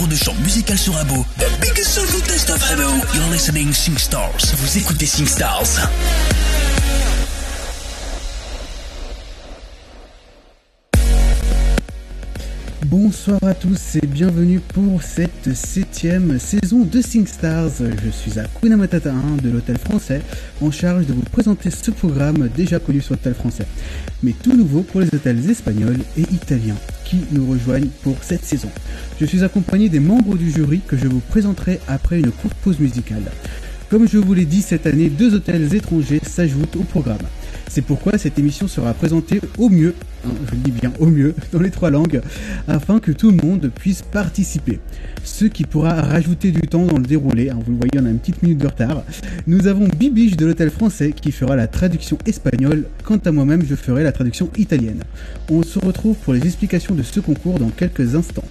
cours de chant musical sur Abo. The biggest soulful test of Abo. You're listening SingStars. Vous écoutez SingStars. Bonsoir à tous et bienvenue pour cette 7e saison de SingStars. Je suis Hakuna Matata 1 de l'Hôtel Français, en charge de vous présenter ce programme déjà connu sur l'Hôtel Français, mais tout nouveau pour les hôtels espagnols et italiens qui nous rejoignent pour cette saison. Je suis accompagné des membres du jury que je vous présenterai après une courte pause musicale. Comme je vous l'ai dit, cette année, 2 hôtels étrangers s'ajoutent au programme. C'est pourquoi cette émission sera présentée au mieux, je dis bien au mieux, dans les 3 langues, afin que tout le monde puisse participer. Ce qui pourra rajouter du temps dans le déroulé, vous le voyez, on a une petite minute de retard. Nous avons Bibiche de l'Hôtel Français qui fera la traduction espagnole, quant à moi-même je ferai la traduction italienne. On se retrouve pour les explications de ce concours dans quelques instants.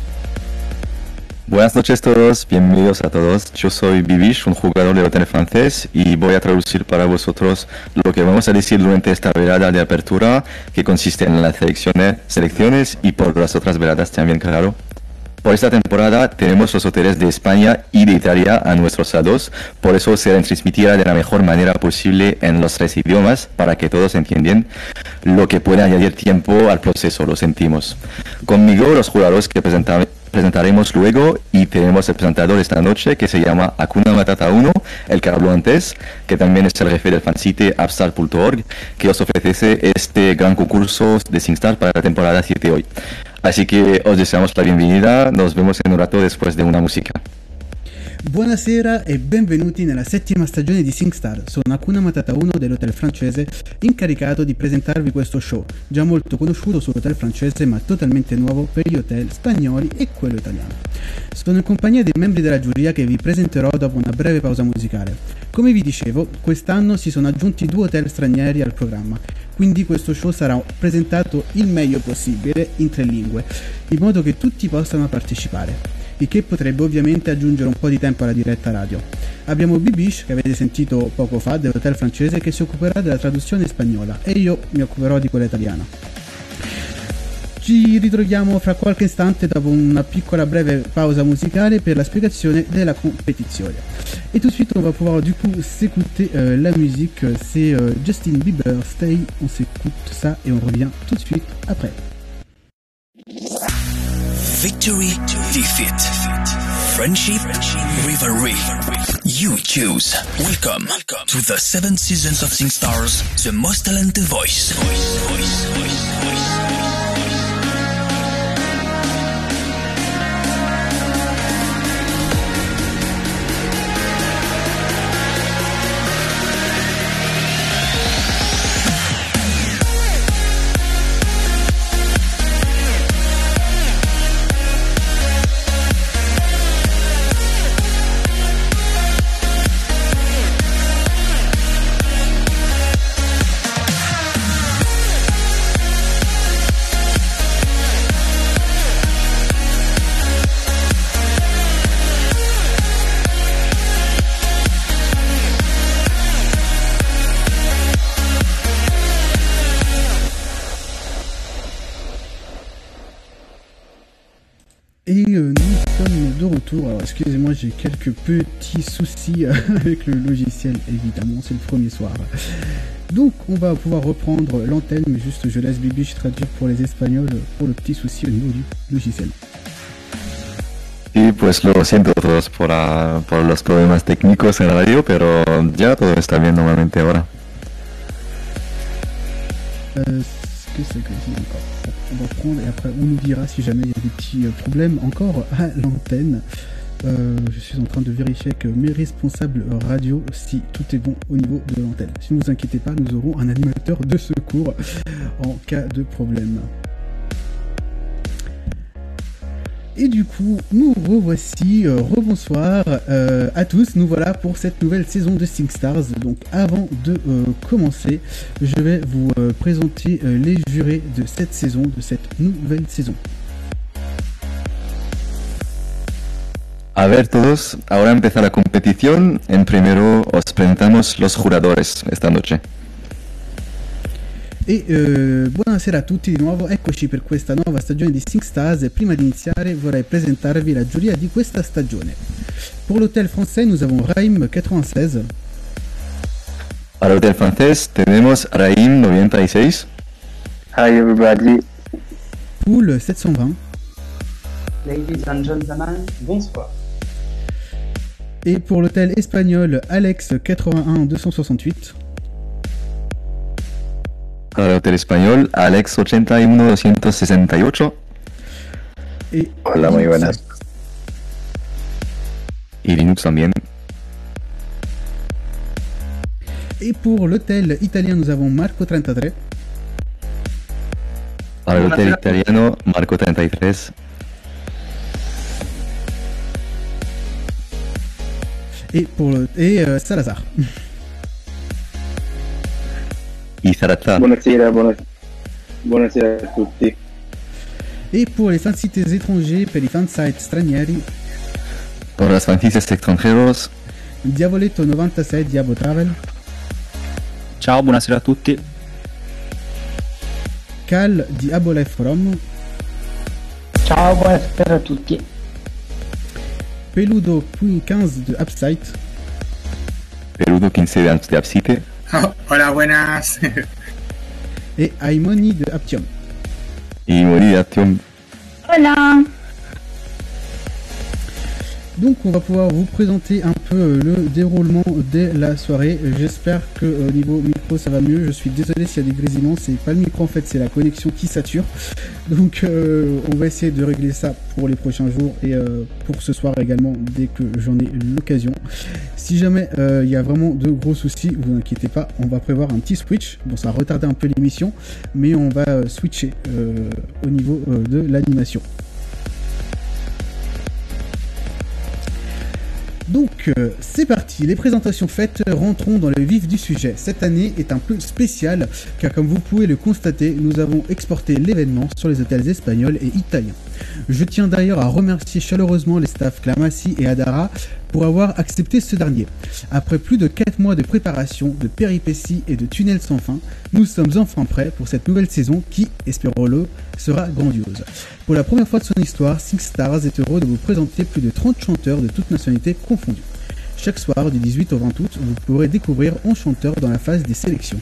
Buenas noches todos, bienvenidos a todos. Yo soy Bibish, un jugador del Hotel Francés, y voy a traducir para vosotros lo que vamos a decir durante esta velada de apertura, que consiste en las selecciones y por las otras veladas también, claro. Por esta temporada tenemos los hoteles de España y de Italia a nuestros lados, por eso se transmitirá de la mejor manera posible en los 3 idiomas, para que todos entiendan, lo que puede añadir tiempo al proceso, lo sentimos. Conmigo los jugadores que presentaremos luego, y tenemos el presentador esta noche que se llama Hakuna Matata 1, el que habló antes, que también es el jefe del fansite Upstart.org, que os ofrece este gran concurso de SingStars para la temporada 7 hoy. Así que os deseamos la bienvenida, nos vemos in un rato después de una musica. Buonasera e benvenuti nella 7ª stagione di SingStars. Sono Hakuna Matata 1 dell'Hotel Francese, incaricato di presentarvi questo show, già molto conosciuto sull'Hotel Francese ma totalmente nuovo per gli hotel spagnoli e quello italiano. Sono in compagnia dei membri della giuria che vi presenterò dopo una breve pausa musicale. Come vi dicevo, quest'anno si sono aggiunti 2 hotel stranieri al programma, quindi questo show sarà presentato il meglio possibile in 3 lingue, in modo che tutti possano partecipare, il che potrebbe ovviamente aggiungere un po' di tempo alla diretta radio. Abbiamo Bibiche, che avete sentito poco fa, dell'Hotel Francese, che si occuperà della traduzione spagnola, e io mi occuperò di quella italiana. Ci ritroviamo fra qualche istante dopo una piccola breve pausa musicale per la spiegazione della compétition. Et tout de suite on va pouvoir du coup s'écouter la musique, c'est Justin Bieber, Stay, on s'écoute ça et on revient tout de suite après. Victory, defeat, friendship, rivalry. You choose. Welcome to the 7 seasons of SingStars, the most talented voice. Et nous sommes de retour. Alors excusez-moi, j'ai quelques petits soucis avec le logiciel, évidemment, c'est le premier soir. Donc on va pouvoir reprendre l'antenne, mais juste je laisse Bibiche traduire pour les Espagnols pour le petit souci au niveau du logiciel. Y pues lo siento a todos por los problemas técnicos en radio, pero ya todo está bien normalmente ahora. Que c'est que c'est encore. On va prendre et après on nous dira si jamais il y a des petits problèmes encore à l'antenne. Je suis en train de vérifier avec mes responsables radio si tout est bon au niveau de l'antenne. Si ne vous inquiétez pas, nous aurons un animateur de secours en cas de problème. Et du coup, nous revoici, rebonsoir à tous, nous voilà pour cette nouvelle saison de SingStars. Donc avant de commencer, je vais vous présenter les jurés de cette saison, de cette nouvelle saison. A ver todos, ahora empieza la competición. En primero os presentamos los jugadores esta noche. Buonasera a tutti di nuovo, eccoci per questa nuova stagione di SingStars e prima di iniziare vorrei presentarvi la giuria di questa stagione. Pour l'hôtel français, nous avons Raïm 96. Para el hotel francés tenemos Raim 96. Hi everybody. Poule 720. Ladies and gentlemen, bonsoir. Et pour l'hôtel espagnol, Alex 81 268. Para el hotel español, Alex 81 268. Et Hola, muy buenas. Y Linux también. Et pour l'hôtel italien, nous avons Marco 33. Para el hotel italiano, Marco 33. Et Salazar. Y Zarata. Buonasera, buonasera a tutti. Et pour les fansites étrangers, per i fansite stranieri, Para los franceses extranjeros, Diavoletto 96, Diabo Travel. Ciao, buonasera a tutti. Cal di Abo Life Forum. Ciao, buonasera a tutti. Peludo 15 de Upsite. Peludo 15 de Absite. Oh, hola, buenas. Et Aimoni de Aptium. Y Mori Atium. Hola. Donc on va pouvoir vous présenter un peu le déroulement de la soirée. J'espère que au niveau micro ça va mieux. Je suis désolé s'il y a des grésillements, c'est pas le micro en fait, c'est la connexion qui sature. Donc on va essayer de régler ça pour les prochains jours et pour ce soir également dès que j'en ai l'occasion. Si jamais il y a vraiment de gros soucis, vous inquiétez pas, on va prévoir un petit switch. Bon, ça va retarder un peu l'émission, mais on va switcher au niveau de l'animation. Donc c'est parti, les présentations faites, rentrons dans le vif du sujet. Cette année est un peu spéciale car comme vous pouvez le constater, nous avons exporté l'événement sur les hôtels espagnols et italiens. Je tiens d'ailleurs à remercier chaleureusement les staffs Clamassi et Adara pour avoir accepté ce dernier. Après plus de 4 mois de préparation, de péripéties et de tunnels sans fin, nous sommes enfin prêts pour cette nouvelle saison qui, espérons-le, sera grandiose. Pour la première fois de son histoire, SingStars est heureux de vous présenter plus de 30 chanteurs de toutes nationalités confondues. Chaque soir, du 18 au 20 août, vous pourrez découvrir 11 chanteurs dans la phase des sélections.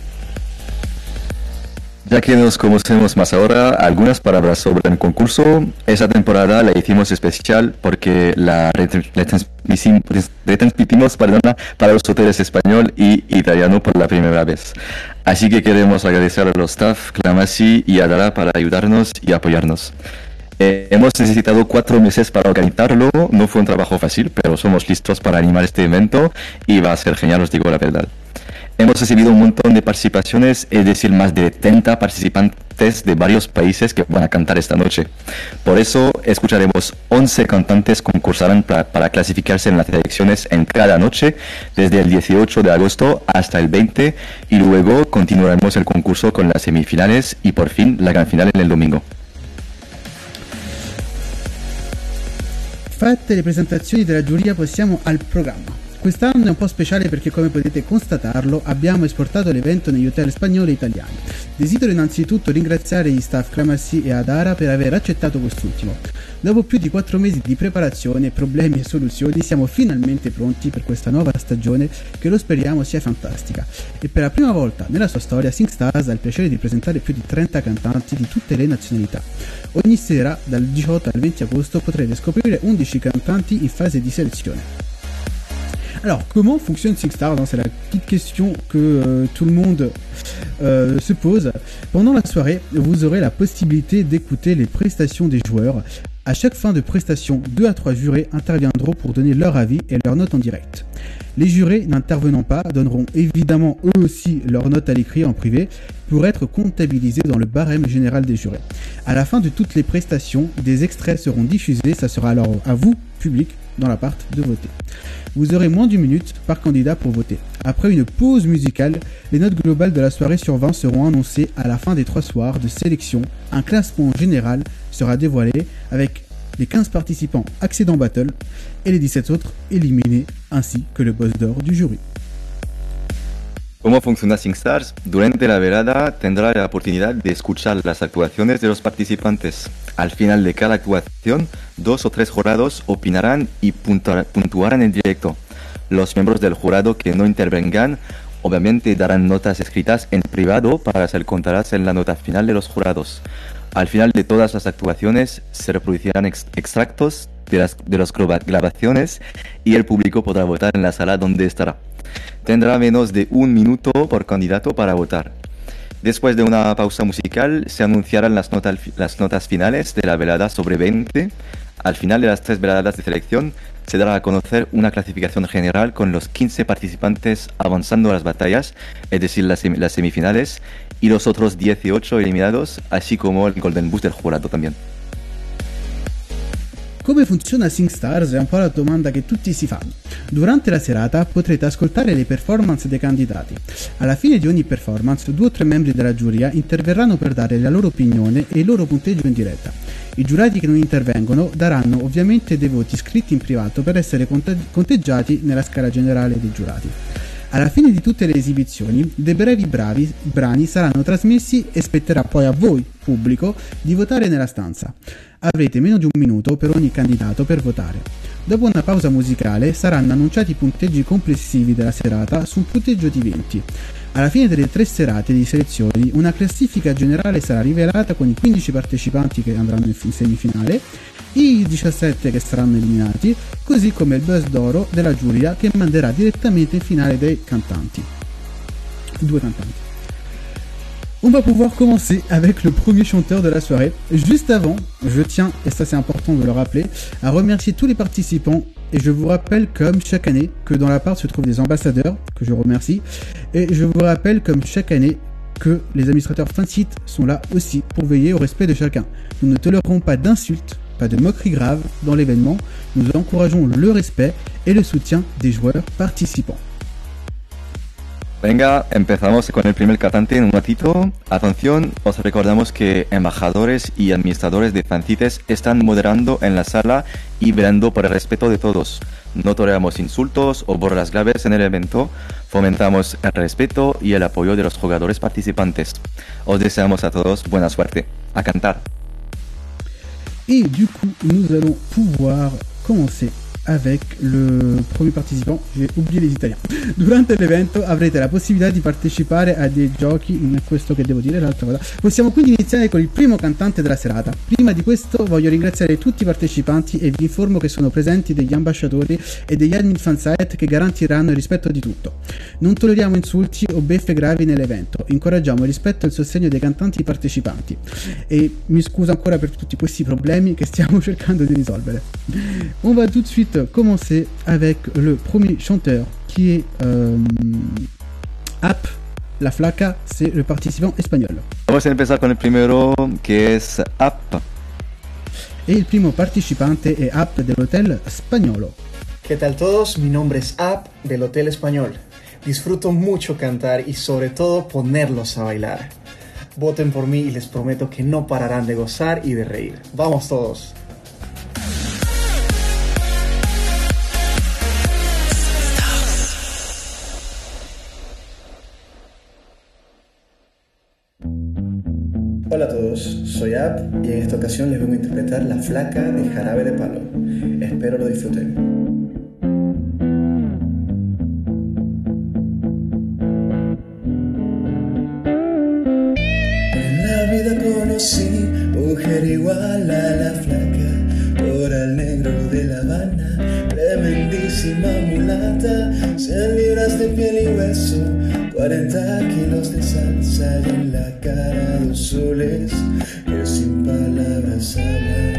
Ya que nos conocemos más ahora, algunas palabras sobre el concurso. Esa temporada la hicimos especial porque la retransmitimos para los hoteles español y italiano por la primera vez. Así que queremos agradecer a los staff, Clamassi y Adara para ayudarnos y apoyarnos. Hemos necesitado 4 meses para organizarlo, no fue un trabajo fácil, pero somos listos para animar este evento y va a ser genial, os digo la verdad. Hemos recibido un montón de participaciones, es decir, más de 30 participantes de varios países que van a cantar esta noche. Por eso, escucharemos 11 cantantes concursarán para clasificarse en las selecciones en cada noche, desde el 18 de agosto hasta el 20, y luego continuaremos el concurso con las semifinales y por fin la gran final en el domingo. Fatte le presentazioni della giuria, passiamo al programma. Quest'anno è un po' speciale perché, come potete constatarlo, abbiamo esportato l'evento negli hotel spagnoli e italiani. Desidero innanzitutto ringraziare gli staff Clamassi e Adara per aver accettato quest'ultimo. Dopo più di 4 mesi di preparazione, problemi e soluzioni, siamo finalmente pronti per questa nuova stagione che lo speriamo sia fantastica. E per la prima volta nella sua storia, SingStars ha il piacere di presentare più di 30 cantanti di tutte le nazionalità. Ogni sera, dal 18 al 20 agosto, potrete scoprire 11 cantanti in fase di sélezione. Alors, comment fonctionne SingStars? C'est la petite question que tout le monde se pose. Pendant la soirée, vous aurez la possibilité d'écouter les prestations des joueurs. À chaque fin de prestation, 2 à 3 jurés interviendront pour donner leur avis et leurs notes en direct. Les jurés n'intervenant pas donneront évidemment eux aussi leurs notes à l'écrit en privé pour être comptabilisés dans le barème général des jurés. À la fin de toutes les prestations, des extraits seront diffusés, ça sera alors à vous, public, dans l'appart, de voter. Vous aurez moins d'une minute par candidat pour voter. Après une pause musicale, les notes globales de la soirée sur 20 seront annoncées à la fin des 3 soirs de sélection. Un classement général sera dévoilé avec les 15 participants accédant battle et les 17 autres éliminés, ainsi que le boss d'or du jury. ¿Cómo funciona SingStars? Durante la velada tendrá la oportunidad de escuchar las actuaciones de los participantes. Al final de cada actuación, 2 o 3 jurados opinarán y puntuarán en directo. Los miembros del jurado que no intervengan obviamente darán notas escritas en privado para ser contadas en la nota final de los jurados. Al final de todas las actuaciones se reproducirán extractos de las grabaciones y el público podrá votar en la sala donde estará. Tendrá menos de 1 minuto por candidato para votar. Después de una pausa musical se anunciarán las notas finales de la velada sobre 20. Al final de las 3 veladas de selección se dará a conocer una clasificación general con los 15 participantes avanzando a las batallas, es decir, las semifinales, y los otros 18 eliminados, así como il Golden Boost del jurado también. Come funziona SingStars è un po' la domanda che tutti si fanno. Durante la serata potrete ascoltare le performance dei candidati. Alla fine di ogni performance 2 o 3 membri della giuria interverranno per dare la loro opinione e il loro punteggio in diretta. I giurati che non intervengono daranno ovviamente dei voti scritti in privato per essere conteggiati nella scala generale dei giurati. Alla fine di tutte le esibizioni, dei brevi brani saranno trasmessi e spetterà poi a voi, pubblico, di votare nella stanza. Avrete meno di 1 minuto per ogni candidato per votare. Dopo una pausa musicale saranno annunciati i punteggi complessivi della serata su un punteggio di 20. Alla fine delle 3 serate di selezioni, una classifica generale sarà rivelata con i 15 partecipanti che andranno in semifinale, i 17 che saranno eliminati, così come il buzz d'oro della giuria che manderà direttamente in finale dei cantanti. 2 cantanti. On va pouvoir commencer avec le premier chanteur de la soirée. Juste avant, je tiens, et ça c'est important de le rappeler, à remercier tous les participants. Et je vous rappelle, comme chaque année, que dans la part se trouvent des ambassadeurs, que je remercie. Et je vous rappelle, comme chaque année, que les administrateurs Fansite sont là aussi pour veiller au respect de chacun. Nous ne tolérerons pas d'insultes, pas de moqueries graves dans l'événement. Nous encourageons le respect et le soutien des joueurs participants. Venga, empezamos con el primer cantante en un ratito. Atención, os recordamos que embajadores y administradores de Fancites están moderando en la sala y velando por el respeto de todos. No toleramos insultos o burlas graves en el evento. Fomentamos el respeto y el apoyo de los jugadores participantes. Os deseamos a todos buena suerte. A cantar. Et du coup, nous allons pouvoir commencer avec le premier participant, j'ai oublié les italiani. Durante l'evento avrete la possibilità di partecipare a dei giochi, non è questo che devo dire, l'altra cosa. Possiamo quindi iniziare con il primo cantante della serata. Prima di questo voglio ringraziare tutti i partecipanti e vi informo che sono presenti degli ambasciatori e degli admin fansite che garantiranno il rispetto di tutto. Non tolleriamo insulti o beffe gravi nell'evento, incoraggiamo il rispetto e il sostegno dei cantanti partecipanti. E mi scuso ancora per tutti questi problemi che stiamo cercando di risolvere. On va tout de suite commencer avec le premier chanteur qui est App La Flaca, c'est le participant espagnol. Vamos a empezar con el primero, que es App. Et el primo participante es App del Hotel Españolo. ¿Qué tal todos? Mi nombre es App del Hotel Español. Disfruto mucho cantar y sobre todo ponerlos a bailar. Voten por mí y les prometo que no pararán de gozar y de reír. ¡Vamos todos! Hola a todos, soy App y en esta ocasión les vengo a interpretar La Flaca de Jarabe de Palo. Espero lo disfruten. En la vida conocí mujer igual a La Flaca, por al negro de La Habana, tremendísima mulata, 100 libras de piel y hueso, 40 kilos de salsa y en la cara 2 soles que sin palabras hablan,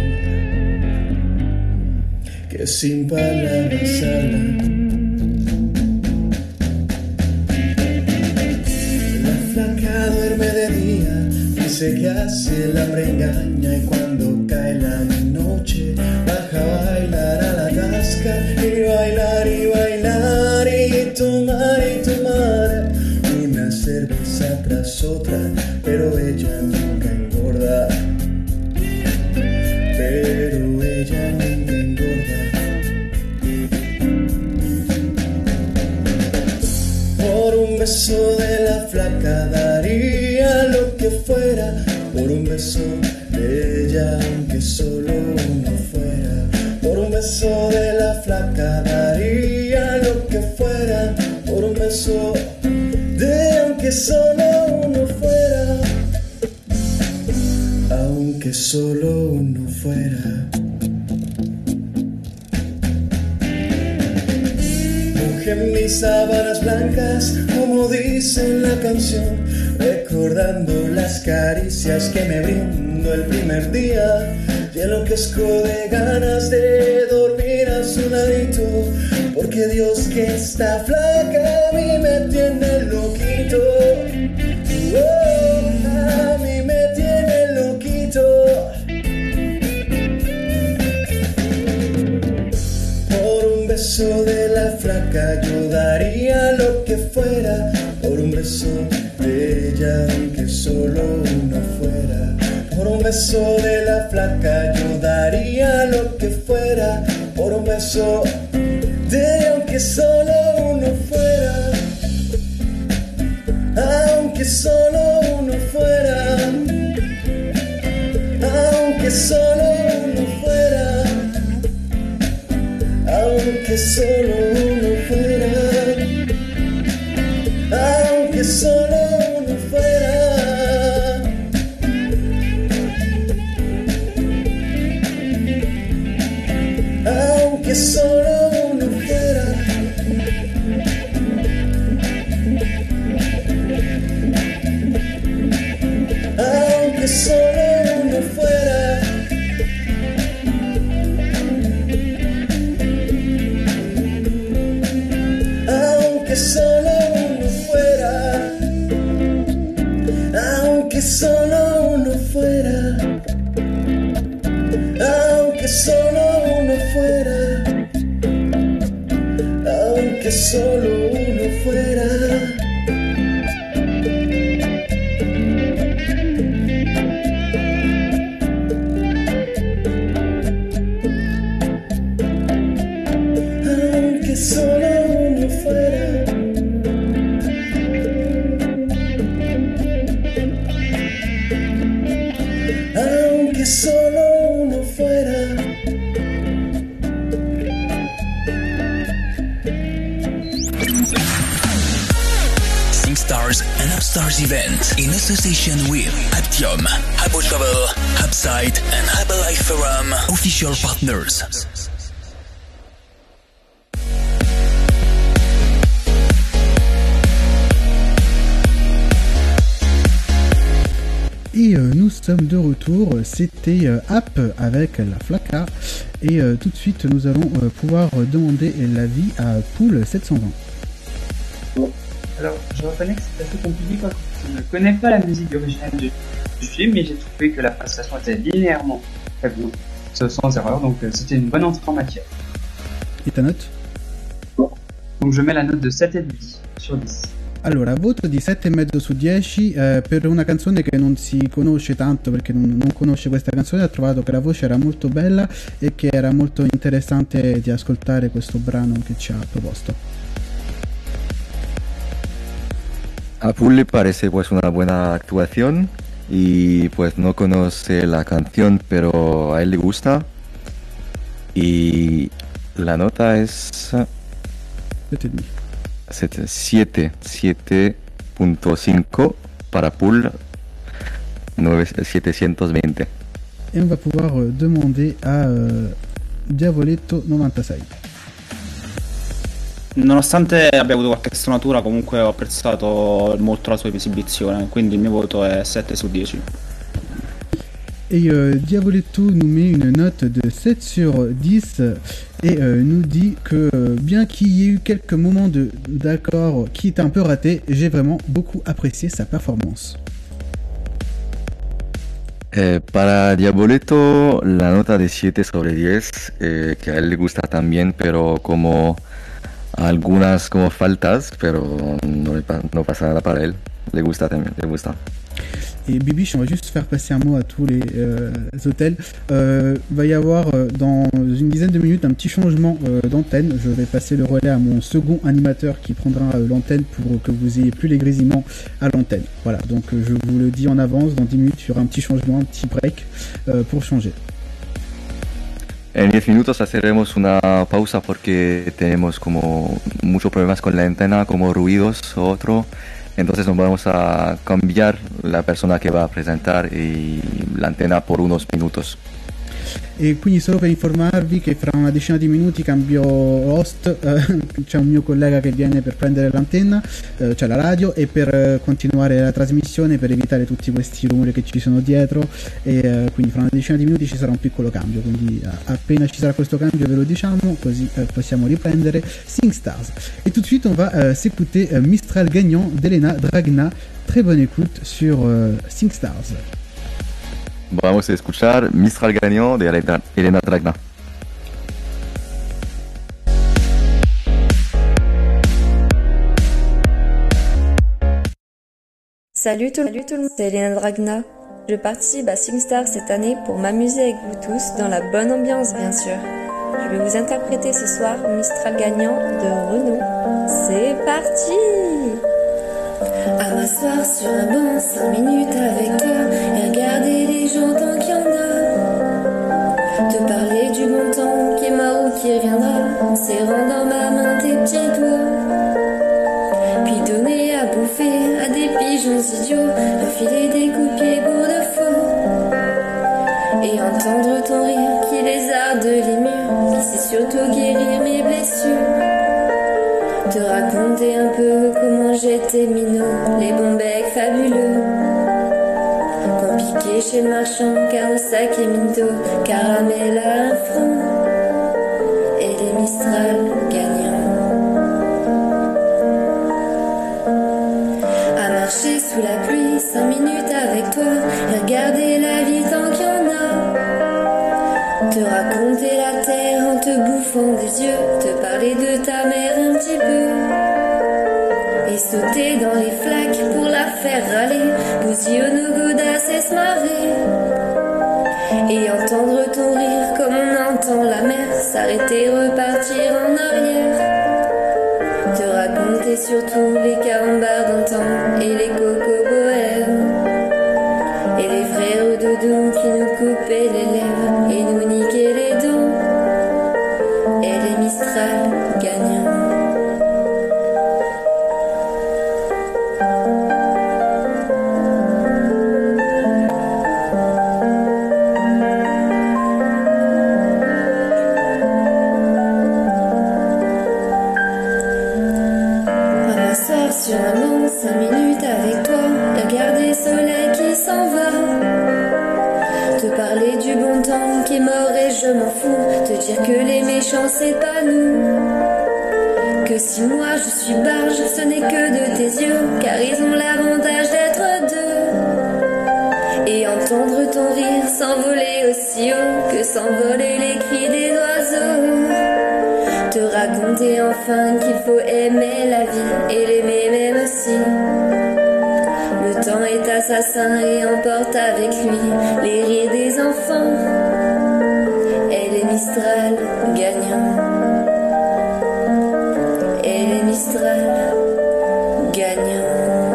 que sin palabras hablan. La flaca duerme de día, dice que hace el hambre engaña y cuando cae la noche baja a bailar a la tasca y bailar y bailar y tomar una cerveza tras otra, pero ella nunca engorda, pero ella nunca engorda. Por un beso de ella, aunque solo uno fuera. Por un beso de la flaca daría lo que fuera. Por un beso de aunque solo uno fuera. Aunque solo uno fuera. Mojé mis sábanas blancas, como dice en la canción, recordando las caricias que me brindó el primer día. Y enloquezco de ganas de dormir a su ladito, porque Dios que está flaca a mí me tiene loquito. Oh, a mí me tiene loquito. Por un beso de la flaca yo daría lo que fuera. Por un beso de ella, aunque solo uno fuera. Por un beso de la flaca yo daría lo que fuera. Por un beso de aunque solo uno fuera. Aunque solo uno fuera. Aunque solo uno fuera. Aunque solo uno fuera. Aunque solo uno fuera. Aunque solo uno fuera. Aunque solo uno fuera. Aunque solo uno fuera. Aunque solo uno fuera. Aunque solo uno fuera. Aunque solo uno fuera. Aunque solo uno fuera. Aunque solo uno fuera. SingStars and Upstars event in association with Aptium, Abo Travel, Hubsite and Herbalife Forum, official partners. Et nous sommes de retour, c'était App avec la Flaca et tout de suite nous allons pouvoir demander l'avis à Pool 720. Bon, alors je reconnais que c'est assez compliqué parce que je ne connais pas la musique originale du film, mais j'ai trouvé que la prestation était linéairement très bien, sans erreur, donc c'était une bonne entrée en matière. Et ta note? Donc je mets la note de 7,5 sur 10. Allora, voto di 7,5 su 10 per una canzone che non si conosce tanto, perché non conosce questa canzone. Ha trovato che la voce era molto bella e che era molto interessante di ascoltare questo brano che ci ha proposto. A Pool le parece pues una buena actuación y pues no conoce la canción pero a él le gusta y la nota es 7.5 para Pool 720. Et on va pouvoir demander à Diavoletto 96. Nonostante abbia avuto qualche stonatura, comunque ho apprezzato molto la sua esibizione, quindi il mio voto è 7 su 10. Et Diavoletto nous met une note de 7 sur 10 et nous dit que bien qu'il y ait eu quelques moments d'accord qui étaient un peu ratés, j'ai vraiment beaucoup apprécié sa performance. Para Diavoletto la nota de 7 sobre 10, que a él le gusta también, pero como algunas como faltas, pero no pasa nada para él, le gusta también, le gusta. Et Bibiche, on va juste faire passer un mot à tous les hôtels. Va y avoir dans une dizaine de minutes un petit changement d'antenne. Je vais passer le relais à mon second animateur qui prendra l'antenne pour que vous ayez plus les grésillements à l'antenne. Voilà, donc je vous le dis en avance, dans 10 minutes il y aura un petit changement, un petit break pour changer. En 10 minutos haremos una pausa porque tenemos como muchos problemas con la antena, como ruidos o otro. Entonces nos vamos a cambiar la persona che va a presentar l'antena por unos minutos. E quindi solo per informarvi che fra una decina di minuti cambio host, c'è un mio collega che viene per prendere l'antenna, cioè la radio, e per continuare la trasmissione, per evitare tutti questi rumori che ci sono dietro, e quindi fra una decina di minuti ci sarà un piccolo cambio, quindi appena ci sarà questo cambio ve lo diciamo, così possiamo riprendere SingStars. Et tout de suite on va s'écouter Mistral gagnant d'Elena Dragna. Très bonne écoute sur SingStars. Vamos a escuchar Mistral gagnant de Elena Dragna. Salut tout le monde, c'est Elena Dragna. Je participe à SingStars cette année pour m'amuser avec vous tous dans la bonne ambiance bien sûr. Je vais vous interpréter ce soir Mistral gagnant de Renaud. C'est parti! À m'asseoir sur un banc 5 minutes avec toi et regarder les gens tant qu'il y en a. Te parler du bon temps qui est mort ou qui reviendra en serrant dans ma main tes petits doigts. Puis donner à bouffer à des pigeons idiots, refiler des coups de pied pour de faux. Et entendre ton rire qui lézarde les murs, qui sait surtout guérir mes blessures. Te raconter un peu comment j'étais minot, les bons becs fabuleux qu'on piquait chez le marchand, car le sac est minto, caramel à un franc et les Mistral gagnants. À marcher sous la pluie 5 minutes avec toi et regarder la vie tant qu'il y en a. Te raconter la terre en te bouffant des yeux, te parler de ta mère un petit peu. Et sauter dans les flaques pour la faire râler, bousiller nos godasses et se marrer. Et entendre ton rire comme on entend la mer, s'arrêter, repartir en arrière. Te raconter surtout les carambars d'antan et les cocoboères. Et les frères doudou qui nous coupaient les lèvres et nous niquaient les dents. Et les Mistral gagnants. À m'asseoir sur un banc 5 minutes avec toi, regarder le soleil qui s'en va. Te parler du bon temps qui est mort et je m'en fous. Te dire que les méchants c'est pas nous. Que si moi je suis barge, ce n'est que de tes yeux, car ils ont l'avantage d'être deux. Et entendre ton rire s'envoler aussi haut que s'envoler les cris des oiseaux. Te raconter enfin qu'il faut aimer la vie et l'aimer même aussi. Le temps est assassin et emporte avec lui les rires des enfants et les Mistral gagnants. Et les Mistral gagnants.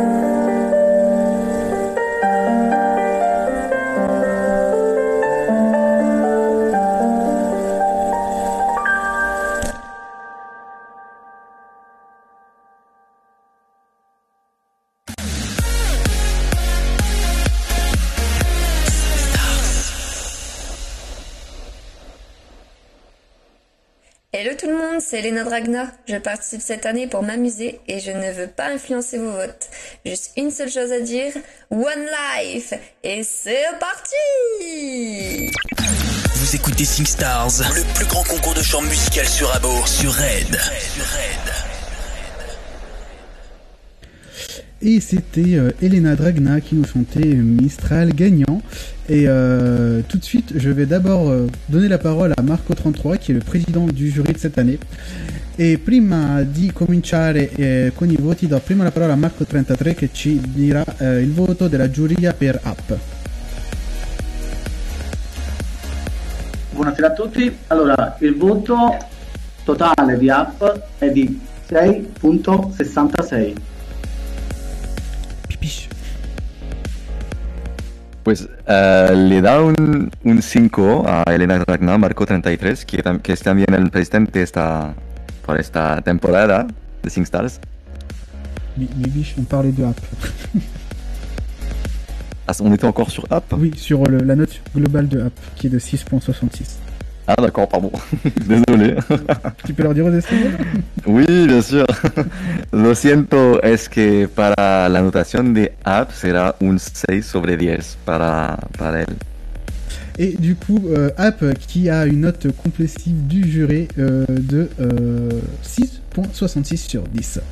Hello tout le monde, c'est Elena Dragna. Je participe cette année pour m'amuser et je ne veux pas influencer vos votes. Juste une seule chose à dire, One Life. Et c'est parti! Vous écoutez SingStars, le plus grand concours de chant musical sur Abo, sur Red. Et c'était Elena Dragna qui nous chantait Mistral gagnant. Et tout de suite, je vais d'abord donner la parole à Marco33, qui est le président du jury de cette année. E prima di cominciare con i voti, do prima la parola a Marco33 che ci dirà il voto della giuria per Up. Buonasera a tutti. Allora, il voto totale di Up è di 6.66. Pues le da un 5 a Elena Dragna, Marco33, que es también el presidente por esta temporada de SingStars. Bibiche, on parlait de Up. Ah, on était encore sur Up? Oui, sur la note globale de Up, qui est de 6.66. Ah d'accord, pardon. Désolé. Tu peux leur dire aux estimables? Oui, bien sûr. Lo siento, es que para la notación de Up será un 6 sobre 10 para él. Et du coup, Up qui a une note complétive du jury de 6.66 sur 10.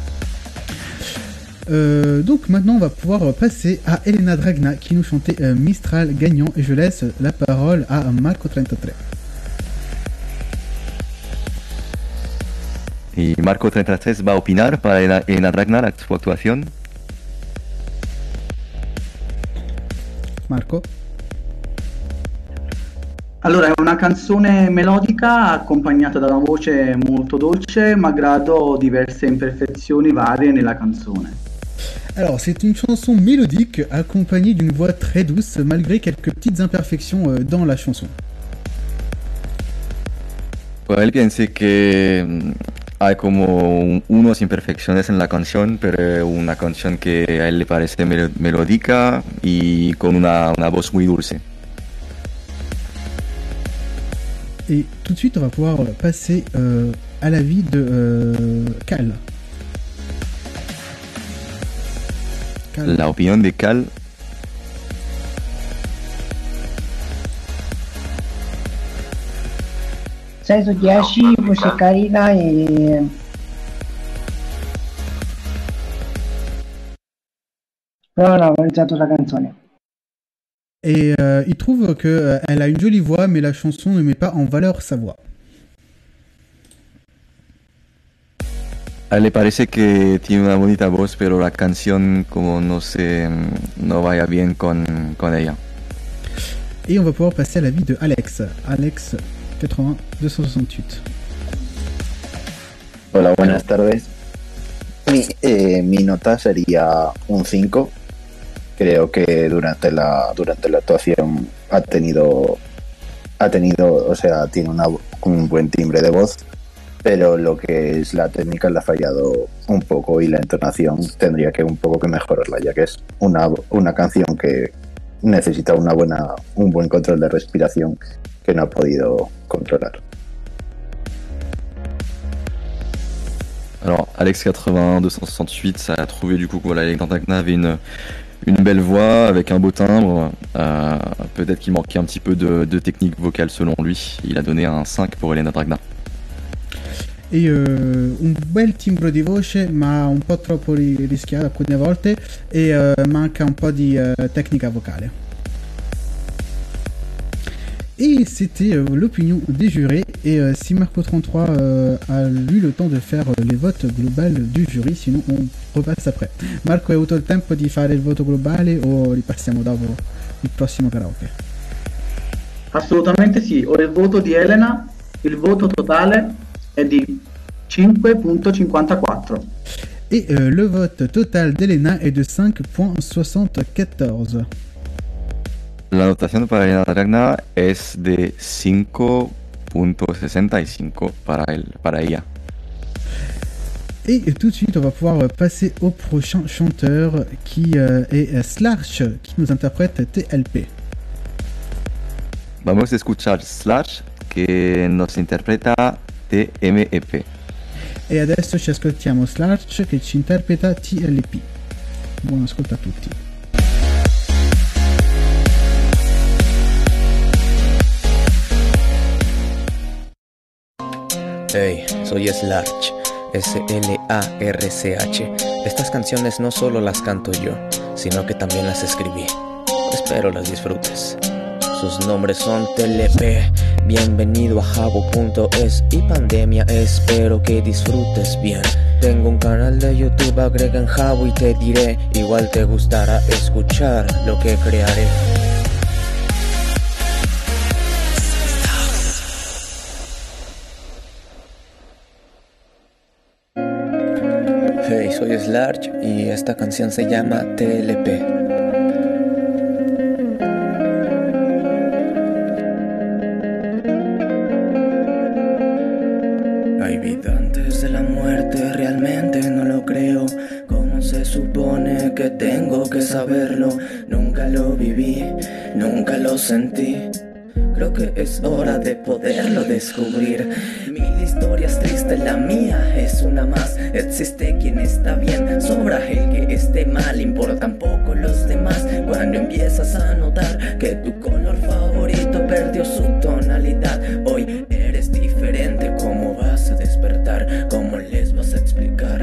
Donc maintenant on va pouvoir passer à Elena Dragna qui nous chantait Mistral gagnant, et je laisse la parole à Marco33. Y Marco33 va a opinar para Elena Dragna su actuación. Marco? Allora, è una canzone melodica accompagnata da una voce molto dolce, malgrado diverse imperfezioni varie nella canzone. Alors, c'est une chanson mélodique accompagnée d'une voix très douce, malgré quelques petites imperfections dans la chanson. Pues él piensa que hay como unas imperfecciones en la canción, pero una canción que a él le parece melódica y con una voz muy dulce. Et tout de suite, on va pouvoir passer à l'avis de Cal. La opinión de Cal. Sei su 10, voce carina e però non ho apprezzato la canzone. Et il trouve qu'elle a une jolie voix, mais la chanson ne met pas en valeur sa voix. A él le parece que tiene una bonita voz, pero la canción como no vaya bien con ella. Et on va pouvoir passer à l'avis de Alex. Alex 80 268. Hola, buenas tardes. Mi nota sería un 5. Creo que durante la actuación ha tenido, o sea, tiene un buen timbre de voz, pero lo que es la técnica le ha fallado un poco y la entonación tendría que un poco que mejorarla, ya que es una canción que necesita un buen control de respiración que no ha podido controlar. Alors, Alex 80 268, ça a trouvé du coup que voilà, Elena Dragna avait une belle voix avec un beau timbre. Peut-être qu'il manquait un petit peu de technique vocale selon lui. Il a donné un 5 pour Elena Dragna. E un bel timbro di voce, ma un po' troppo rischiato alcune volte, e manca un po' di tecnica vocale. Et c'était l'opinion des jurés. Et si Marco33 a eu le temps de faire les votes globales du jury, sinon on repasse après. Marco, hai avuto il tempo di fare il voto globale o ripassiamo dopo il prossimo karaoke? Assolutamente sì, ho il voto di Elena, il voto totale è di 5.54. Et le vote total d'Elena est de 5.74. La notación para Elena Dragna es de 5.65 para ella. Et tout de suite, on va pouvoir passer au prochain chanteur qui est Slash, qui nous interprète TLP. Vamos a escuchar Slash, que nos interpreta TMEP. E adesso ci ascoltiamo Slash che ci interpreta TLP. Buon ascolto a tutti. Hey, soy Slash. SLARCH. Estas canciones no solo las canto yo, sino que también las escribí. Espero las disfrutes. Sus nombres son TLP, bienvenido a Jabo.es y Pandemia, espero que disfrutes bien. Tengo un canal de YouTube, agrega en Jabo y te diré, igual te gustará escuchar lo que crearé. Hey, soy Slarch y esta canción se llama TLP. Hay vida antes de la muerte, realmente no lo creo. ¿Cómo se supone que tengo que saberlo? Nunca lo viví, nunca lo sentí. Creo que es hora de poderlo descubrir. Mil historias tristes, la mía es una más. Existe quien está bien, sobra el que esté mal. Importan poco los demás. Cuando empiezas a notar que tu color favorito perdió su tonalidad. Hoy eres diferente, ¿cómo vas a despertar? ¿Cómo les vas a explicar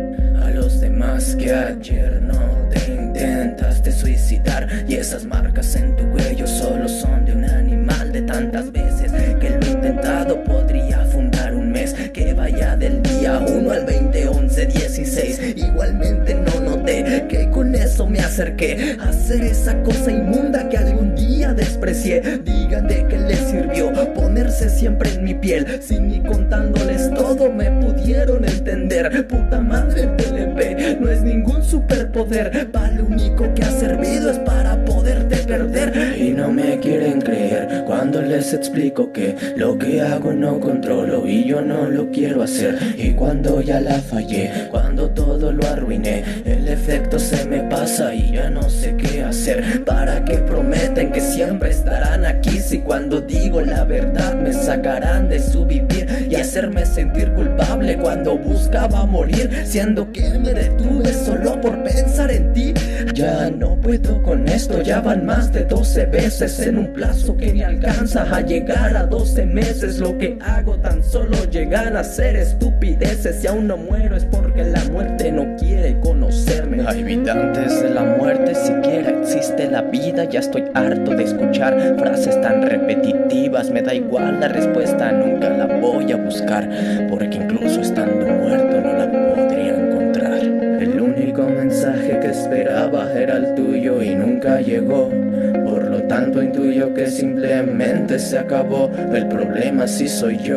a los demás que ayer no te intentaste suicidar? Y esas marcas en tu cuello solo son de un animal. De tantas veces que lo he intentado podría fundar un mes que vaya del día 1 al 20, 11, 16. Igualmente no noté que con eso me acerqué a hacer esa cosa inmunda que algún día desprecié. Digan de qué les sirvió ponerse siempre en mi piel, si ni contándoles todo me pudieron entender. Puta madre, el TLP no es ningún superpoder, para lo único que ha servido es para poderte perder. Y no me quieren creer cuando les explico que lo que hago no controlo y yo no lo quiero hacer. Y cuando ya la fallé, cuando todo lo arruiné, el efecto se me pasa y ya no sé qué hacer. ¿Para qué prometen que siempre estarán aquí si cuando digo la verdad me sacarán de su vivir y hacerme sentir culpable cuando buscaba morir, siendo que me detuve solo por pensar en ti? Ya no puedo con esto, ya van más de 12 veces en un plazo que ni alcanza a llegar a 12 meses. Lo que hago tan solo llegan a ser estupideces. Si aún no muero es porque la muerte no quiere conocerme. Hay vida antes de la muerte, siquiera existe la vida. Ya estoy harto de escuchar frases tan repetitivas. Me da igual la respuesta, nunca la voy a buscar, porque incluso estando muerto no la podría encontrar. El único mensaje que esperaba era el tuyo y nunca llegó. Por lo tanto intuyo que simplemente se acabó. El problema sí soy yo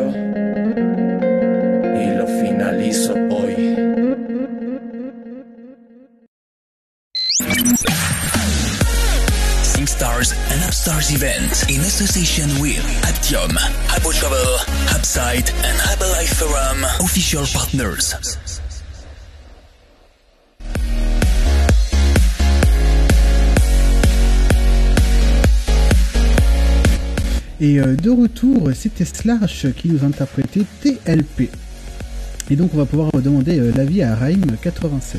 y lo finalizo hoy. SingStars and Upstars event in association with Aptium, Habbo Travel, Hubsite and Herbalife Forum, official partners. Et de retour, c'était Slash qui nous interprétait TLP. Et donc on va pouvoir demander l'avis à Raim96.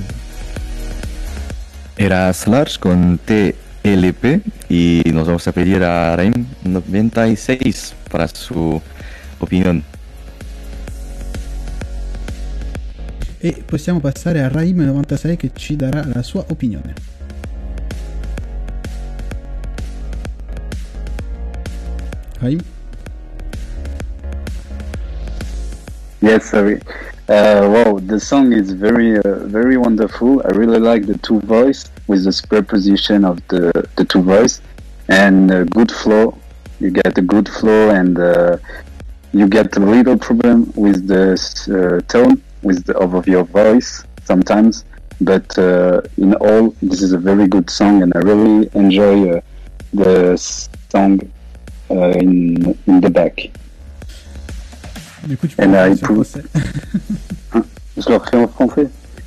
Era Slash con TLP y nos vamos a pedir a Raim96 para su opinión. E possiamo passare a Raim96 che ci darà la sua opinione. Raim? Yes, sorry. Wow, the song is very wonderful. I really like the two voice with the superposition of the two voice and good flow. You get a good flow and you get a little problem with the tone of your voice sometimes. But in all, this is a very good song and I really enjoy the song in the back. Du coup, tu peux en français. Je le refais en français.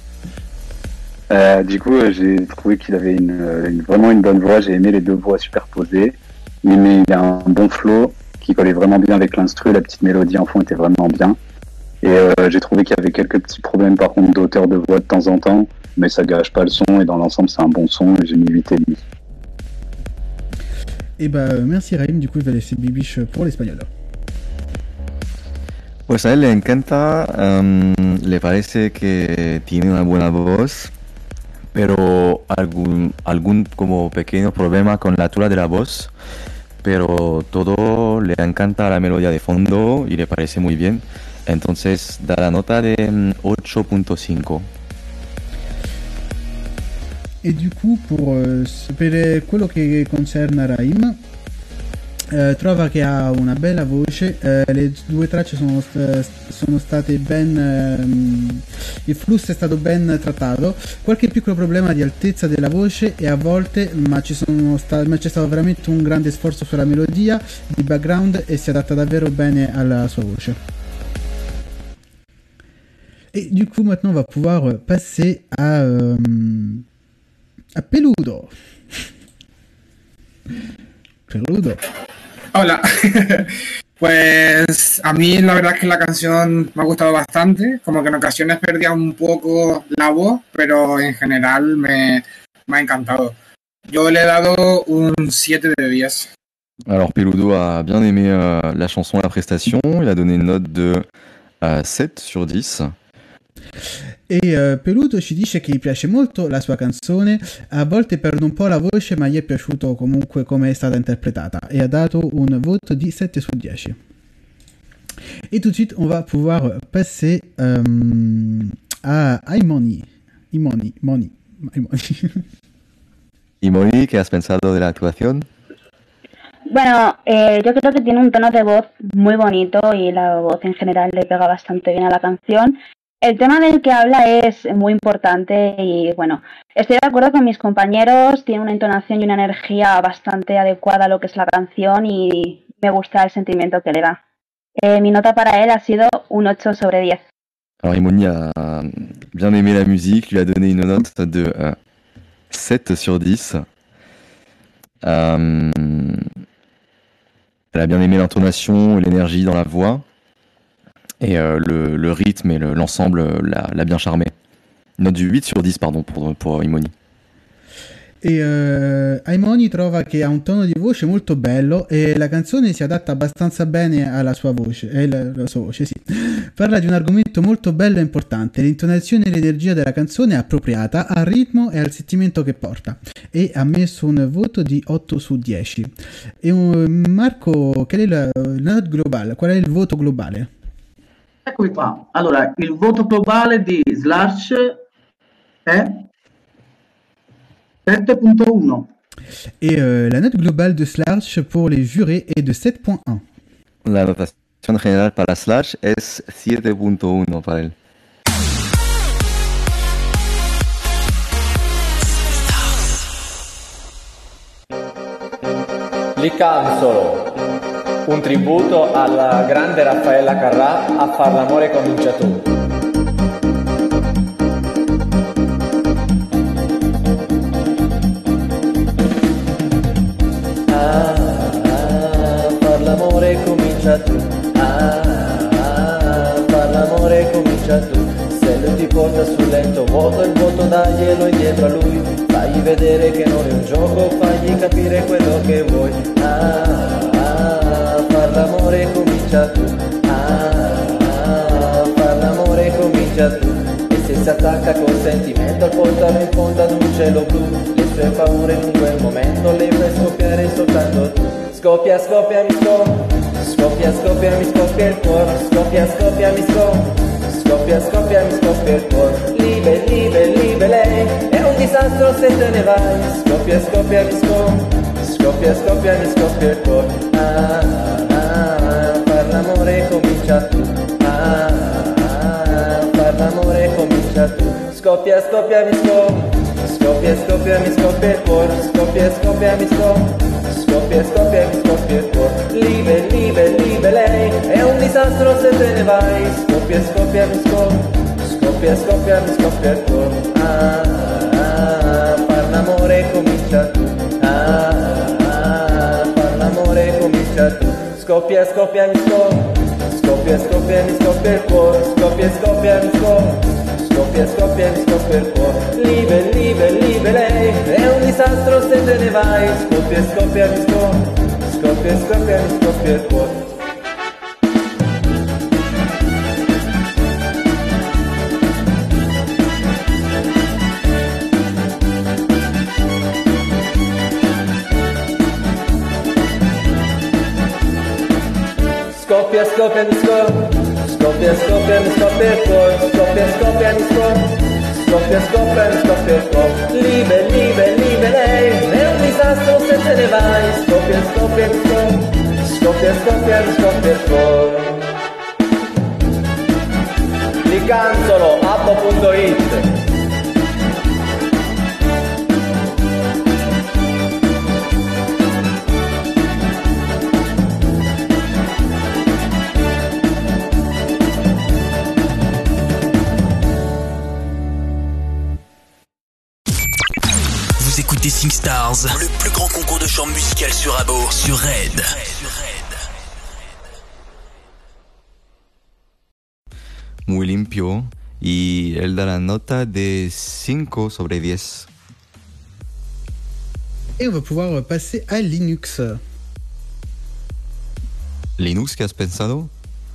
Du coup, j'ai trouvé qu'il avait vraiment une bonne voix. J'ai aimé les deux voix superposées. Il a un bon flow qui collait vraiment bien avec l'instru. La petite mélodie en fond était vraiment bien. Et j'ai trouvé qu'il y avait quelques petits problèmes par contre d'auteur de voix de temps en temps. Mais ça gâche pas le son et dans l'ensemble c'est un bon son et j'ai mis 8,5. Et bah merci Raim, du coup il va laisser Bibiche pour l'espagnol. Pues a él le encanta, le parece que tiene una buena voz, pero algún como pequeño problema con la altura de la voz, pero todo le encanta la melodía de fondo y le parece muy bien. Entonces da la nota de 8.5. E du coup per quello che concerne Raim, trova che ha una bella voce, le due tracce sono state ben, il flusso è stato ben trattato, qualche piccolo problema di altezza della voce e a volte ma c'è stato veramente un grande sforzo sulla melodia di background e si adatta davvero bene alla sua voce. Et du coup maintenant on va pouvoir passer à Peludo. Peludo. Hola. Pues a mí la verdad es que la canción me ha gustado bastante, como que en ocasiones perdía un poco la voz, pero en general me ha encantado. Yo le he dado un 7 de 10. Alors Peludo a bien aimé la chanson, la prestation, il a donné une note de 7 sur 10. E Peludo ci dice che gli piace molto la sua canzone, a volte perde un po' la voce ma gli è piaciuto comunque come è stata interpretata e ha dato un voto di 7 su 10. Et tout de suite on va pouvoir passer a Imoni. Imoni, ¿qué has pensado de la actuación? Bueno, yo creo que tiene un tono de voz muy bonito y la voz en general le pega bastante bien a la canción. El tema del que habla es muy importante y bueno, estoy de acuerdo con mis compañeros, tiene una entonación y una energía bastante adecuada a lo que es la canción y me gusta el sentimiento que le da. Mi nota para él ha sido un 8 sobre 10. Alors Imoni a bien aimé la musique, lui a donné une note de 7 sur 10. Elle a bien aimé l'intonation et l'énergie dans la voix. Et le rythme et l'ensemble l'a bien charmé. Note du 8 sur 10 pardon, pour Imoni. E Imoni trova che ha un tono di voce molto bello e la canzone si adatta abbastanza bene alla sua voce, la sua voce sì. Parla di un argomento molto bello e importante, l'intonazione e l'energia della canzone è appropriata al ritmo e al sentimento che porta e ha messo un voto di 8 su 10. E Marco, qual è la note globale? Qual è il voto globale? Eccomi qua. Allora, il voto globale di Slash è 7.1. Et la note globale de Slash pour les jurés est de 7.1. La notación general para Slash es 7.1 para él. Licanzolo, un tributo alla grande Raffaella Carrà, A far l'amore comincia tu. Far l'amore comincia tu, far l'amore comincia tu. Se lui ti porta sul letto vuoto, il vuoto daglielo indietro a lui. Fagli vedere che non è un gioco, fagli capire quello che vuoi. Far l'amore comincia tu, far l'amore comincia tu. E se si attacca col sentimento, portalo in fondo ad un cielo blu. Le sue paure in quel momento le fai scoppiare soltanto tu. Scoppia, scoppia, mi scoppia, scoppia, scoppia, mi scoppia il cuore. Scoppia, scoppia, mi scoppia, scoppia, scoppia, mi scoppia il cuore. Libe, libe, libe lei, è un disastro se te ne vai. Scoppia, scoppia, mi scoppia, scoppia, scoppia, mi scoppia il cuore. Far l'amore comincia tu, far l'amore comincia tu. Scoppia, scoppia, mi scoppia, scoppia, scoppia, mi scoppia il cuore. Scoppia, scoppia, mi scoppia, scoppia, scoppia, mi scoppia il cuore. Libe, libe, libe lei, è un disastro se te ne vai. Scoppia, scoppia, mi scoppia, scoppia, scoppia, mi scoppia il cuore. Far l'amore comincia tu, far l'amore comincia tu. Scoppia, scoppia, mi scoppia, scoppia, scoppia, mi scoppia il cuore. Scoppia, scoppia, mi scoppia, scoppia, scoppia, mi scoppia il cuore. Libe, libe, libe lei, è un disastro se te ne vai. Scoppia, scoppia, mi scoppia, scoppia, scoppia, mi scoppia il cuore. Scoppia, scoppia, mi scoppia. Scoppia, scoppia, mi scoppia il cuore. Scoppia, scoppia, mi scoppia. Scoppia, scoppia, mi scoppia il cuore. Liebe, liebe, liebe lei, è un disastro se te ne vai. Scoppia, scoppia, mi scoppia. Scoppia, scoppia, mi scoppia il cuore. Licanzolo, abbo.it. Vous écoutez SingStars, le plus grand concours de chant musical sur Abo, sur Red. Muy limpio y él da la nota de 5 sobre 10. Et on va pouvoir passer à Linux. Linux, ¿qué has pensado?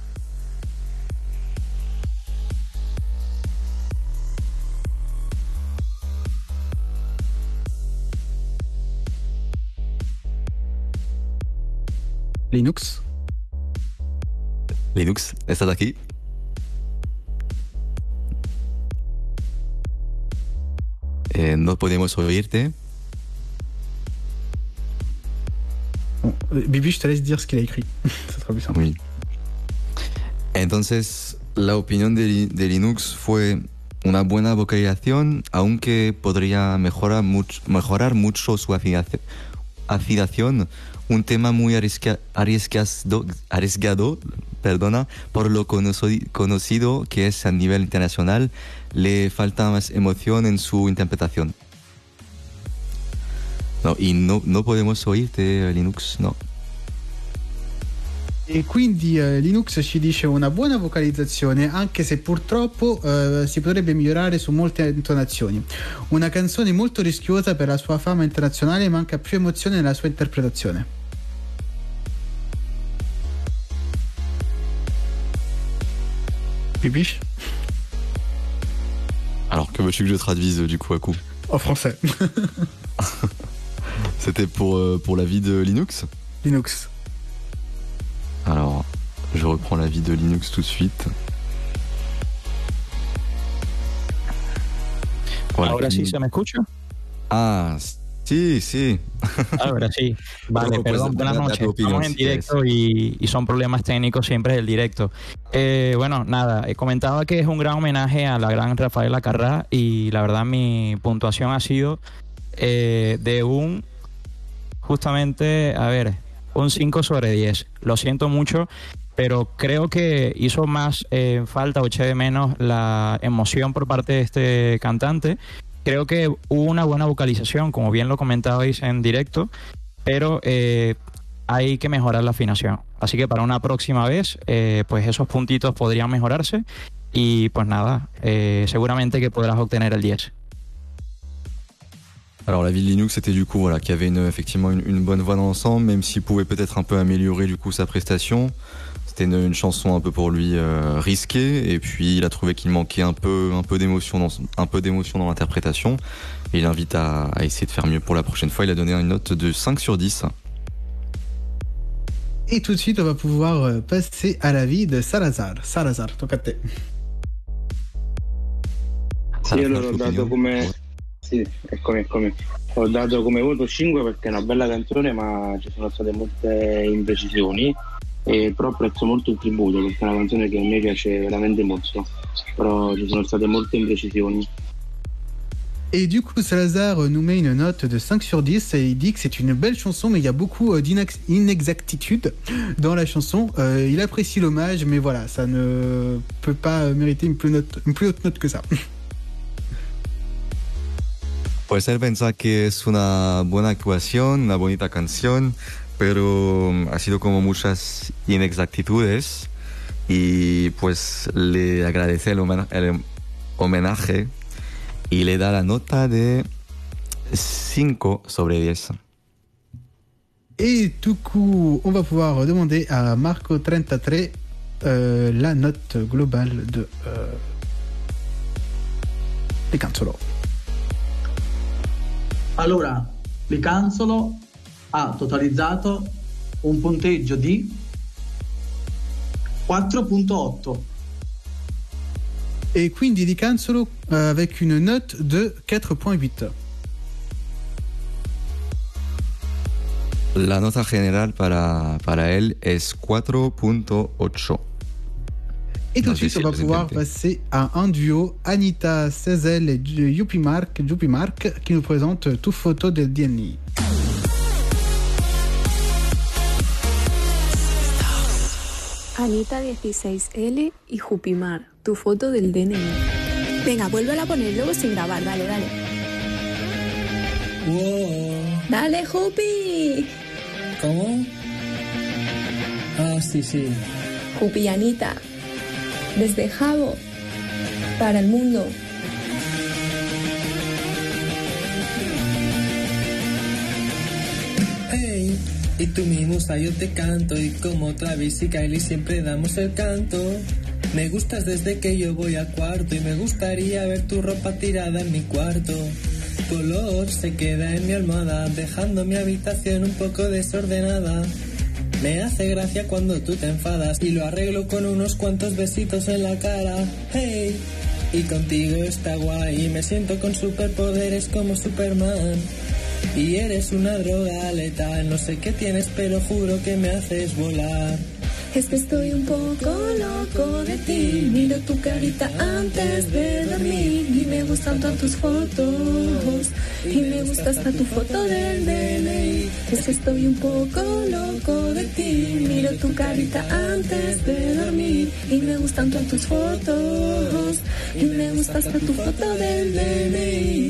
Linux. Linux, ¿estás aquí? No podemos oírte. Bon, Bibi, je te laisse dire ce qu'il a écrit. Ça sera plus simple. Oui. Entonces, la opinión de Linux fue una buena vocalización, aunque podría mejorar mucho su afinación. Un tema muy arriesgado, por lo conocido que es a nivel internacional, le falta más emoción en su interpretación. No, y no podemos oírte, Linux, no. E quindi Linux ci dice una buona vocalizzazione, anche se purtroppo si potrebbe migliorare su molte intonazioni. Una canzone molto rischiosa per la sua fama internazionale, manca più emozione nella sua interpretazione. Pipiche? Alors, que veux-tu que je traduise du coup à coup? En français. C'était pour l'avis de Linux? Linux. Alors, je reprends l'avis de Linux tout de suite. Voilà. Ahora sí se me escucha. Ah, sí, sí. Ahora sí. Vale, Bueno, perdón, pues, buenas noches. Estamos en directo y son problemas técnicos siempre del directo. Bueno, nada, comentaba que es un gran homenaje a la gran Rafaela Carrà y la verdad mi puntuación ha sido de un, justamente, a ver, un 5 sobre 10. Lo siento mucho, pero creo que hizo más falta o eché de menos la emoción por parte de este cantante. Creo que hubo una buena vocalización, como bien lo comentabais en directo, pero hay que mejorar la afinación. Así que para una próxima vez, pues esos puntitos podrían mejorarse y pues nada, seguramente que podrás obtener el 10. Alors l'avis de Linux c'était du coup voilà qu'il y avait effectivement une bonne voix dans l'ensemble, même s'il pouvait peut-être un peu améliorer du coup sa prestation. C'était une chanson un peu pour lui risquée, et puis il a trouvé qu'il manquait un peu d'émotion dans l'interprétation, et il invite à essayer de faire mieux pour la prochaine fois. Il a donné une note de 5 sur 10. Et tout de suite on va pouvoir passer à l'avis de Salazar. Salazar, tocca a te. Sì, allora ho dato come... Sì, eccomi. Ho dato come voto 5 perché è una bella canzone, ma ci sono state molte imprecisioni, e però apprezzo molto il tributo perché è una canzone che a me piace veramente molto, però ci sono state molte imprecisioni. Et du coup, Salazar nous met une note de 5 sur 10 et il dit que c'est une belle chanson, mais il y a beaucoup d'inexactitudes dans la chanson. Il apprécie l'hommage, mais voilà, ça ne peut pas mériter une plus haute note que ça. Pues él piensa que es una buena actuación, una bonita canción, pero ha sido como muchas inexactitudes, y pues le agradece el homenaje y le da la nota de 5 sobre 10. Et du coup, on va pouvoir demander à Marco33 la note globale de Licanzolo. Allora, Licanzolo ha totalizzato un punteggio di 4.8. E quindi Di Canzolo avec une note de 4.8. La nota general para él es 4.8. Et tout de suite, on va pouvoir passer à un duo, Anita Sezel et Yuppie Mark, qui nous présente Tu foto del DNI. Anita 16L y Jupimar, tu foto del DNI. Venga, vuélvela a poner luego sin grabar, dale. Wow. ¡Dale, Jupi! ¿Cómo? Ah, sí. Jupi y Anita, desde Jabo, para el mundo. Hey, y tú mi musa, yo te canto, y como Travis y Kylie siempre damos el canto. Me gustas desde que yo voy a cuarto y me gustaría ver tu ropa tirada en mi cuarto. Tu olor se queda en mi almohada, dejando mi habitación un poco desordenada. Me hace gracia cuando tú te enfadas y lo arreglo con unos cuantos besitos en la cara. Hey, y contigo está guay, me siento con superpoderes como Superman. Y eres una droga letal, no sé qué tienes pero juro que me haces volar. Es que estoy un poco loco de ti, miro tu carita antes de dormir y me gustan tantas tus fotos y me gusta hasta tu foto del DNI. Es que estoy un poco loco de ti, miro tu carita antes de dormir y me gustan tantas tus fotos y me gusta hasta tu foto del DNI.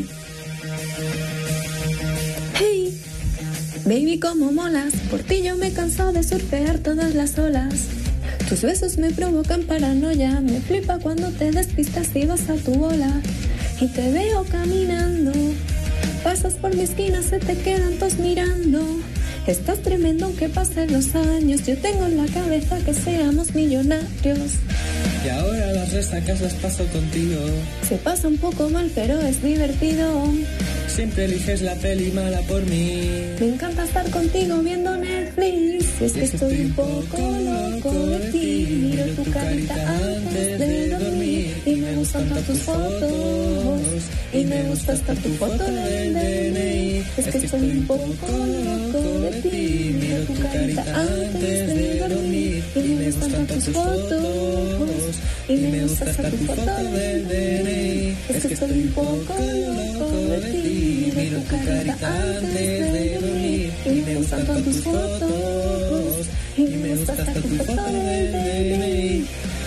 Hey, baby, cómo molas, por ti yo me canso de surfear todas las olas. Tus besos me provocan paranoia, me flipa cuando te despistas y vas a tu bola. Y te veo caminando, pasas por mi esquina, se te quedan todos mirando. Estás tremendo aunque pasen los años, yo tengo en la cabeza que seamos millonarios. Y ahora las resacas las paso contigo. Se pasa un poco mal pero es divertido. Siempre eliges la peli mala por mí. Me encanta estar contigo viendo Netflix. Es que estoy un poco loco de ti. Miro tu carita antes de dormir y me gustan tantas tus fotos y me gusta hasta tu foto del DNI. Es que estoy un poco loco de ti. Miro tu carita antes de dormir y me gustan tantas tus fotos y me gusta hasta tu foto del DNI. Es que estoy un poco loco de ti. Miro tu carita antes de dormir y me gustan tantas tus fotos y me gusta hasta tu foto del DNI.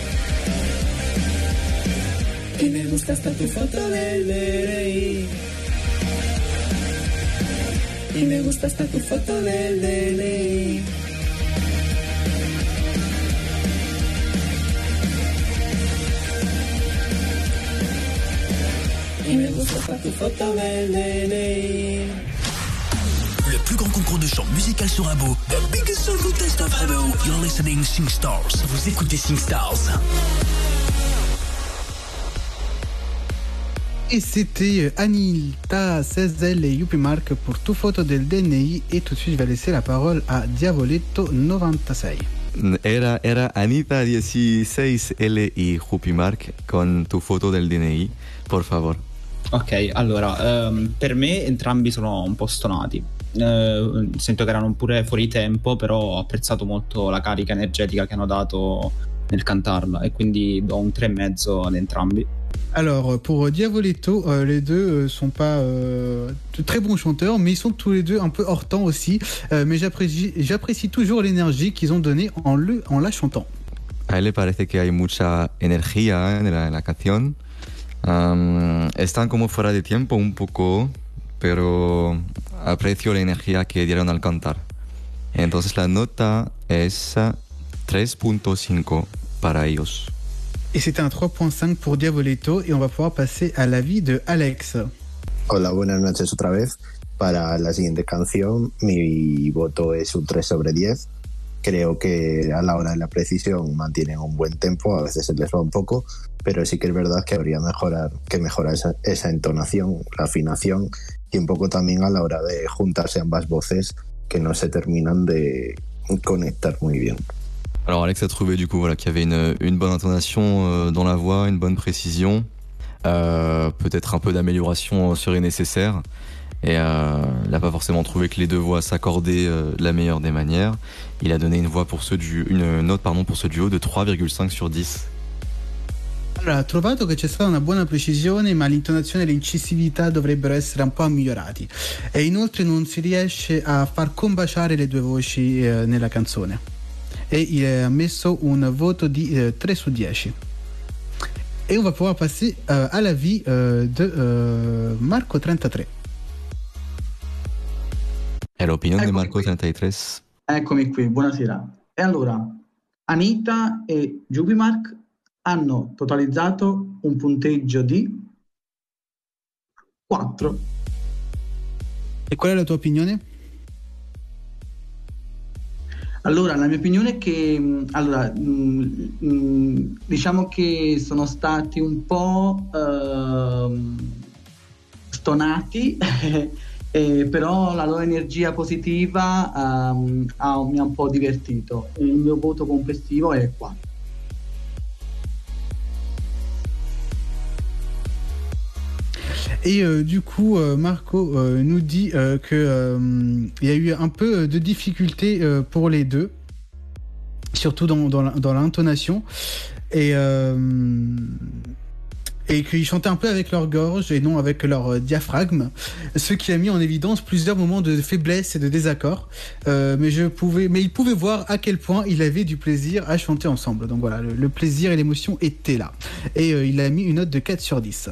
Y me gusta hasta tu foto del DNI. Y me gusta hasta tu foto del DNI. Y me gusta hasta tu foto del DNI. Le plus grand concours de chant musical sur Abo, the biggest song contest of Abo. You're listening SingStars. Vous écoutez SingStars. Et c'était Anita Sezel et Yuppie Mark pour Tu foto del DNI. Et tout de suite, je vais laisser la parole à Diavoletto 96. Era Anita 16L y Yuppie Mark con Tu foto del DNI, por favor. Ok, allora, per me entrambi sono un po' stonati. Sento che erano pure fuori tempo, però ho apprezzato molto la carica energetica che hanno dato nel cantarla e quindi do un 3,5 ad entrambi. Alors, pour Diavoletto, les deux sont pas de très bons chanteurs, mais ils sont tous les deux un peu hors temps aussi. Mais j'apprécie toujours l'énergie qu'ils ont donnée en la chantant. A él le parece que hay mucha energía en la canción. Están como fuera de tiempo un poco, pero aprecio la energía que dieron al cantar. Entonces la nota es 3.5 para ellos. Et c'était un 3.5 pour Diavoletto, et on va pouvoir passer à l'avis de Alex. Hola, buenas noches otra vez. Para la siguiente canción, mi voto es un 3 sobre 10. Creo que a la hora de la precisión mantienen un buen tempo, a veces se les va un poco, pero sí que es verdad que habría que mejorar esa entonación, la afinación y un poco también a la hora de juntarse ambas voces que no se terminan de conectar muy bien. Alors Alex a trouvé du coup voilà qu'il y avait une bonne intonation dans la voix, une bonne précision. Peut-être un peu d'amélioration serait nécessaire. Et il n'a pas forcément trouvé que les deux voix s'accordaient de la meilleure des manières. Il a donné une note pour ce duo de 3,5 sur 10. Allora, ho trovato che c'è stata una buona precisione, ma l'intonazione e l'incisività dovrebbero essere un po' migliorati. E inoltre non si riesce a far combaciare le due voci nella canzone. E ha messo un voto di 3 su 10. Et on va pouvoir passer à l'avis de Marco 33. È l'opinione di Marco 33. Eccomi qui, buonasera. E allora, Anita e Jubimark hanno totalizzato un punteggio di 4. E qual è la tua opinione? Allora, la mia opinione è che diciamo che sono stati un po' stonati però la loro energia positiva mi ha un po' divertito. Il mio voto complessivo è 4. Et du coup, Marco nous dit qu'il y a eu un peu de difficulté pour les deux, surtout dans l'intonation, et qu'ils chantaient un peu avec leur gorge et non avec leur diaphragme, ce qui a mis en évidence plusieurs moments de faiblesse et de désaccord. Mais ils pouvaient voir à quel point il avait du plaisir à chanter ensemble. Donc voilà, le plaisir et l'émotion étaient là. Et il a mis une note de 4 sur 10.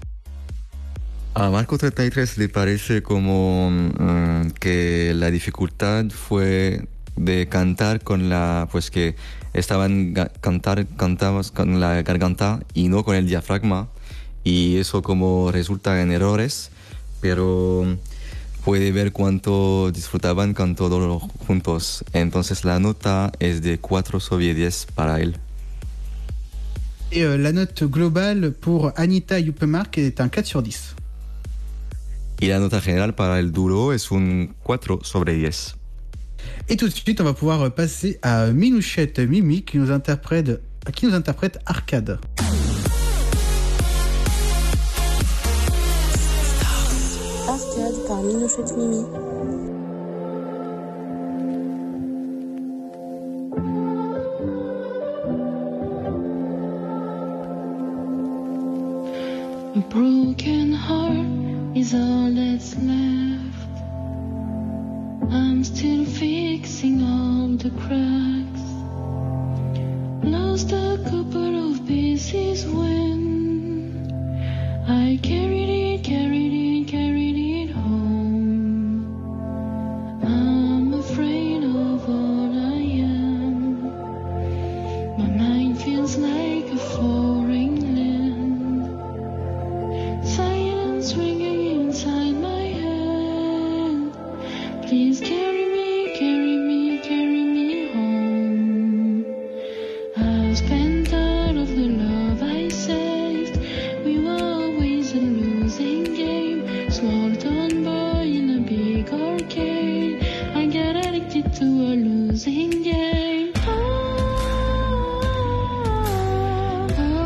A Marco 33 le parece como que la dificultad fue de cantar con pues que cantabas con la garganta y no con el diafragma, y eso como resulta en errores, pero puede ver cuánto disfrutaban con todos juntos. Entonces la nota es de 4 sobre 10 para él. Et la note globale pour Anita et Jubimark est un 4 sur 10. Y la nota general para el dúo es un 4 sobre 10. Et tout de suite, on va pouvoir passer à Minouchette Mimi qui nous interprète Arcade. Arcade par Minouchette Mimi. A broken heart is all that's left. I'm still fixing all the cracks. Lost a couple of pieces when I carried it home. I'm afraid of all I am. My mind feels like a foreign land. Silence ringing inside my head. Please carry me home. I've spent all of the love I saved. We were always a losing game. Small town boy in a big arcade. I got addicted to a losing game. Oh, oh, oh.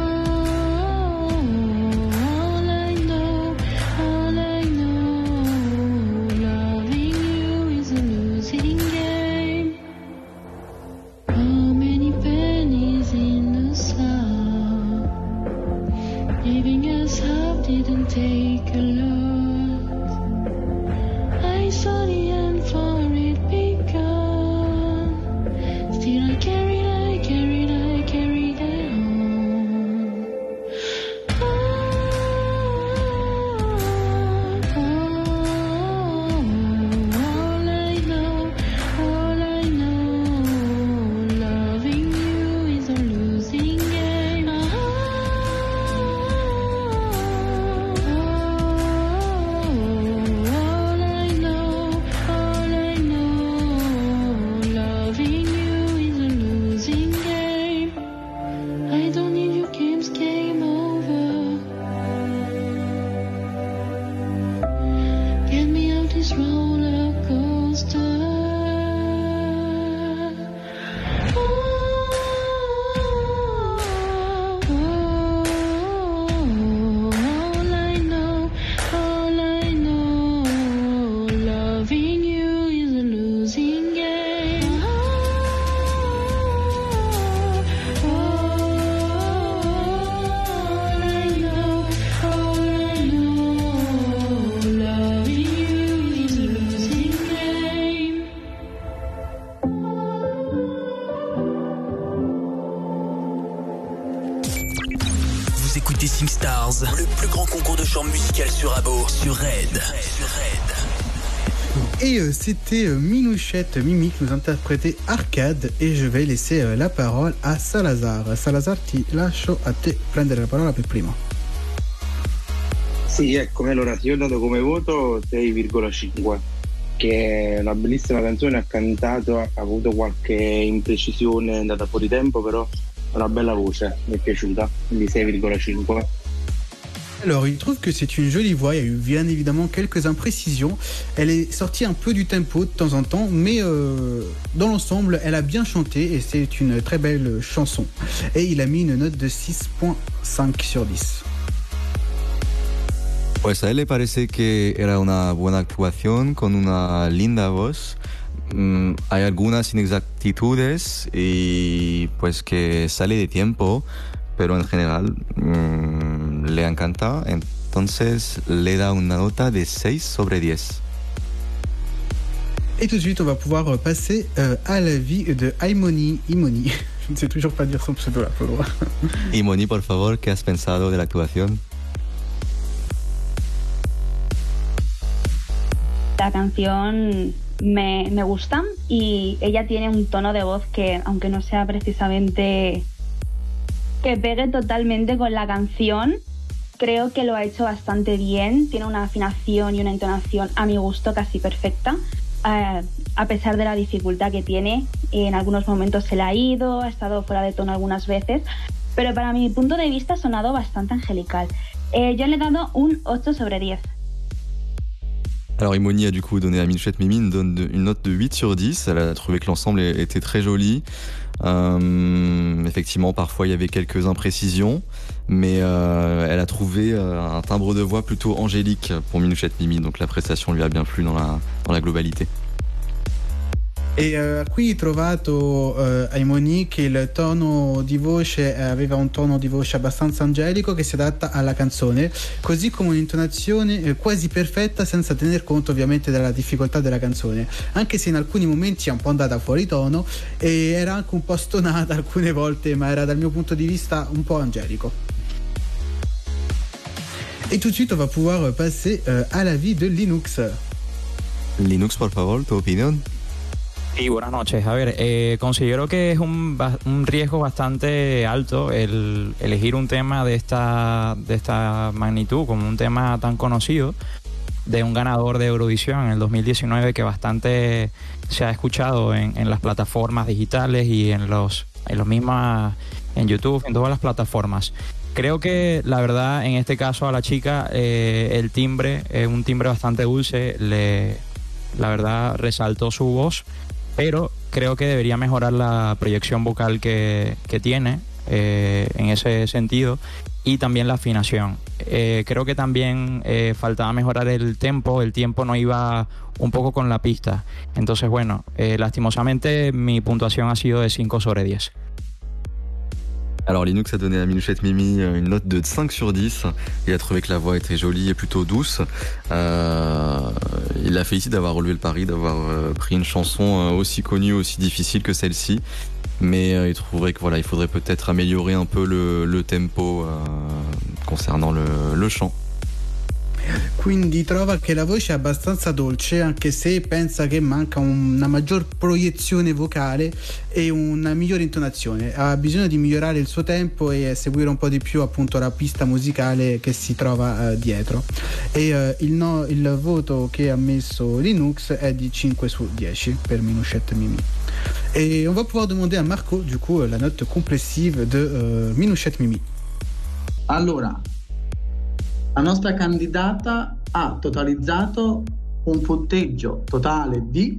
écoutez SingStars, le plus grand concours de chant musical sur Abo, sur Red. Et c'était Minouchette Mimi qui nous interprétait Arcade, e je vais laisser la parole a Salazar. Salazar, ti lascio a te prendere la parola per primo. Sì, ecco, allora io ho dato come voto 6,5, che è una bellissima canzone, ha cantato, ha avuto qualche imprecisione, è andata fuori tempo, però è una bella voce, mi è piaciuta, quindi 6,5. Alors, il trouve que c'est une jolie voix, il y a eu bien évidemment quelques imprécisions. Elle est sortie un peu du tempo de temps en temps, mais dans l'ensemble, elle a bien chanté et c'est une très belle chanson. Et il a mis une note de 6.5 sur 10. Pues a él le parece que era una buena actuación con una linda voz. Hay algunas inexactitudes y pues que sale de tiempo, pero en general le encanta, entonces le da una nota de 6 sobre 10. Et tout de suite, on va pouvoir passer à l'avis de Imoni. Je ne sais toujours pas dire son pseudo là, pour loin. Imoni, por favor, ¿qué has pensado de la actuación? La canción me gusta y ella tiene un tono de voz que, aunque no sea precisamente que pegue totalmente con la canción, creo que lo ha hecho bastante bien. Tiene una afinación y una entonación a mi gusto casi perfecta, a pesar de la dificultad que tiene. En algunos momentos se le ha ido, ha estado fuera de tono algunas veces, pero para mi punto de vista ha sonado bastante angelical. Yo le he dado un 8 sobre 10. Alors Imoni a du coup donné à Minouchette Mimi une note de 8 sur 10. Elle a trouvé que l'ensemble était très joli. Effectivement, parfois il y avait quelques imprécisions, mais elle a trouvé un timbre de voix plutôt angélique pour Minouchette Mimi, donc la prestation lui a bien plu dans la globalité. E qui ho trovato Imoni che il tono di voce aveva un tono di voce abbastanza angelico che si adatta alla canzone, così come un'intonazione quasi perfetta senza tener conto ovviamente della difficoltà della canzone, anche se in alcuni momenti è un po' andata fuori tono e era anche un po' stonata alcune volte, ma era dal mio punto di vista un po' angelico. Et tout de suite on va pouvoir passer à l'avis de Linux. Linux, por favor, tu opinión. Sí, buenas noches. A ver, considero que es un riesgo bastante alto el elegir un tema de esta magnitud como un tema tan conocido de un ganador de Eurovisión en el 2019 que bastante se ha escuchado en las plataformas digitales y en los mismas, en YouTube, en todas las plataformas. Creo que la verdad en este caso a la chica el timbre es un timbre bastante dulce, la verdad resaltó su voz, pero creo que debería mejorar la proyección vocal que tiene en ese sentido y también la afinación. Creo que también faltaba mejorar el tiempo no iba un poco con la pista. Entonces bueno, lastimosamente mi puntuación ha sido de 5 sobre 10. Alors Linux a donné à Minouchette Mimi une note de 5 sur 10. Il a trouvé que la voix était jolie et plutôt douce. Il la félicite d'avoir relevé le pari, d'avoir pris une chanson aussi connue, aussi difficile que celle-ci. Mais il trouverait que voilà, il faudrait peut-être améliorer un peu le tempo concernant le chant. Quindi trova che la voce è abbastanza dolce, anche se pensa che manca una maggior proiezione vocale e una migliore intonazione. Ha bisogno di migliorare il suo tempo e seguire un po' di più appunto la pista musicale che si trova dietro. E il voto che ha messo Linux è di 5 su 10 per Minouchette Mimi. Et on va pouvoir demander à Marco du coup la note complessive de Minouchette Mimi. Allora, la nostra candidata ha totalizzato un punteggio totale di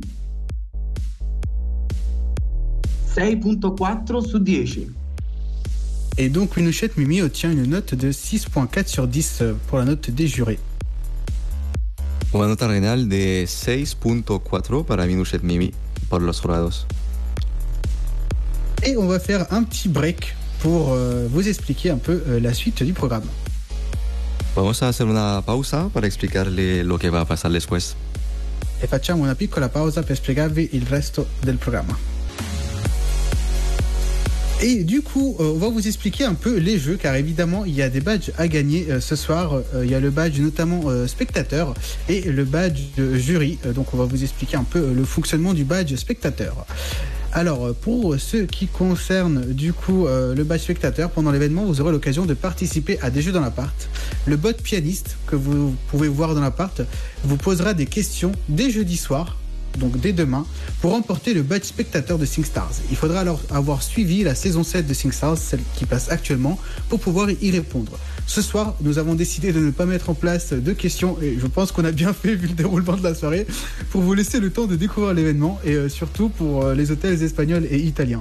6.4 su 10. Et donc Minouchette Mimi obtient une note de 6.4 sur 10 pour la note des jurés. Una nota renal de 6.4 para Minouchette Mimi por los jurados. Et on va faire un petit break pour vous expliquer un peu la suite du programme. Vamos a hacer una pausa para explicarle lo que va a pasar después. E facciamo una piccola pausa per spiegarvi il resto del programma. Et du coup, on va vous expliquer un peu les jeux, car évidemment, il y a des badges à gagner ce soir. Il y a le badge notamment spectateur et le badge jury. Donc, on va vous expliquer un peu le fonctionnement du badge spectateur. Alors, pour ce qui concerne du coup le badge spectateur, pendant l'événement, vous aurez l'occasion de participer à des jeux dans l'appart. Le bot pianiste que vous pouvez voir dans l'appart vous posera des questions dès jeudi soir, donc dès demain, pour remporter le badge spectateur de SingStars. Il faudra alors avoir suivi la saison 7 de SingStars, celle qui passe actuellement, pour pouvoir y répondre. Ce soir, nous avons décidé de ne pas mettre en place de questions, et je pense qu'on a bien fait vu le déroulement de la soirée, pour vous laisser le temps de découvrir l'événement, et surtout pour les hôtels espagnols et italiens.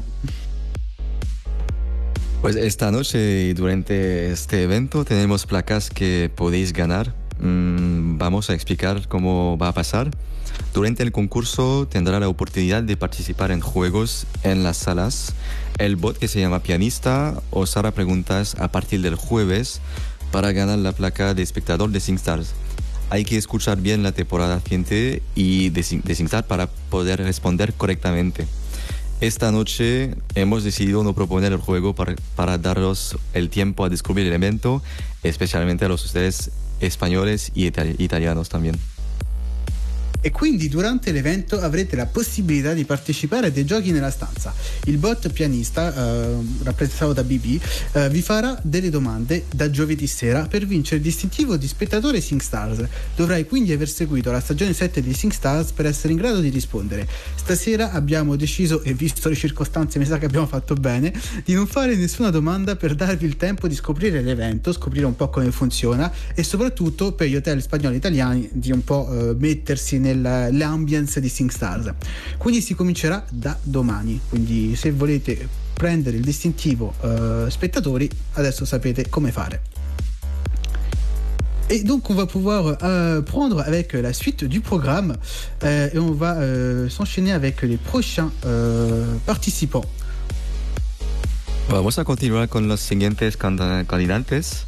Pues esta noche y durante este evento tenemos placas que podéis ganar. Vamos a explicar cómo va a pasar. Durante el concurso tendrá la oportunidad de participar en juegos en las salas. El bot que se llama Pianista os hará preguntas a partir del jueves para ganar la placa de espectador de SingStars. Hay que escuchar bien la temporada siguiente y de SingStars para poder responder correctamente. Esta noche hemos decidido no proponer el juego para daros el tiempo a descubrir el evento, especialmente a los ustedes spagnoles e italianos también. E quindi durante l'evento avrete la possibilità di partecipare a dei giochi nella stanza. Il bot pianista, rappresentato da BB, vi farà delle domande da giovedì sera per vincere il distintivo di spettatore SingStars. Dovrai quindi aver seguito la stagione 7 di SingStars per essere in grado di rispondere. Stasera abbiamo deciso, e visto le circostanze mi sa che abbiamo fatto bene, di non fare nessuna domanda per darvi il tempo di scoprire l'evento, scoprire un po' come funziona e soprattutto per gli hotel spagnoli e italiani di un po' mettersi nell'ambience di SingStars. Quindi si comincerà da domani, quindi se volete prendere il distintivo spettatori adesso sapete come fare. Et donc on va pouvoir prendre avec la suite du programme et on va s'enchaîner avec les prochains participants. Vamos a continuar con los siguientes candidates.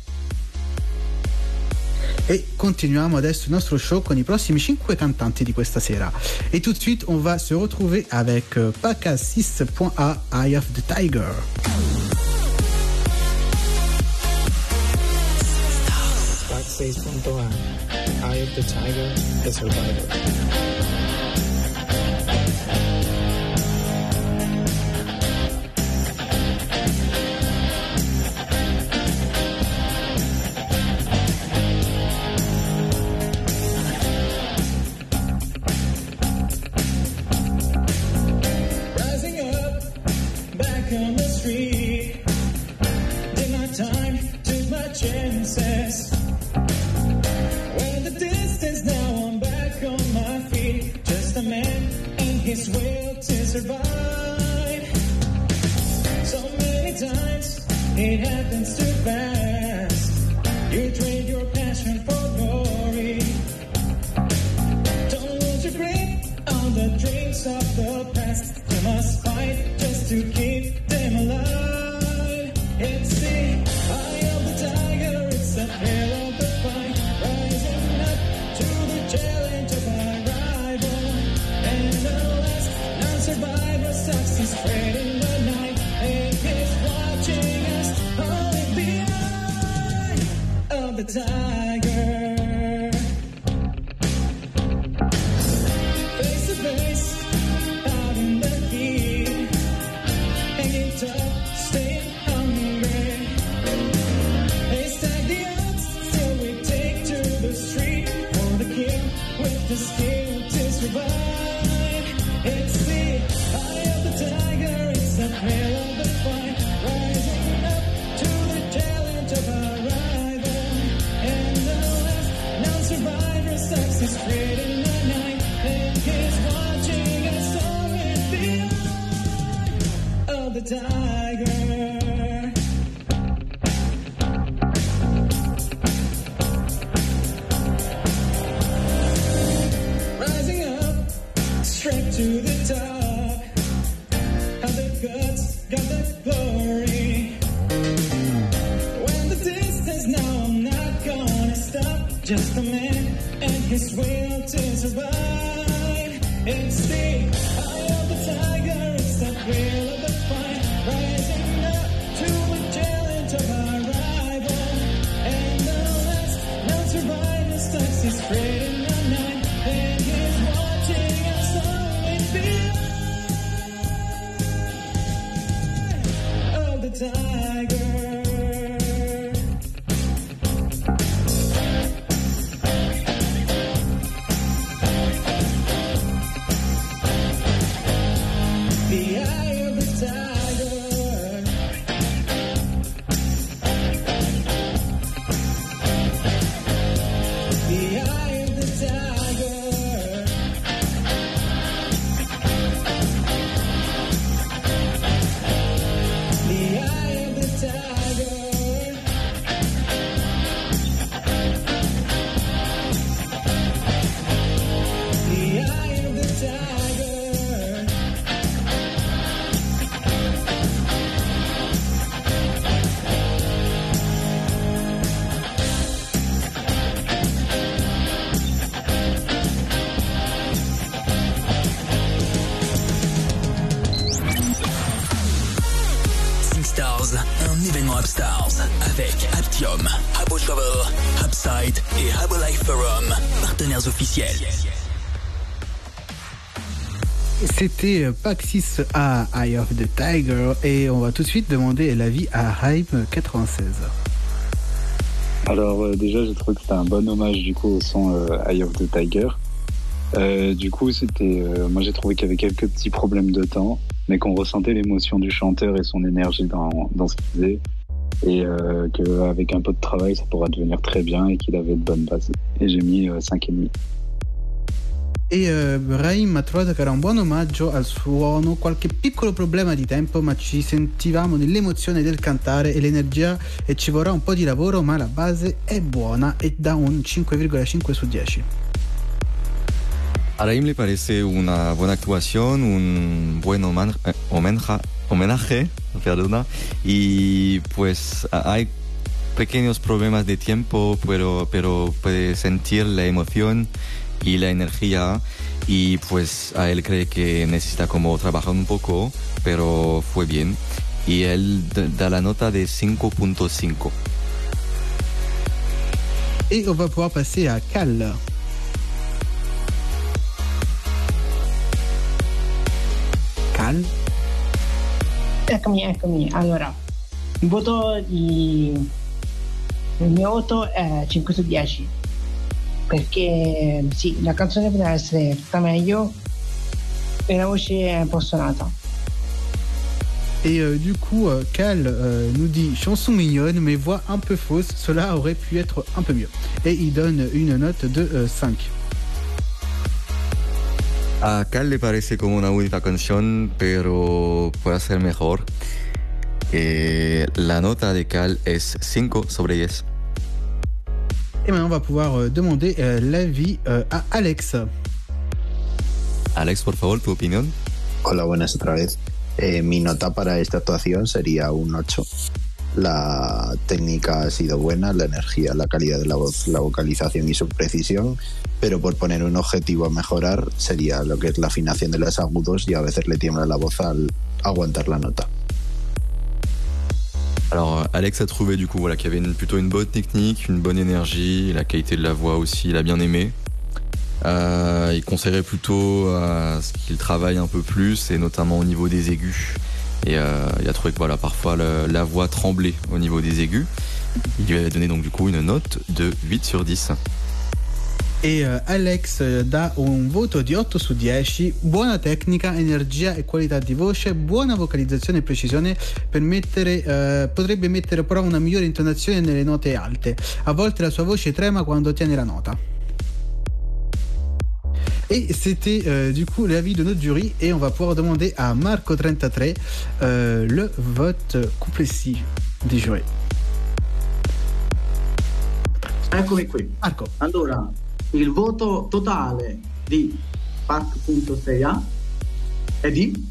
Et continuiamo adesso il nostro show con i prossimi 5 cantanti di questa sera. Et tout de suite, on va se retrouver avec PACA 6.A, Eye of the Tiger. PACA 6.A, Eye of the Tiger, The Survivor. On the street, did my time, took my chances. Well, the distance, now I'm back on my feet. Just a man and his will to survive. So many times it happens too fast. You trade your passion for glory. Don't lose your grip on the dreams of the past. You must fight just to keep them alive. It's the eye of the tiger, it's the hell of the fight. Rising up to the challenge of our rival. And the last non-survivor sucks his thread in the night. And he's watching us all in the eye of the tiger. Face to face, out in the heat, hanging tough, staying hungry. They stack the odds, still we take to the street for the king with the skill to survive. It's the eye of the tiger, it's the thrill of the fight, rising up to the challenge of our rival. And the last non-survivor sucks his thread in the night, and he's watching us all in the eye of the tiger. Rising up, straight to the top. Have the guts, got the glory. When the distance, now I'm not gonna stop. Just a man and his will to survive. It's the eye of the tiger, it's the thrill of the fight. Rising tiger. The eye of the tiger. The eye of the tiger. The eye of the tiger. The eye of the tiger. SingStars, un événement Upstars avec Aptium, Habo Travel, Upside et Habo Life Forum, partenaires officiels. C'était Paxis à Eye of the Tiger et on va tout de suite demander l'avis à Hype96. Alors déjà, j'ai trouvé que c'était un bon hommage du coup au son Eye of the Tiger. Du coup, moi j'ai trouvé qu'il y avait quelques petits problèmes de temps, mais qu'on ressentait l'émotion du chanteur et son énergie dans ce qu'il faisait, et qu'avec un peu de travail, ça pourra devenir très bien et qu'il avait de bonnes bases. Et j'ai mis 5,5. E Brahim ha trovato che era un buon omaggio al suono, qualche piccolo problema di tempo, ma ci sentivamo nell'emozione del cantare e l'energia, e ci vorrà un po' di lavoro, ma la base è buona, e da un 5,5 su 10. A Raim le parece una buena actuación, un buen homenaje, perdona, y pues hay pequeños problemas de tiempo, pero puede sentir la emoción y la energía, y pues a él cree que necesita como trabajar un poco, pero fue bien, y él da la nota de 5.5. Et on va pouvoir passer à Cal. Cal? Eccomi. Allora, il mio voto è 5 su 10. Perché sì, la canzone poteva essere tutta meglio e la voce è un po' suonata. Et du coup, Cal nous dit chanson mignonne mais voix un peu fausse, cela aurait pu être un peu mieux. Et il donne une note de 5. A Cal le parece como una bonita canción, pero puede ser mejor. La nota de Cal es 5 sobre 10. Et maintenant, on va pouvoir demander l'avis à Alex. Alex, por favor, tu opinión. Hola, buenas otra vez. Mi nota para esta actuación sería un 8. La técnica ha sido buena, la energía, la calidad de la voz, la vocalización y su precisión, pero por poner un objetivo a mejorar sería lo que es la afinación de los agudos, y a veces le tiembla la voz al aguantar la nota. Alors Alex a trouvé du coup qu'il y avait plutôt une bonne technique, une bonne énergie, la qualité de la voix aussi, il a bien aimé. Il conseillerait plutôt à ce qu'il travaille un peu plus, et notamment au niveau des aigus. Et il a trouvé que parfois la voix tremblait au niveau des aigus. Il lui avait donné donc du coup une note de 8 sur 10. E Alex dà un voto di 8 su 10, buona tecnica, energia e qualità di voce, buona vocalizzazione e precisione, potrebbe mettere però una migliore intonazione nelle note alte, a volte la sua voce trema quando tiene la nota. Et c'était du coup l'avis de notre jury, et on va pouvoir demander à Marco33 le vote complessivo di jury. Eccomi qui. Marco. Allora, il voto totale di Pac.6a è di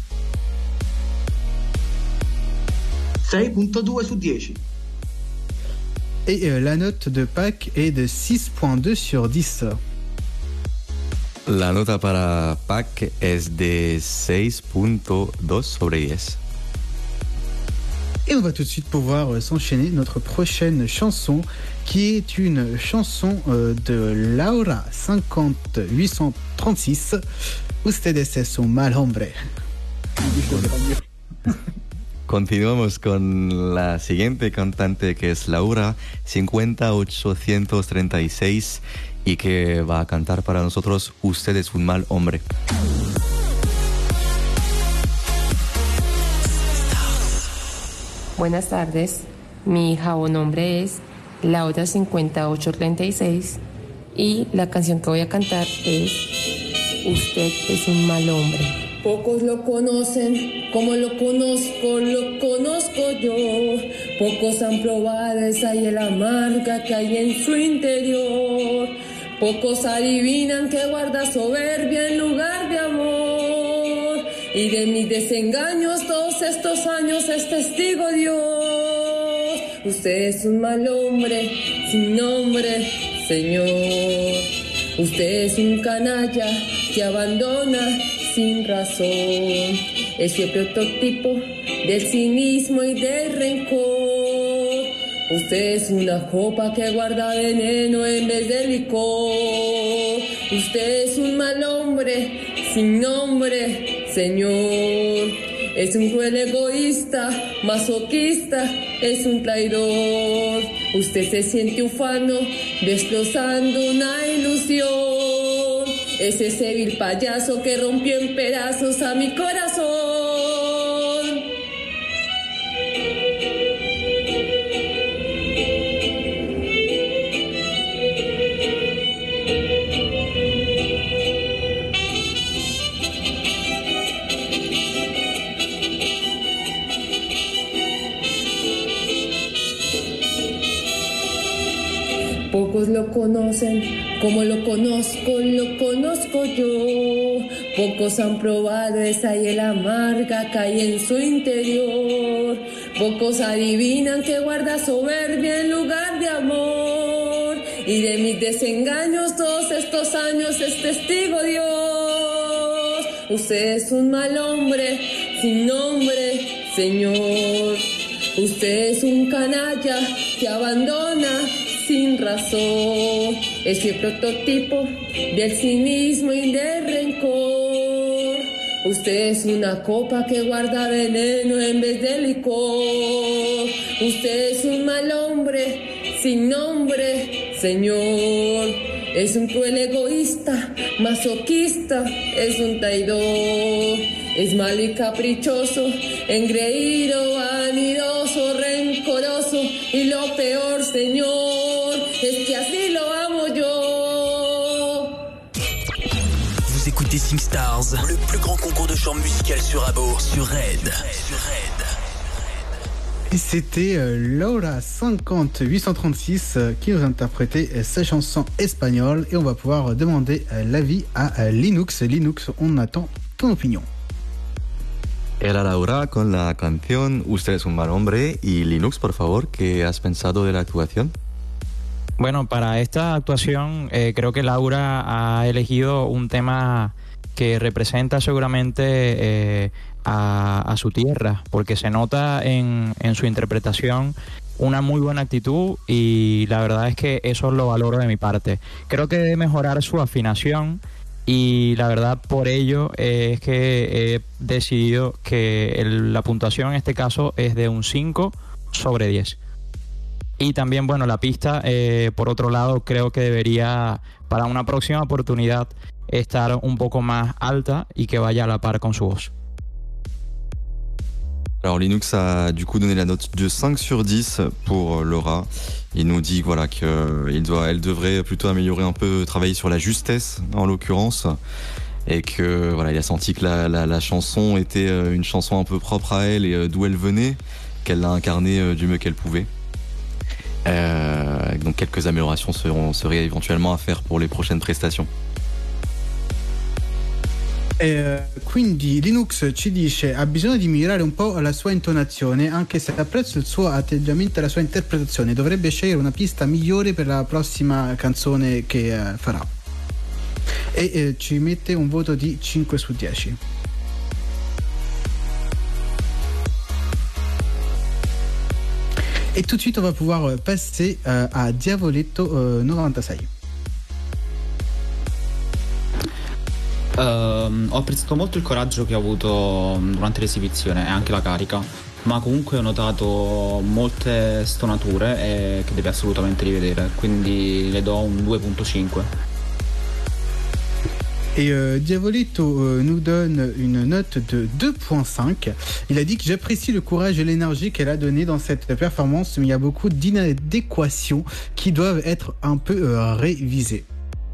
6.2 su 10. Et la note de Pac est de 6.2 sur 10. La nota para Pac es de 6.2 sobre 10. Et on va tout de suite pouvoir s'enchaîner notre prochaine chanson, qui est une chanson de Laura 50836. Ustedes es un mal hombre. Continuamos con la siguiente cantante, que es Laura, 50836, y que va a cantar para nosotros Usted es un mal hombre. Buenas tardes, mi hija o nombre es Laura 5836 y la canción que voy a cantar es Usted es un mal hombre. Pocos lo conocen como lo conozco yo. Pocos han probado esa hiel amarga que hay en su interior. Pocos adivinan que guarda soberbia en lugar de amor. Y de mis desengaños todos estos años es testigo Dios. Usted es un mal hombre sin nombre, Señor. Usted es un canalla que abandona sin razón. Es el prototipo del cinismo y del rencor. Usted es una copa que guarda veneno en vez de licor. Usted es un mal hombre sin nombre, Señor. Es un cruel egoísta, masoquista, es un traidor. Usted se siente ufano, destrozando una ilusión. Es ese vil payaso que rompió en pedazos a mi corazón. Pocos lo conocen como lo conozco yo. Pocos han probado esa hiel amarga que hay en su interior. Pocos adivinan que guarda soberbia en lugar de amor. Y de mis desengaños todos estos años es testigo Dios. Usted es un mal hombre sin nombre, Señor. Usted es un canalla que abandona sin razón. Es el prototipo del cinismo y del rencor. Usted es una copa que guarda veneno en vez de licor. Usted es un mal hombre sin nombre, Señor. Es un cruel egoísta, masoquista, es un traidor. Es malo y caprichoso, engreído, vanidoso, rencoroso. Y lo peor, Señor, es que así lo amo yo. Vous écoutez SingStars, le plus grand concours de chant musical sur Abo, sur Red. Et c'était Laura 50836 qui nous interprétait sa chanson espagnole. Et on va pouvoir demander l'avis à Linux. Linux, on attend ton opinion. Era Laura con la canción Usted es un mal hombre. Y Linux, por favor, ¿qué has pensado de la actuación? Bueno, para esta actuación creo que Laura ha elegido un tema que representa seguramente a su tierra, porque se nota en su interpretación una muy buena actitud y la verdad es que eso lo valoro de mi parte. Creo que debe mejorar su afinación y la verdad por ello es que he decidido que la puntuación en este caso es de un 5/10. Y también, bueno, la pista, por otro lado, creo que debería, para una próxima oportunidad, estar un poco más alta y que vaya a la par con su voz. Alors Linux a du coup donné la note de 5/10 pour Laura. Il nous dit voilà qu'elle devrait plutôt améliorer un peu, travailler sur la justesse en l'occurrence, et que voilà, il a senti que la chanson était une chanson un peu propre à elle et d'où elle venait, qu'elle l'a incarnée du mieux qu'elle pouvait. Donc quelques améliorations seraient éventuellement à faire pour les prochaines prestations. Quindi Linux ci dice ha bisogno di migliorare un po' la sua intonazione, anche se apprezzo il suo atteggiamento e la sua interpretazione, dovrebbe scegliere una pista migliore per la prossima canzone che farà, e ci mette un voto di 5/10. Et tout de suite on va pouvoir passer à Diavoletto 96. Ho apprezzato molto il coraggio che ha avuto durante l'esibizione e anche la carica. ma comunque ho notato molte stonature e che deve assolutamente rivedere, quindi le do un 2.5. Et Diavolito nous donne une note de 2.5. Il a dit que j'apprécie le courage et l'énergie qu'elle a donné dans cette performance, mais il y a beaucoup d'inadéquations qui doivent être un peu révisées.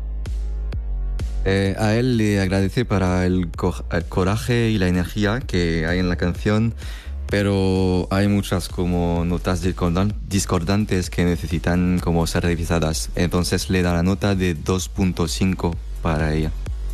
A él le agradece para el coraje y la energía que hay en la canción, pero hay muchas como notas discordantes que necesitan como ser revisadas. Entonces le da la nota de 2.5 para ella.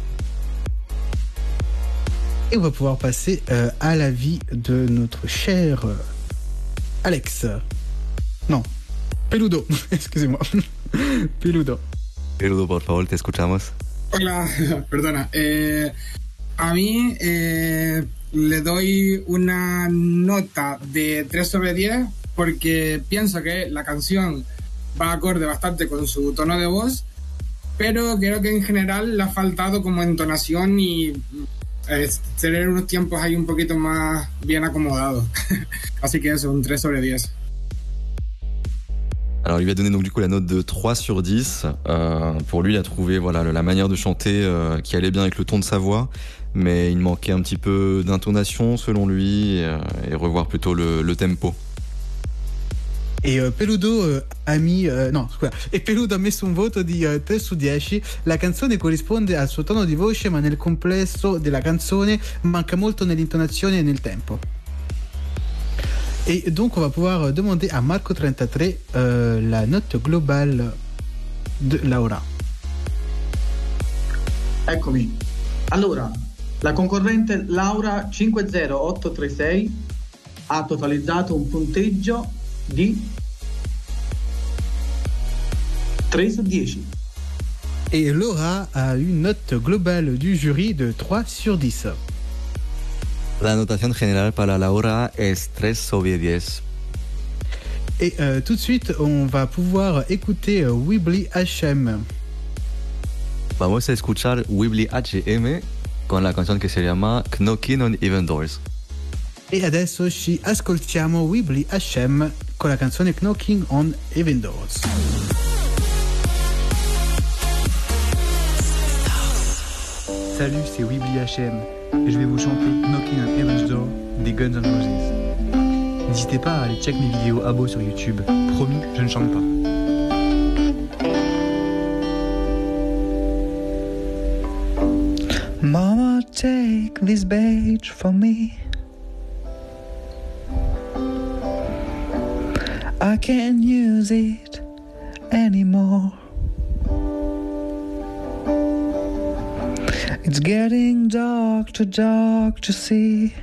Et on va pouvoir passer à l'avis de notre cher Alex. Non, Peludo, excusez-moi. Peludo. Peludo, por favor, te escuchamos. Hola, perdona. A mí le doy una nota de 3 sobre 10 porque pienso que la canción va acorde bastante con su tono de voz, pero creo que en general le ha faltado como entonación y tener unos tiempos ahí un poquito más bien acomodados. Así que eso, un 3 sobre 10. Alors il lui a donné donc du coup la note de 3 sur 10. Pour lui, il a trouvé voilà, la manière de chanter qui allait bien avec le ton de sa voix, mais il manquait un petit peu d'intonation selon lui et revoir plutôt le tempo. E Peludo ha mis no scusa, e Peludo ha messo un voto di 3 su 10. La canzone corrisponde al suo tono di voce, ma nel complesso della canzone manca molto nell'intonazione e nel tempo. Et donc on va pouvoir demander à Marco33 la note globale de Laura. Eccomi. Allora, la concorrente Laura 50836 ha totalizzato un punteggio di 3 su 10. Et Laura a une note globale du jury de 3 sur 10. La notación general para Laura es 3 sobre 10. Et tout de suite, on va pouvoir écouter Weebly HM. Vamos a escuchar Weebly HM con la canción que se llama Knocking on Even Doors. E adesso ci ascoltiamo Weebly HM con la canzone Knocking on Even Doors. Salut, c'est Weebly HM et je vais vous chanter Knocking on Heaven's Door des Guns N' Roses. N'hésitez pas à aller check mes vidéos abo sur YouTube. Promis, je ne chante pas. Mama, take this badge from me. I can't use it anymore. It's getting dark to see.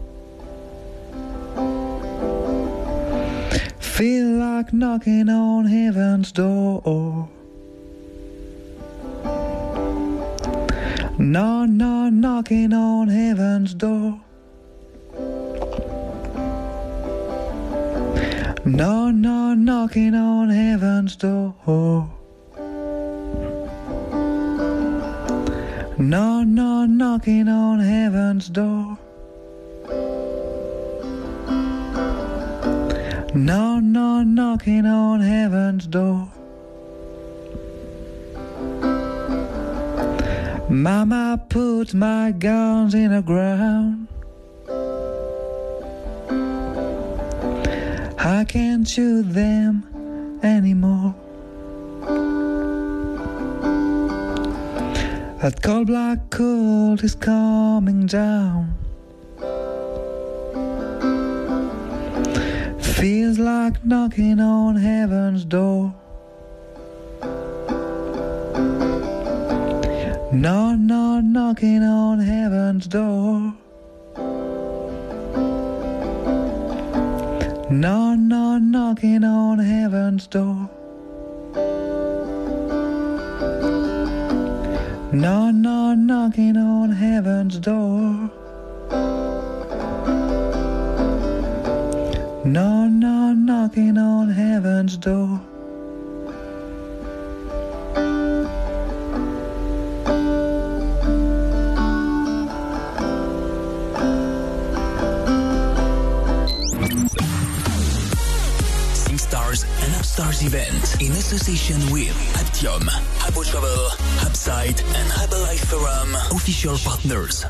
Feel like knocking on heaven's door. No, no, knocking on heaven's door. No, no, knocking on heaven's door. No, no, knocking on heaven's door. No, no, knocking on heaven's door. Mama put my guns in the ground. I can't shoot them anymore. That cold black cold is coming down. Feels like knocking on heaven's door. No, no, knocking on heaven's door. No, no, knocking on heaven's door. No, no, knocking on heaven's door. No, no, knocking on heaven's door. SingStars and Upstars event in association with Aptium, Abo Travel, Upside and Herbalife Forum, official partners.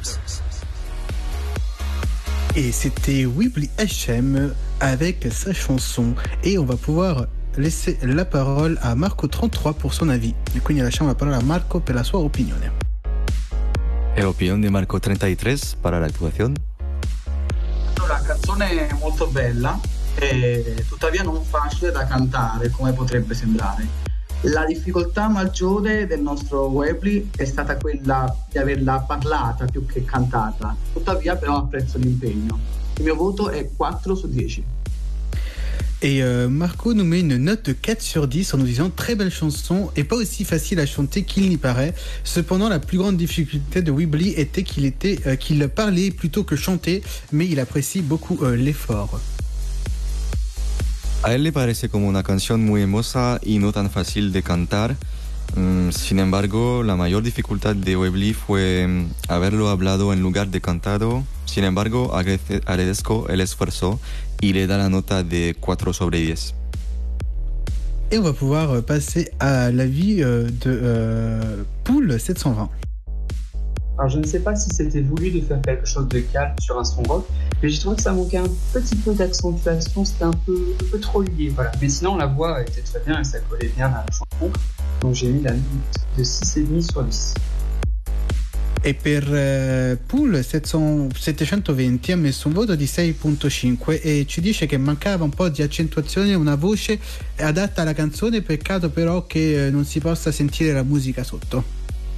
Et c'était Weebly HM avec sa chanson. Et on va pouvoir laisser la parole a Marco33 per son avis. E quindi lasciamo la parola a Marco per la sua opinione. E opinione di Marco33 para la actuación. La canzone è molto bella e tuttavia non facile da cantare come potrebbe sembrare. La difficoltà maggiore del nostro Weebly è stata quella di averla parlata più che cantata, tuttavia però apprezzo l'impegno. Il mio voto è 4 su 10. Et Marco nous met une note de 4 sur 10 en nous disant très belle chanson et pas aussi facile à chanter qu'il n'y paraît. Cependant, la plus grande difficulté de Weebly était qu'il parlait plutôt que chantait, mais il apprécie beaucoup l'effort. A él le parece como una canción muy hermosa y no tan fácil de cantar. Sin embargo, la mayor dificultad de Weebly fue haberlo hablado en lugar de cantado. Sin embargo, agradezco el esfuerzo y le da la nota de 4 sobre 10. Et on va pouvoir passer à l'avis de Pool 720. Alors je ne sais pas si c'était voulu de faire quelque chose de calme sur un son rock, mais j'ai trouvé que ça manquait un petit peu d'accentuation, c'était un peu trop lié, voilà. Mais sinon la voix était très bien et ça collait bien à la chanson, donc j'ai mis la note de 6,5 sur 10. E per Pool 720 ha messo un voto di 6.5 e ci dice che mancava un po' di accentuazione, una voce adatta alla canzone, peccato però che non si possa sentire la musica sotto.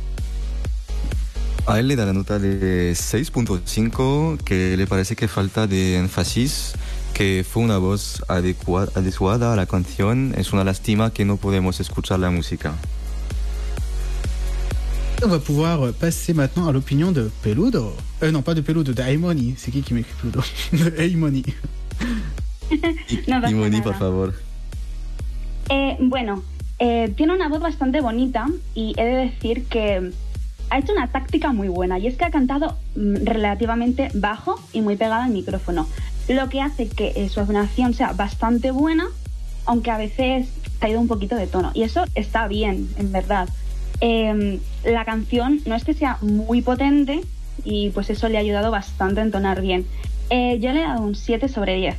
A él le da la nota de 6.5, que le parece que falta de énfasis, que fue una voz adecuada a la canción. Es una lástima que no podemos escuchar la música. On va pouvoir passer maintenant à l'opinion de Peludo. Non, pas de Peludo, de Aimoni. C'est qui m'écrit Peludo? De Aimoni. No pasa Aimoni, nada. por favor. Bueno, tiene una voz bastante bonita y he de decir que ha hecho una táctica muy buena y es que ha cantado relativamente bajo y muy pegada al micrófono, lo que hace que su afinación sea bastante buena, aunque a veces ha ido un poquito de tono, y eso está bien, en verdad. La canción no es que sea muy potente y pues eso le ha ayudado bastante a entonar bien. Yo le he dado un 7 sobre 10.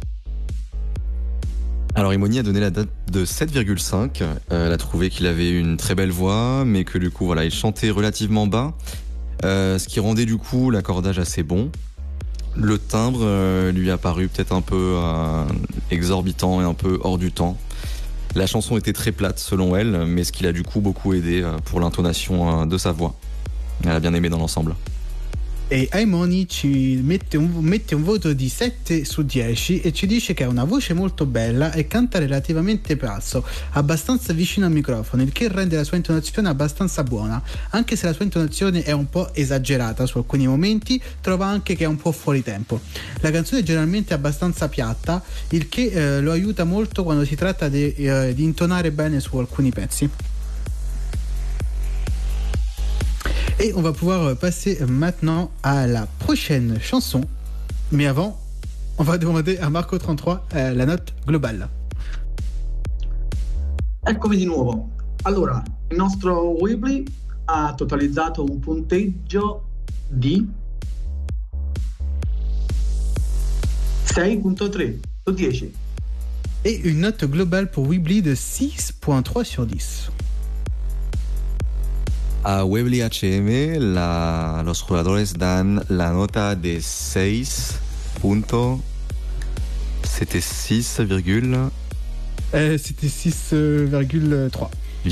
Alors Imoni a donné la note de 7,5. Elle a trouvé qu'il avait une très belle voix, mais que du coup voilà, il chantait relativement bas, ce qui rendait du coup l'accordage assez bon. Le timbre lui a paru peut-être un peu exorbitant et un peu hors du temps. La chanson était très plate selon elle, mais ce qui l'a du coup beaucoup aidé pour l'intonation de sa voix. Elle a bien aimé dans l'ensemble. E Aimoni ci mette un voto di 7 su 10 e ci dice che ha una voce molto bella e canta relativamente basso, abbastanza vicino al microfono, il che rende la sua intonazione abbastanza buona. Anche se la sua intonazione è un po' esagerata su alcuni momenti, trova anche che è un po' fuori tempo. La canzone è generalmente abbastanza piatta, il che lo aiuta molto quando si tratta di intonare bene su alcuni pezzi. Et on va pouvoir passer maintenant à la prochaine chanson. Mais avant, on va demander a Marco33 la note globale. Eccomi di nuovo. Allora, il nostro Weebly ha totalizzato un punteggio di 6.3 su 10. Et une note globale pour Weebly de 6.3 sur 10. A Weebly HM los jugadores dan la nota de 6. C'était 6, c'était 6,3.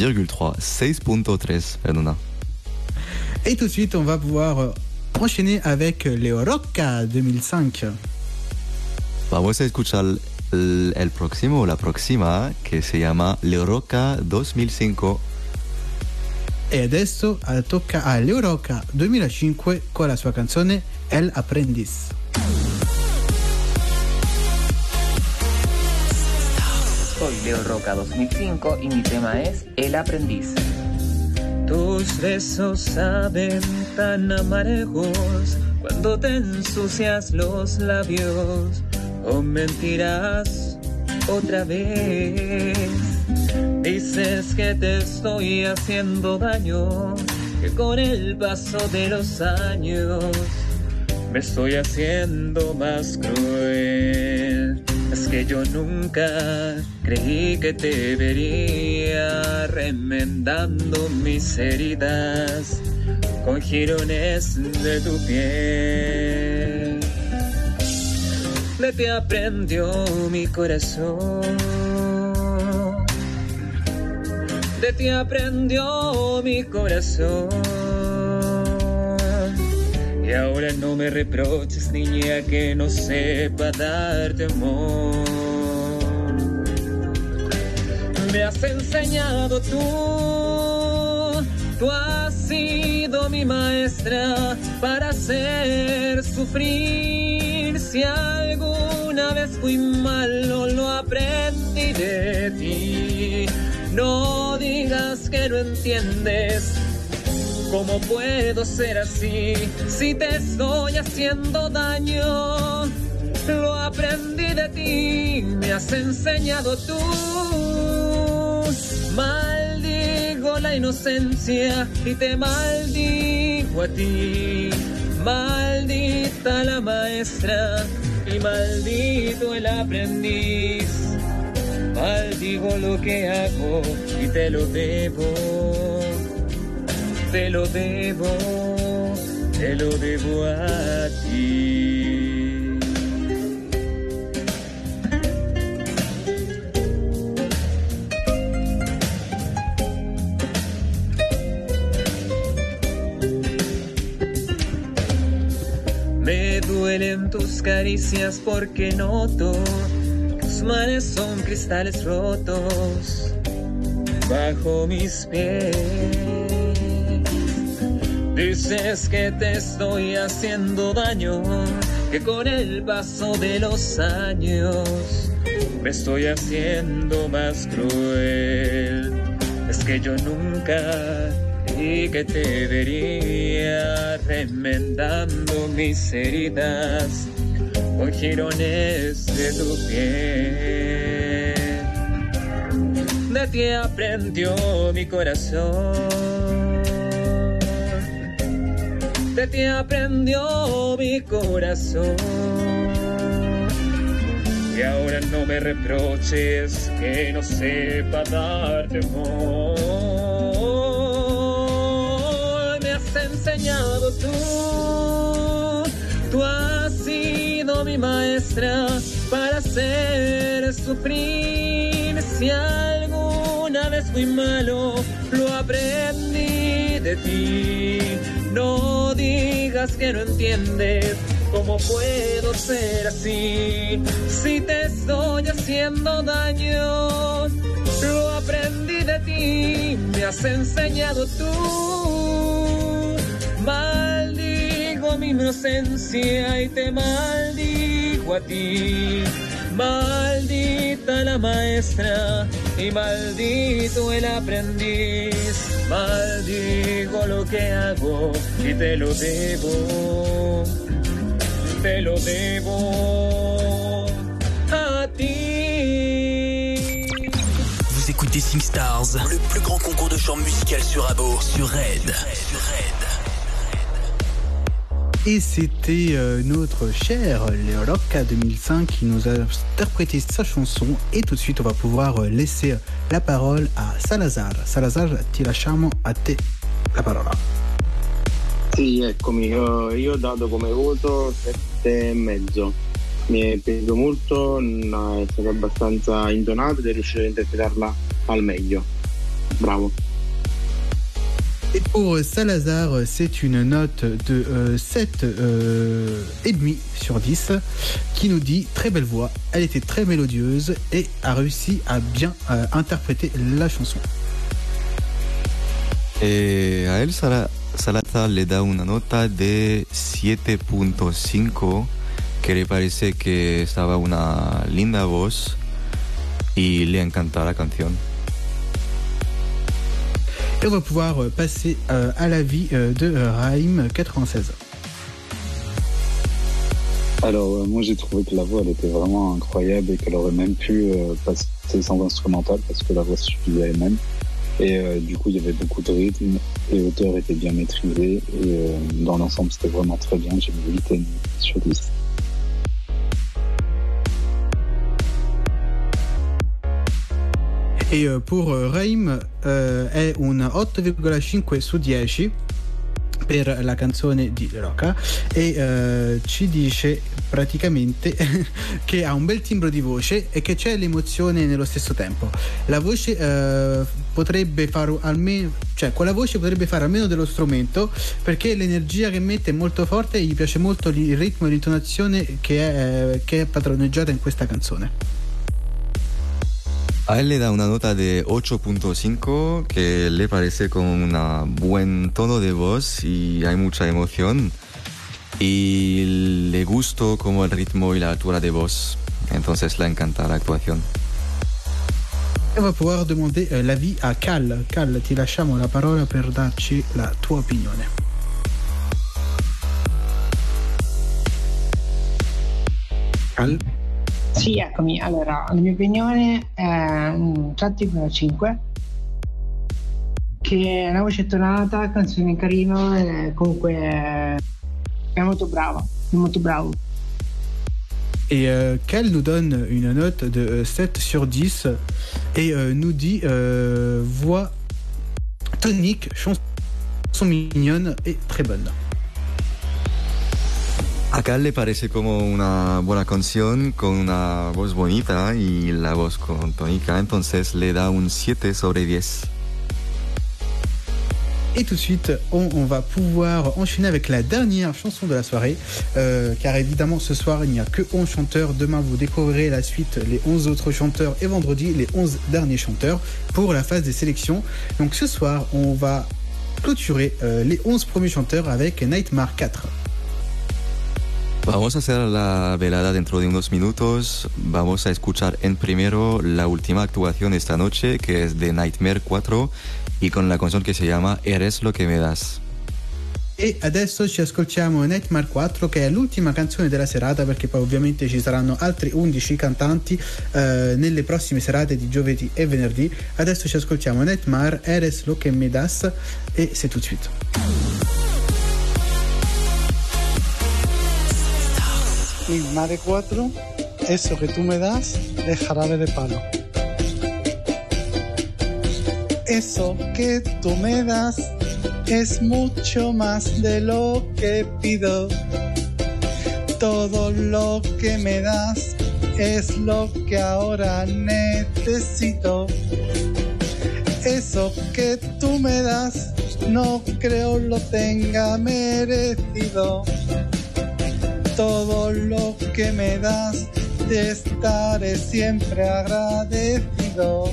6.3, perdona. Et tout de suite, on va pouvoir enchaîner avec Leo Rocca 2005. Vamos a escuchar el próximo, la próxima, que se llama Leo Rocca 2005. E adesso tocca a Leo Rocca 2005 con la sua canzone El Aprendiz. Soy Leo Rocca 2005 y mi tema es El Aprendiz. Tus besos saben tan amargos cuando te ensucias los labios con mentiras otra vez. Dices que te estoy haciendo daño, que con el paso de los años me estoy haciendo más cruel. Es que yo nunca creí que te vería remendando mis heridas con jirones de tu piel. De ti aprendió mi corazón, de ti aprendió mi corazón. Y ahora no me reproches, niña, que no sepa darte amor. Me has enseñado tú has sido mi maestra para hacer sufrir. Si alguna vez fui malo, lo aprendí de ti. No digas que no entiendes. ¿Cómo puedo ser así si te estoy haciendo daño? Lo aprendí de ti, me has enseñado tú. Maldigo la inocencia y te maldigo a ti. Maldita la maestra y maldito el aprendiz. Maldigo lo que hago y te lo debo. Te lo debo a ti. Me duelen tus caricias porque noto que tus manos son cristales rotos bajo mis pies. Dices que te estoy haciendo daño, que con el paso de los años me estoy haciendo más cruel. Es que yo nunca creí que te vería remendando mis heridas con jirones de tu piel. De ti aprendió mi corazón, de ti aprendió mi corazón. Y ahora no me reproches que no sepa darte amor. Me has enseñado tú has sido mi maestra para hacer sufrir. Si alguna vez fui malo, lo aprendí de ti. No digas que no entiendes. ¿Cómo puedo ser así si te estoy haciendo daño? Lo aprendí de ti, me has enseñado tú. Maldigo mi inocencia y te maldigo a ti. Maldita la maestra y maldito el aprendiz. Maldigo lo que hago y te lo debo. Te lo debo a ti. Vous écoutez SingStars, le plus grand concours de chant musical sur Abo, sur Red. Et c'était notre cher Leo Rocca 2005 qui nous a interprété sa chanson. Et tout de suite, on va pouvoir laisser la parole à Salazar. Salazar, ti lasciamo a te la parola. Sì, eccomi, io ho dato come voto 7,5. Mi è piaciuto molto, è stato abbastanza intonato ed è riuscito a interpretarla al meglio. Bravo. Et pour Salazar, c'est une note de 7,5 sur 10 qui nous dit très belle voix, elle était très mélodieuse et a réussi à bien interpréter la chanson. Et a él Salazar le da una nota de 7.5, que le parece que estaba una linda voz y le encanta la canción. Et on va pouvoir passer à l'avis de Raïm 96. Alors, moi j'ai trouvé que la voix elle était vraiment incroyable et qu'elle aurait même pu passer sans instrumental parce que la voix suffisait à elle-même. Et du coup, il y avait beaucoup de rythme, les hauteurs étaient bien maîtrisées et dans l'ensemble, c'était vraiment très bien. J'ai mis 8,5 sur 10. E per Raim è un 8,5 su 10 per la canzone di Roca e ci dice praticamente che ha un bel timbro di voce e che c'è l'emozione nello stesso tempo. La voce potrebbe fare almeno, cioè con la voce potrebbe fare almeno dello strumento, perché l'energia che mette è molto forte e gli piace molto il ritmo e l'intonazione che è padroneggiata in questa canzone. A él le da una nota de 8.5 que le parece con un buen tono de voz y hay mucha emoción y le gustó como el ritmo y la altura de voz, entonces le encanta la actuación. On va pouvoir demander l'avis a Cal. Cal, ti lasciamo la parola per darci la tua opinione. Cal? Sì, eccomi. Allora, la mia opinione è un 7,5, che è una voce tonata, canzone carina e comunque è molto brava, è molto bravo. Et Cal nous donne une note de 7 sur 10 et nous dit voix tonique, chanson mignonne et très bonne. A Cal le parece como una buena canción con una voz bonita y la voz con tónica, entonces le da un 7 sobre 10. Et tout de suite, on va pouvoir enchaîner avec la dernière chanson de la soirée, car évidemment ce soir il n'y a que 11 chanteurs. Demain vous découvrirez la suite, les 11 autres chanteurs, et vendredi les 11 derniers chanteurs pour la phase des sélections. Donc ce soir on va clôturer les 11 premiers chanteurs avec Nightmare 4. Vamos a hacer la velada dentro de unos minutos. Vamos a escuchar en primero la última actuación esta noche, que es de Nightmare 4, y con la canción che si chiama Eres lo che me das. E adesso ci ascoltiamo Nightmare 4, che è l'ultima canzone della serata, perché poi ovviamente ci saranno altri 11 cantanti nelle prossime serate di giovedì e venerdì. Adesso ci ascoltiamo Nightmare, Eres lo che me das, e c'est tout de suite. Nightmare 4, eso que tú me das es Jarabe de Palo. Eso que tú me das es mucho más de lo que pido. Todo lo que me das es lo que ahora necesito. Eso que tú me das no creo lo tenga merecido. Todo lo que me das te estaré siempre agradecido.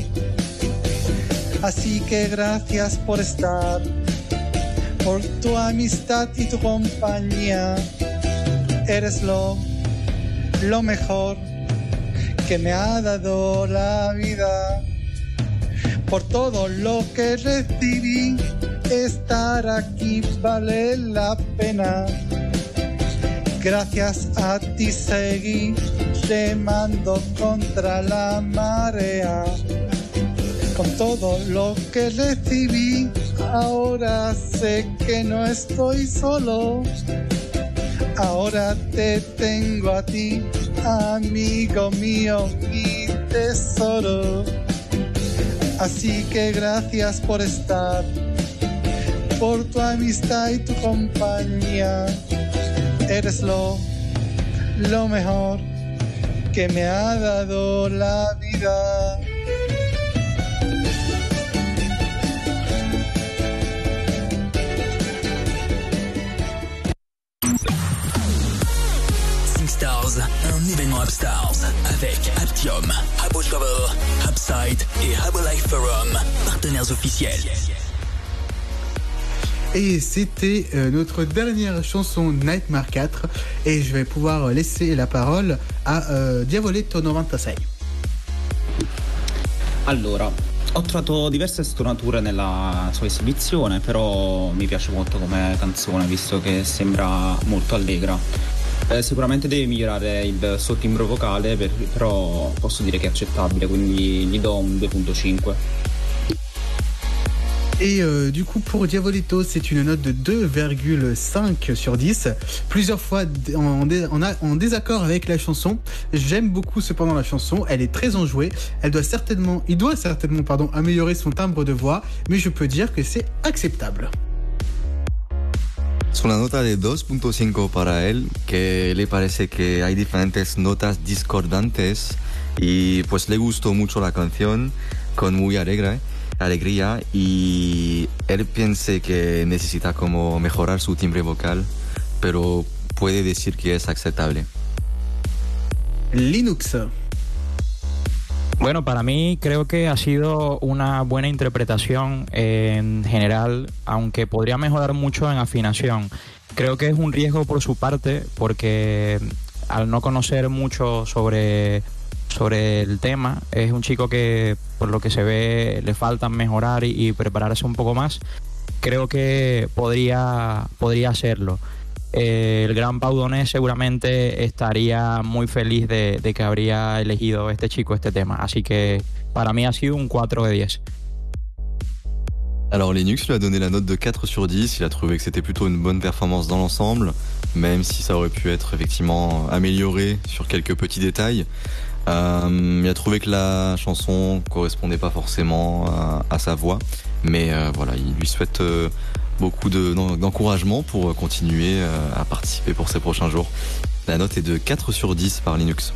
Así que gracias por estar, por tu amistad y tu compañía. Eres lo mejor que me ha dado la vida. Por todo lo que recibí, estar aquí vale la pena. Gracias a ti seguí remando contra la marea. Con todo lo que recibí, ahora sé que no estoy solo. Ahora te tengo a ti, amigo mío, mi tesoro. Así que gracias por estar, por tu amistad y tu compañía. Eres lo mejor que me ha dado la vida. SingStars, un événement Upstars avec Aptium, Habo Travel, Upside et Habo Life Forum, partenaires officiels. Et c'était notre dernière chanson Nightmare 4, et je vais pouvoir laisser la parole a Diavoletto 96. Allora, ho trovato diverse stonature nella sua esibizione, però mi piace molto come canzone, visto che sembra molto allegra. Sicuramente deve migliorare il suo timbro vocale, però posso dire che è accettabile, quindi gli do un 2.5. Et du coup pour Diabolito c'est une note de 2,5 sur 10. Plusieurs fois en désaccord avec la chanson. J'aime beaucoup cependant la chanson, elle est très enjouée. Il doit certainement améliorer son timbre de voix, mais je peux dire que c'est acceptable. Es una nota de 2.5 para él, que le parece que hay diferentes notas discordantes y pues le gustó mucho la canción con muy alegría y él piensa que necesita como mejorar su timbre vocal, pero puede decir que es aceptable. Linux. Bueno, para mí creo que ha sido una buena interpretación en general, aunque podría mejorar mucho en afinación. Creo que es un riesgo por su parte, porque al no conocer mucho sobre el tema, es un chico que por lo que se ve le falta mejorar y prepararse un poco más. Creo que podría hacerlo. El gran Pau Donés seguramente estaría muy feliz de que habría elegido este chico este tema, así que para mí ha sido un 4 de 10. Alors Linux lui a donné la note de 4 sur 10, il a trouvé que c'était plutôt une bonne performance dans l'ensemble, même si ça aurait pu être effectivement amélioré sur quelques petits détails. Il a trouvé que la chanson correspondait pas forcément à sa voix, mais voilà, il lui souhaite beaucoup d'encouragement pour continuer à participer pour ces prochains jours. La note est de 4 sur 10 par Linux.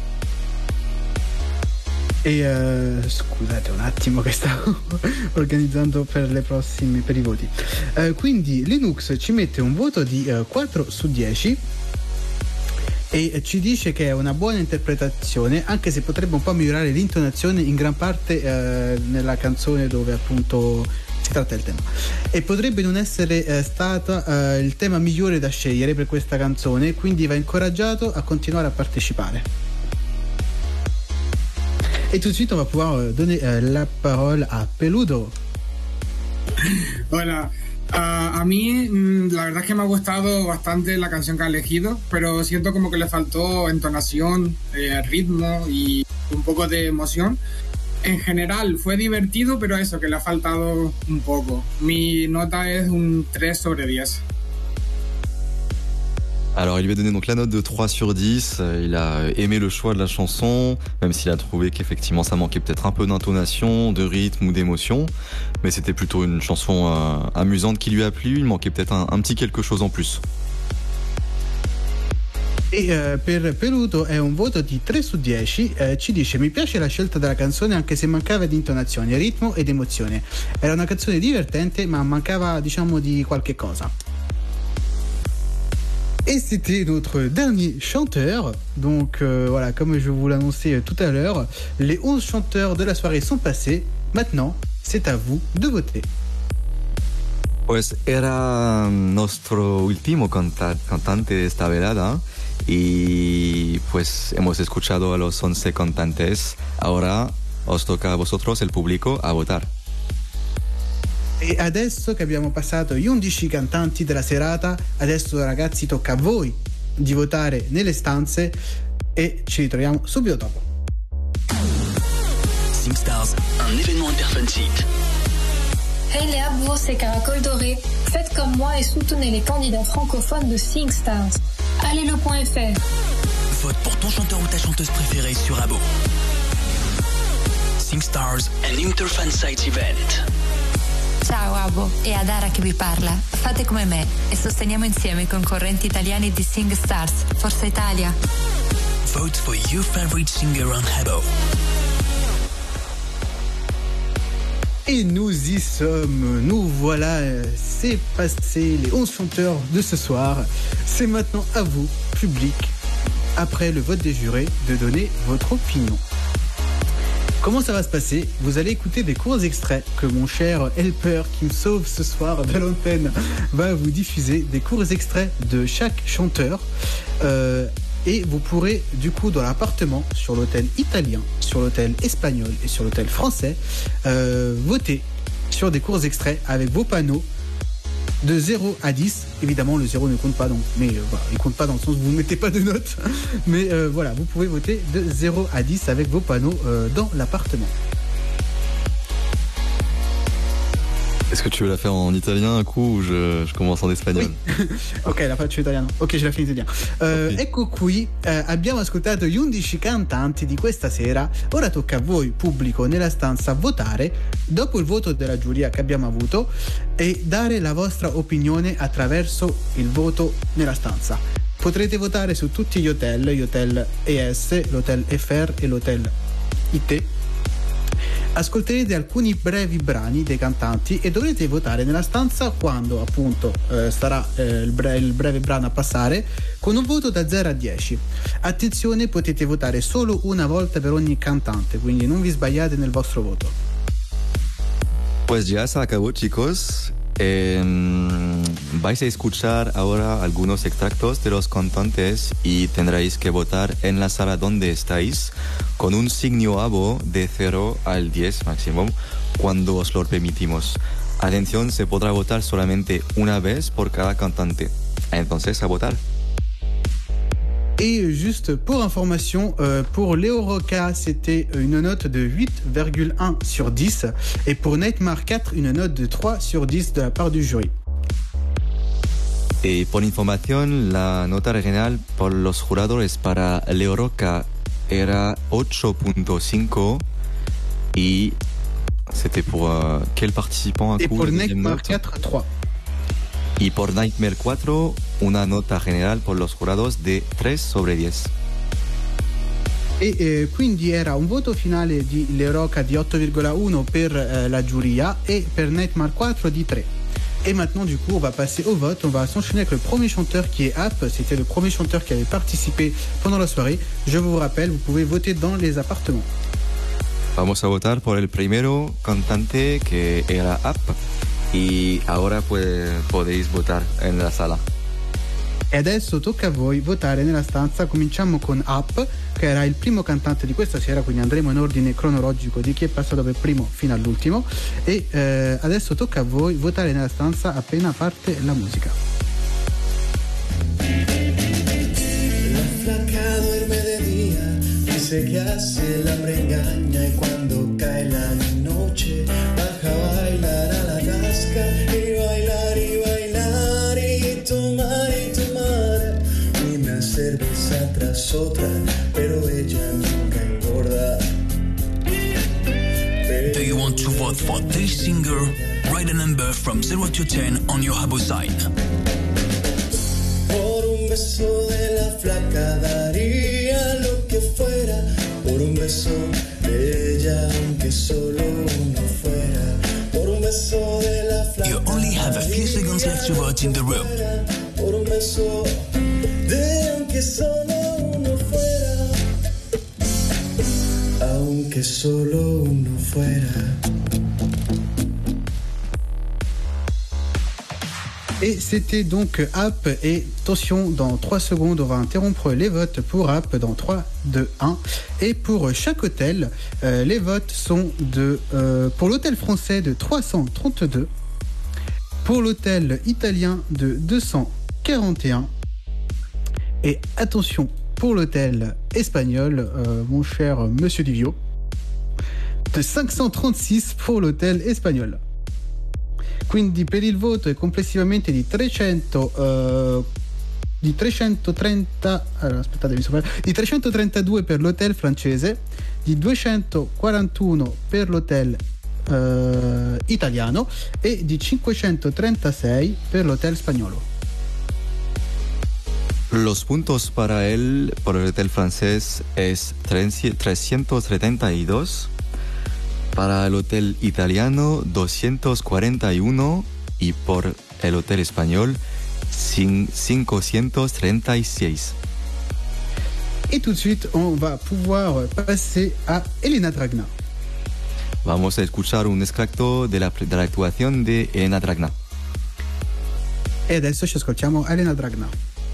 E scusate un attimo che stavo organizzando per i voti. Quindi Linux ci mette un voto di 4 su 10 e ci dice che è una buona interpretazione, anche se potrebbe un po' migliorare l'intonazione in gran parte nella canzone dove appunto si tratta del tema, e potrebbe non essere stato il tema migliore da scegliere per questa canzone, quindi va incoraggiato a continuare a partecipare. Et tout de suite, on va pouvoir donner la parole à Peludo. Hola. A mí, la verdad es que me ha gustado bastante la canción que ha elegido, pero siento como que le faltó entonación, ritmo y un poco de emoción. En general fue divertido, pero eso, que le ha faltado un poco. Mi nota es un 3 sobre 10. Alors il lui a donné donc la note de 3 sur 10, il a aimé le choix de la chanson, même s'il a trouvé qu'effectivement ça manquait peut-être un peu d'intonation, de rythme ou d'émotion, mais c'était plutôt une chanson amusante qui lui a plu, il manquait peut-être un petit quelque chose en plus. E per Peluto è un voto di 3 su 10, ci dice: mi piace la scelta della canzone anche se mancava di intonazione, ritmo ed emozione. Era una canzone divertente ma mancava diciamo di qualche cosa. Et c'était notre dernier chanteur. Donc voilà, comme je vous l'annonçais tout à l'heure, les 11 chanteurs de la soirée sont passés. Maintenant, c'est à vous de voter. Pues era nuestro último cantante de esta velada y pues hemos escuchado a los 11 cantantes. Ahora os toca a vosotros, el público, a votar. E adesso che abbiamo passato gli 11 cantanti della serata, adesso ragazzi tocca a voi di votare nelle stanze e ci ritroviamo subito dopo. SingStars, un événement interfantique. Hey les abos, c'est Caracol Doré. Faites comme moi et soutenez les candidats francophones de SingStars. Allez-le.fr. Vote pour ton chanteur ou ta chanteuse préférée sur Abo. SingStars, an interfansite event. Ciao Abo, è Adara che vi parla. Fate come me e sosteniamo insieme i concorrenti italiani di SingStars. Forza Italia! Vote for your favorite singer on Abo. Et nous y sommes, nous voilà, c'est passé les 11 chanteurs de ce soir. C'est maintenant à vous, public, après le vote des jurés, de donner votre opinion. Comment ça va se passer? Vous allez écouter des courts extraits que mon cher helper qui me sauve ce soir de l'antenne va vous diffuser, des courts extraits de chaque chanteur. Et vous pourrez du coup dans l'appartement, sur l'hôtel italien, sur l'hôtel espagnol et sur l'hôtel français, voter sur des courts extraits avec vos panneaux de 0 à 10. Évidemment, le 0 ne compte pas, donc, mais voilà, il compte pas dans le sens où vous ne mettez pas de notes. Mais voilà, vous pouvez voter de 0 à 10 avec vos panneaux dans l'appartement. Est-ce que tu veux la faire en italien un coup ou je commence en espagnol? Oui. Ok, la faccio italiano. Ok, ce la finito in italiano. Ecco qui, abbiamo ascoltato gli 11 cantanti di questa sera. Ora tocca a voi, pubblico nella stanza, votare dopo il voto della giuria che abbiamo avuto e dare la vostra opinione attraverso il voto nella stanza. Potrete votare su tutti gli hotel ES, l'hotel FR e l'hotel IT. Ascolterete alcuni brevi brani dei cantanti e dovrete votare nella stanza quando appunto starà il breve brano a passare con un voto da 0 a 10. Attenzione, potete votare solo una volta per ogni cantante, quindi non vi sbagliate nel vostro voto. Pues ya se acabó, chicos. Vais a escuchar ahora algunos extractos de los cantantes y tendréis que votar en la sala donde estáis con un signo abo de 0 al 10 máximo cuando os lo permitimos. Atención, se podrá votar solamente una vez por cada cantante. Entonces, a votar. Et juste pour information, pour Léo Rocca, c'était une note de 8,1 sur 10. Et pour Nightmare 4, une note de 3 sur 10 de la part du jury. Y por información, la nota regional por los juradores para Léo Rocca era 8.5 y c'était pour quel participant? Et pour Nightmare 4, 3. Y por Nightmare 4, una nota general por los jurados de 3 sobre 10. E quindi era un voto finale di Le Rocca di 8,1 per la giuria et per Nightmare 4 di 3. Et maintenant, du coup, on va passer au vote. On va s'enchaîner avec le premier chanteur qui est App. C'était le premier chanteur qui avait participé pendant la soirée. Je vous rappelle, vous pouvez voter dans les appartements. Vamos a votar por el primero cantante que era App. Y ahora podéis votar en la sala. E adesso tocca a voi votare nella stanza. Cominciamo con App, che era il primo cantante di questa sera, quindi andremo in ordine cronologico di chi è passato per primo fino all'ultimo. E adesso tocca a voi votare nella stanza appena parte la musica. La flaca duerme de día, dice que hace el hambre engaña y cuando cae la noche baja a bailar a la casca y bailar y bailar y tomar una cerveza tras otra, pero ella nunca engorda. Do you want to vote for this singer? Write a number from 0 to 10 on your Habbo sign. Por un beso de la flaca daría lo que fuera, por un beso de ella aunque solo uno fuera, por un beso de la flaca. You only have a few seconds left to vote in the room. Por un beso de aunque solo uno fuera, aunque solo uno fuera. Et c'était donc App. Et attention, dans 3 secondes, on va interrompre les votes pour App dans 3, 2, 1. Et pour chaque hôtel, les votes sont pour l'hôtel français de 332, pour l'hôtel italien de 241. Et attention, pour l'hôtel espagnol, mon cher Monsieur Divio, de 536 pour l'hôtel espagnol. Quindi per il voto è complessivamente di 330, allora aspettate, di 332 per l'hotel francese, di 241 per l'hotel italiano e di 536 per l'hotel spagnolo. Los puntos para por el hotel francés es 372, para el hotel italiano 241 y por el hotel español 536. Et tout de suite, on va pouvoir passer à Elena Dragna. Vamos a escuchar un extracto de la actuación de Elena Dragna. E adesso ci ascoltiamo Elena Dragna.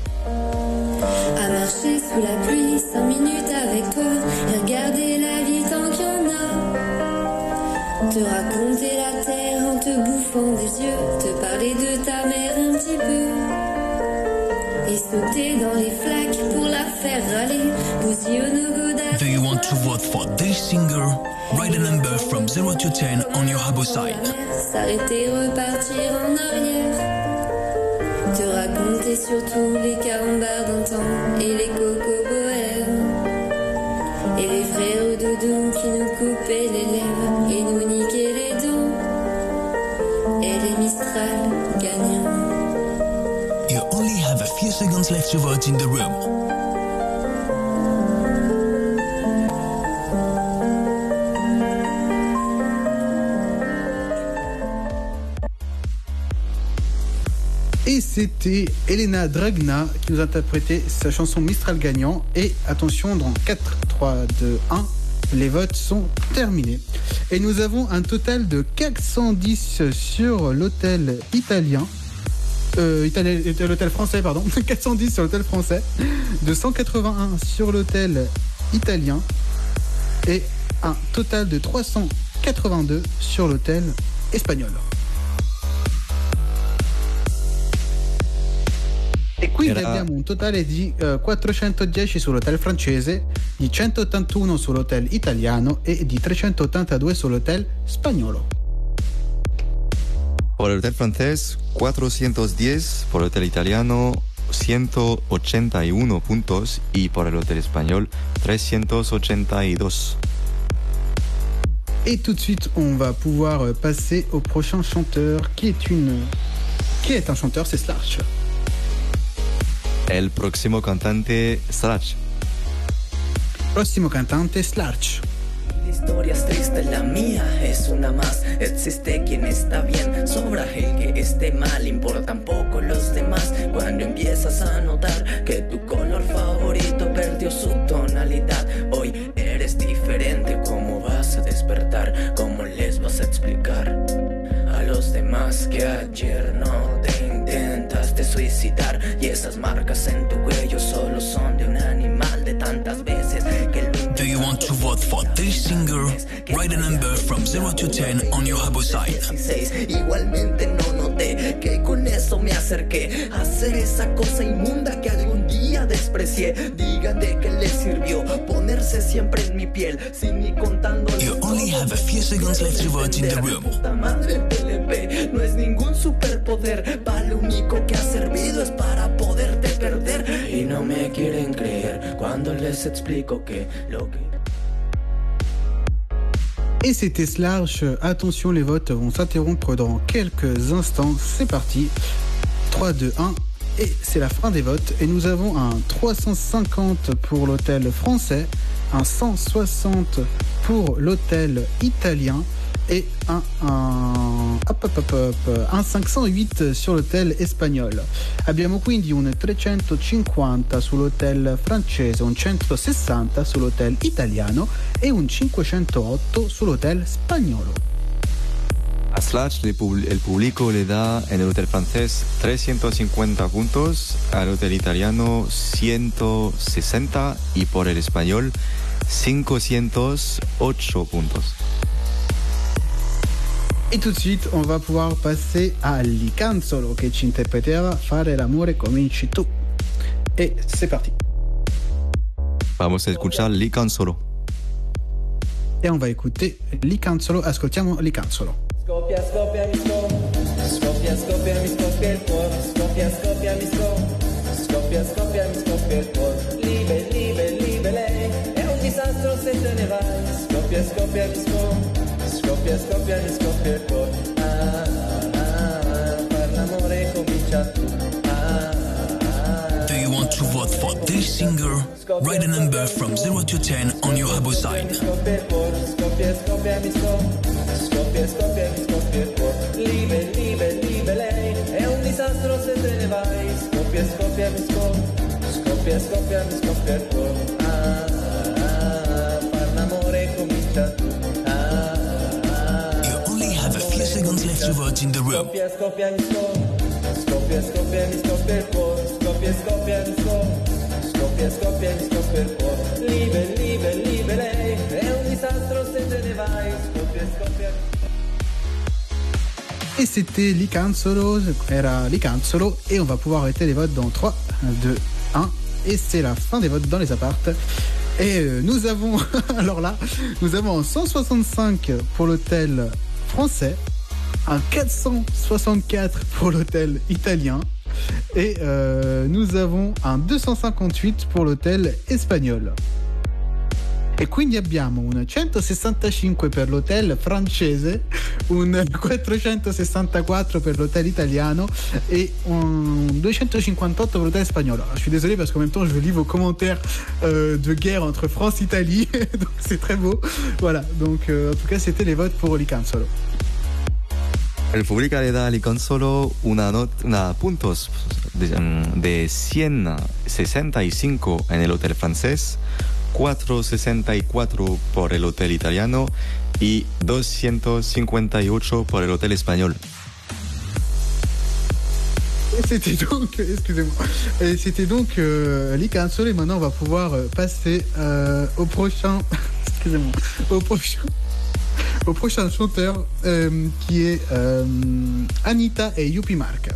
À marcher sous la pluie 5 minutes avec toi et regarder la vie tant qu'il y en a. Te raconter la terre en te te bouffant des yeux, te parler de ta mère un petit peu. Et sauter dans les flaques pour la faire râler. Bousiller au godard. Do you want to vote for this singer? Write a number from 0 to 10 on your Habbo side. S'arrêter, repartir en arrière. Te raconter surtout les carambars d'antan et les cocoboères. Et les frères doudous qui nous coupaient les lèvres et nous niquaient les dents. Et les Mistral gagnants. You only have a few seconds left to vote in the room. Et c'était Elena Dragna qui nous interprétait sa chanson Mistral gagnant. Et attention, dans 4, 3, 2, 1, les votes sont terminés. Et nous avons un total de 410 sur l'hôtel italien. L'hôtel français, pardon. 410 sur l'hôtel français. De 181 sur l'hôtel italien. Et un total de 382 sur l'hôtel espagnol. E quindi abbiamo un totale di 410 sull'hotel francese, di 181 sull'hotel italiano e di 382 sull'hotel spagnolo. Por el hotel francés, 410, por el hotel italiano, 181 puntos y por el hotel espagnol, 382. Et tout de suite, on va pouvoir passer au prochain chanteur qui est un chanteur, c'est Slash. El próximo cantante, Slash. Próximo cantante, Slash. La historia es triste, la mía es una más. Existe quien está bien, sobra el que esté mal. Importan poco los demás cuando empiezas a notar que tu color favorito perdió su tonalidad. Hoy eres diferente, ¿cómo vas a despertar? ¿Cómo les vas a explicar a los demás que ayer no te intentaste suicidar? Y esas marcas en tu cuello solo son de un animal de tantas veces que lo... Do you want to vote for this singer? Write a number from 0 to 10 on your Habbo side. Igualmente no noté que con eso me acerqué a hacer esa cosa inmunda que algún día desprecié. Digan de qué les sirvió ponerse siempre en mi piel sin ni contando. You only have a few seconds left to vote in the room. Puta madre PLP no es ningún superpoder, para lo único que ha servido es para poderte perder. Y no me quieren creer cuando les explico que lo que... Et c'était Slash. Attention, les votes vont s'interrompre dans quelques instants. C'est parti. 3, 2, 1. Et c'est la fin des votes. Et nous avons un 350 pour l'hôtel français, un 160 pour l'hôtel italien et un 508 sur l'hôtel espagnol. Abbiamo quindi un 350 sull'hotel francese, un 160 sull'hotel italiano e un 508 sull'hotel spagnolo. A Slash el público le da en el hotel francés 350 puntos, al hotel italiano 160 y por el espagnol 508 puntos. Et tout de suite, on va pouvoir passer à Licanzolo che ci interpretera Fare l'amore cominci tu. Et c'est parti. Vamos a escuchar Licanzolo. Et on va écouter Licanzolo. Ascoltiamo Licanzolo. Scoppia, scoppia, mi scoppia, scoppia, mi scoppia il cuore. Scoppia, scoppia, mi scoppia, scoppia, mi scoppia il cuore. Liebe, liebe, liebe lei, è un disastro se te ne vai. Scoppia, scoppia, mi scoppia, scoppia, mi scoppia il cuore. Per l'amore comincia tu. Do you want to vote for this singer? Write a number from 0 to 10 on your Habbo side. Scoppia, scoppia, mi scoppia, scoppia, mi scoppia il cuore. Liebe, liebe, liebe lei, è un disastro se te ne vai. Scoppia, scoppia, mi scoppia, scoppia, mi scoppia il cuore. Per l'amore comincia tu. You only have a few seconds left to vote in the room. Scoppia, scoppia, mi scoppia, scoppia, mi scoppia il cuore. Scoppia, scoppia, mi scoppia, scoppia, mi scoppia il cuore. Liebe, liebe, liebe lei, è un disastro se te ne vai. Scoppia, scoppia. Et c'était Licanzolo, et on va pouvoir arrêter les votes dans 3, 2, 1, et c'est la fin des votes dans les appartes. Et nous avons, alors là, nous avons un 165 pour l'hôtel français, un 464 pour l'hôtel italien, et nous avons un 258 pour l'hôtel espagnol. E quindi abbiamo un 165 per l'hotel francese, un 464 per l'hôtel italiano et un 258 pour l'hôtel espagnol. Alors, je suis désolé parce qu'en même temps je lis vos commentaires de guerre entre France et Italie, donc c'est très beau. Voilà, donc en tout cas c'était les votes pour Licanzolo. El público le da a Licanzolo una puntos de 165 en el hotel francés, 464 por el hotel italiano y 258 por el hotel espagnol. Et c'était donc, excusez-moi, et c'était donc Licanzolo, et maintenant on va pouvoir passer au prochain, excusez-moi, au prochain chanteur qui est Anita et Yuppie Mark.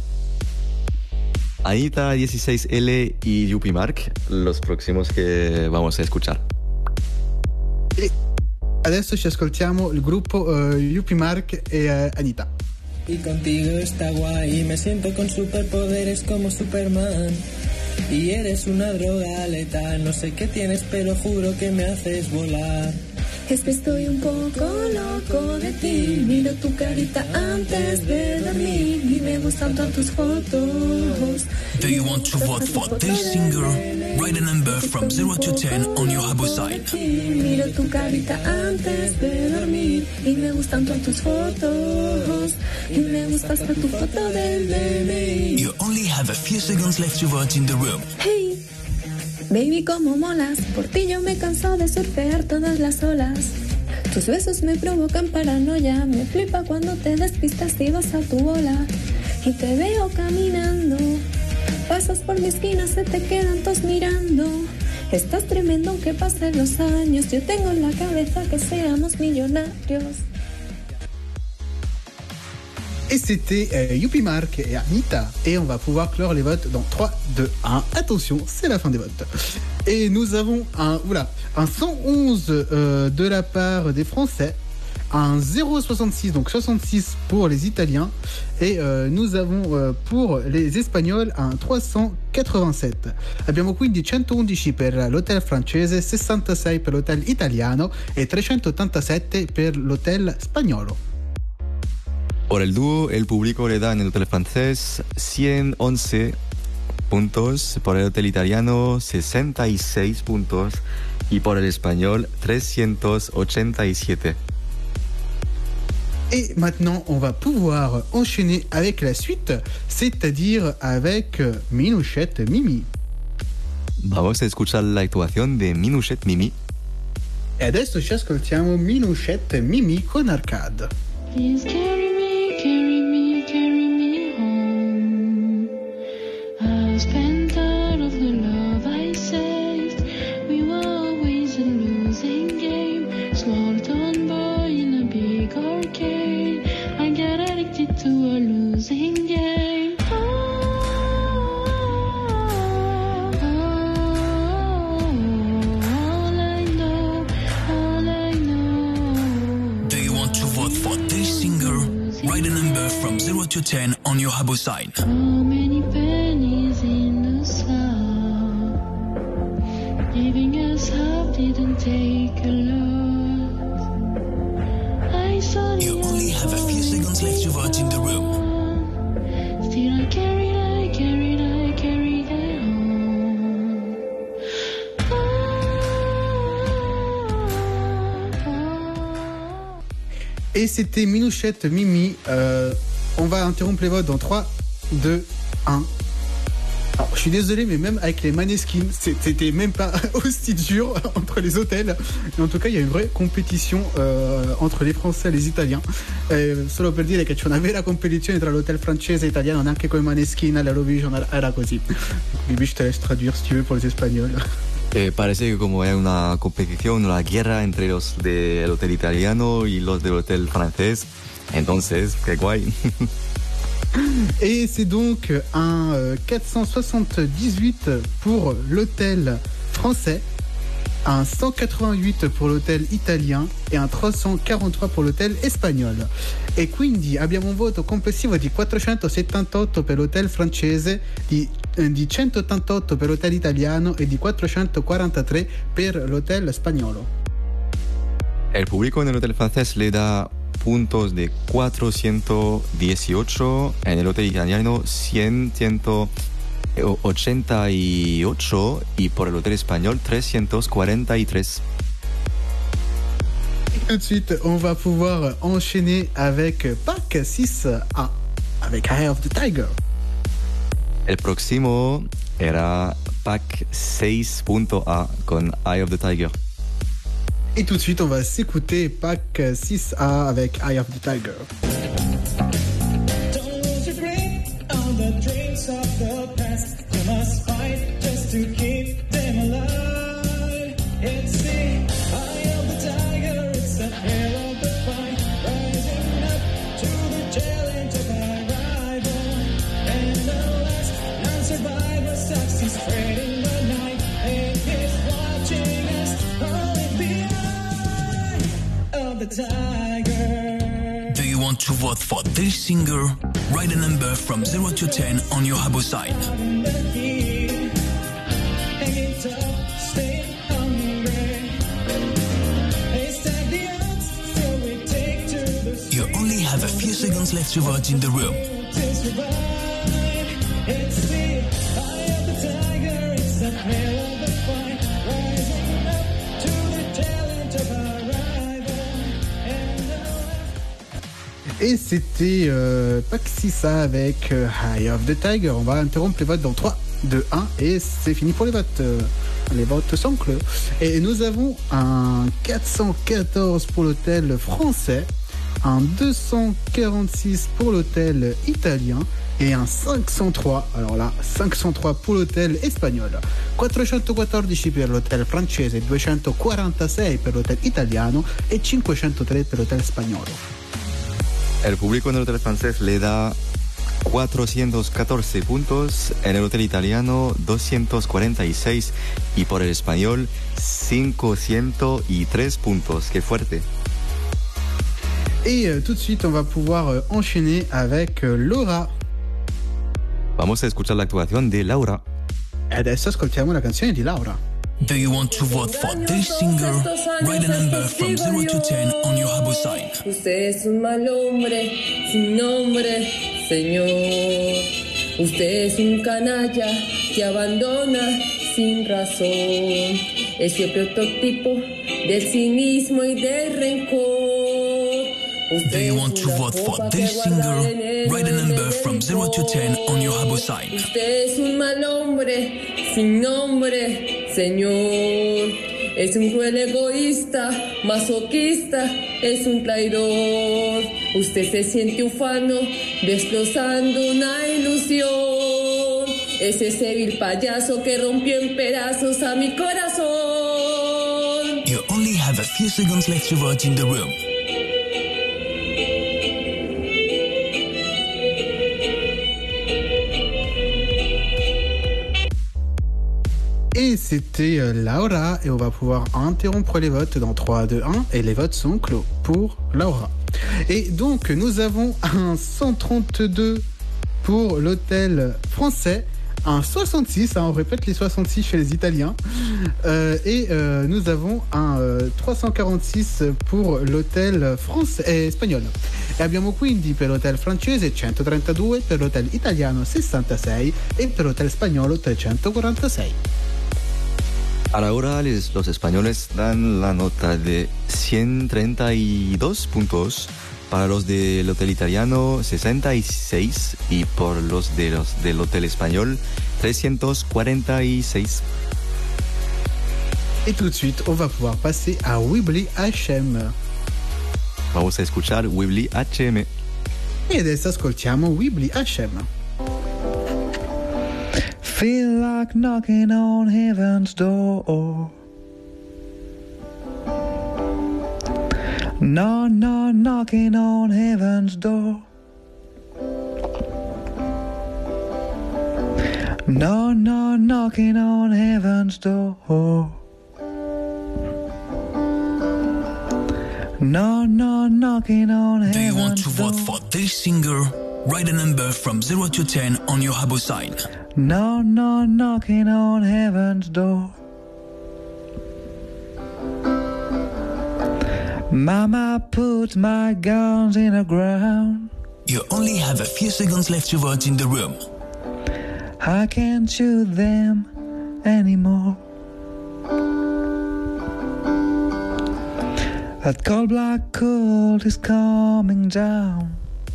Anita 16L y Yuppie Mark, los próximos que vamos a escuchar. E adesso ci ascoltiamo il gruppo Yuppie Mark e Anita. Y contigo está guay, me siento con superpoderes como Superman. Y eres una droga letal, no sé qué tienes, pero juro que me haces volar. Es que estoy un poco loco de ti. Miro tu carita antes de dormir y me gustan todas tus fotos. Do you want to vote for this singer? Write a number from 0 to 10 on your Habbo side. Miro tu carita antes de dormir y me gustan todas tus fotos. Y me gusta hasta tu foto del bebé. You only have a few seconds left to vote in the room. Hey, baby, como molas. Por ti yo me canso de surfear todas las olas. Tus besos me provocan paranoia. Me flipa cuando te despistas y vas a tu bola. Y te veo caminando. Pasas por mi esquina, se te quedan todos mirando. Estás tremendo aunque pasen los años. Yo tengo en la cabeza que seamos millonarios. Et c'était Yuppie Mark et Anita. Et on va pouvoir clore les votes dans 3, 2, 1. Attention, c'est la fin des votes. Et nous avons un 111 de la part des Français, un 0,66, donc 66 pour les Italiens. Et nous avons pour les Espagnols un 387. Abbiamo quindi 111 per l'hotel francese, 66 per l'hotel italiano e 387 per l'hotel spagnolo. Por el dúo, el público le da en el hotel francés 111 puntos, por el hotel italiano 66 puntos y por el espagnol 387. Et maintenant, on va pouvoir enchaîner avec la suite, c'est-à-dire avec Minouchette Mimi. Vamos a escuchar la actuación de Minouchette Mimi. E adesso ci ascoltiamo Minouchette Mimi con Arcade. Please carry me home. I've spent all of the love I saved. We were always a losing game. Small town boy in a big arcade. I got addicted to a losing game. Do you want to vote for this singer? Write a number from 0 to 10 on your Habbo side. So many pennies in the sun. Giving us up didn't take a lot. I saw the You only have a few seconds left to vote in the room. Still I carried it on. Et c'était Minouchette Mimi. On va interrompre les votes dans 3, 2, 1. Alors, je suis désolé, mais même avec les Maneskin, c'était même pas aussi dur entre les hôtels. Mais en tout cas, il y a une vraie compétition entre les Français et les Italiens. Solo per dire che c'è una vera competizione tra l'hotel francese e italiano, anche con i Maneskin all'Eurovision, era così. Bibi, je te laisse traduire si tu veux pour les Espagnols. Parece que como hay una competición, una guerra entre los del hotel italiano y los del hotel francés. Entonces, qué guay. Et c'est donc un 478 pour l'hôtel français, un 188 pour l'hotel italien e un 343 pour l'hotel espagnolo. E quindi abbiamo un voto complessivo di 478 per l'hotel francese, di 188 per l'hotel italiano e di 443 per l'hotel spagnolo. El público en el hotel francés le da puntos de 418, en el hotel italiano 188 y por el hotel espagnol 343. Tout de suite, on va pouvoir enchaîner avec Pack 6A, avec Eye of the Tiger. El próximo era Pack 6.A con Eye of the Tiger. Et tout de suite, on va s'écouter Pack 6A avec Eye of the Tiger. Do you want to vote for this singer? Write a number from 0 to 10 on your Habbo side. You only have a few seconds left to vote in the room. Et c'était Pack 6A avec Eye of the Tiger. On va interrompre les votes dans 3, 2, 1 et c'est fini pour les votes. Les votes sont clos. Et nous avons un 414 pour l'hôtel français, un 246 pour l'hôtel italien et un 503, alors là 503 pour l'hôtel espagnol, 414 per l'hôtel francese, 246 per l'hôtel italiano e 503 per l'hôtel spagnolo. El público en el hotel francés le da 414 puntos, en el hotel italiano 246 y por el español 503 puntos. ¡Qué fuerte! Et tout de suite, on va pouvoir enchaîner avec Laura. Vamos a escuchar la actuación de Laura. E adesso ascoltiamo la canzone di Laura. Do you want to vote for this singer? Write a number from 0 to 10 on your Habbo side. Usted es un mal hombre, sin nombre, señor. Usted es un canalla que abandona sin razón. Ese prototipo del cinismo y del rencor. Do you want to vote for this singer? Write a number from 0 to 10 on your Habbo side. Usted es un mal hombre, sin nombre, señor. Es un cruel egoísta, masoquista, es un traidor. Usted se siente ufano, destrozando una ilusión. Es ese vil payaso que rompió en pedazos a mi corazón. You only have a few seconds left to vote in the room. Et c'était Laura, et on va pouvoir interrompre les votes dans 3, 2, 1, et les votes sont clos pour Laura. Et donc, nous avons un 132 pour l'hôtel français, un 66, on répète les 66 chez les Italiens, et nous avons un 346 pour l'hôtel français, espagnol. E abbiamo quindi per l'hotel francese 132, per l'hotel italiano 66 e per l'hotel spagnolo 346. Ahora los españoles dan la nota de 132 puntos, para los del hotel italiano 66 y por los del hotel español 346. Et tout de suite, on va pouvoir passer à Weebly HM. Vamos a escuchar Weebly HM. E adesso ascoltiamo Weebly HM. Feel like knocking on heaven's door. No, no, knocking on heaven's door. No, no, knocking on heaven's door. No, no, knocking on heaven's door. Do you want to vote for this singer? Write a number from 0 to 10 on your Habbo sign. No, no, knocking on heaven's door. Mama put my guns in the ground. You only have a few seconds left to vote in the room. I can't shoot them anymore. That cold black cold is coming down.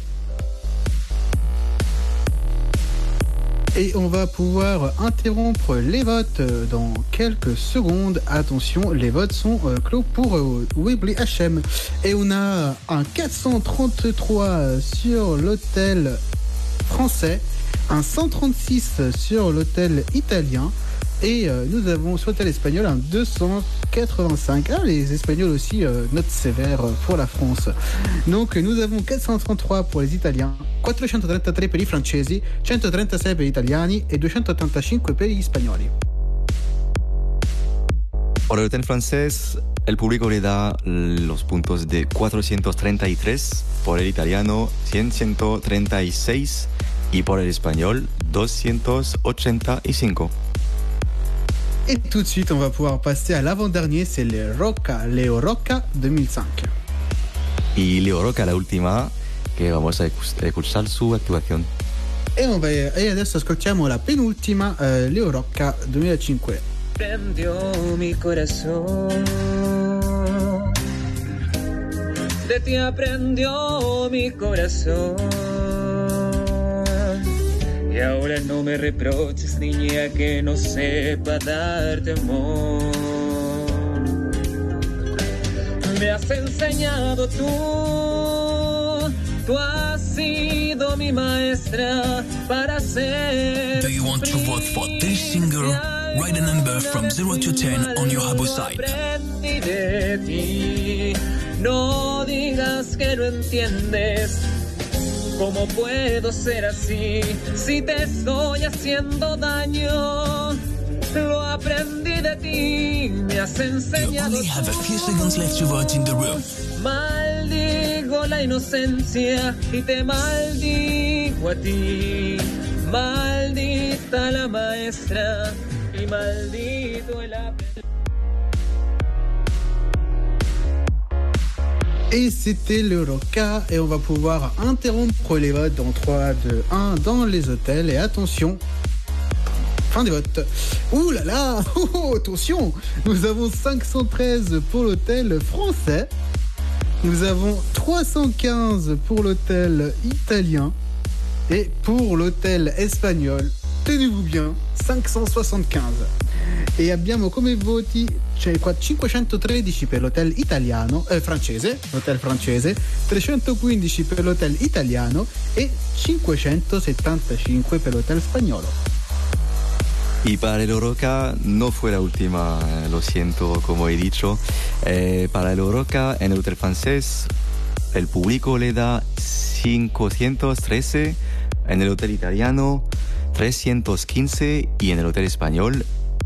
Et on va pouvoir interrompre les votes dans quelques secondes. Attention, les votes sont clos pour Webley HM. Et on a un 433 sur l'hôtel français, un 136 sur l'hôtel italien, et nous avons sur l'hôtel espagnol un 285. Ah, les Espagnols aussi, note sévère pour la France. Donc nous avons 433 pour les Italiens, 433 per i francesi, 136 per gli italiani e 285 per gli spagnoli. Para el hotel francés, el público le da los puntos de 433, por el italiano 136 y por el espagnol 285. Et tout de suite, on va pouvoir passer à l'avant-dernier, c'est Leo Rocca 2005. Y Leo Rocca, la última, che vamos a escuchar su actuación. E adesso ascoltiamo la penultima, Leo Rocca 2005. Prendió mi corazón, de ti aprendió mi corazón. Y ahora no me reproches, niña, que no sepa darte amor. Me has enseñado tú has sido mi maestra para ser. Do you want to vote for this singer? Write a number from 0 to 10 on your Habbo side. Aprendí de ti, no digas que no entiendes. ¿Cómo puedo ser así si te estoy haciendo daño? Lo aprendí de ti, me has enseñado. You only have a few seconds left to vote in the room. Maldigo la inocencia y te maldigo a ti. Maldita la maestra y maldito el aprendiz. Et c'était le Rocca, et on va pouvoir interrompre les votes dans 3, 2, 1 dans les hôtels. Et attention, fin des votes. Ouh là là, attention, nous avons 513 pour l'hôtel français, nous avons 315 pour l'hôtel italien, et pour l'hôtel espagnol, tenez-vous bien, 575. E abbiamo come voti 513 per l'hotel italiano, l'hotel francese, 315 per l'hotel italiano e 575 per l'hotel spagnolo. Y para el Rocca no fue la última, lo siento, como he dicho. Para el Rocca en el hotel francés, el público le da 513, en el hotel italiano 315 y en el hotel espagnol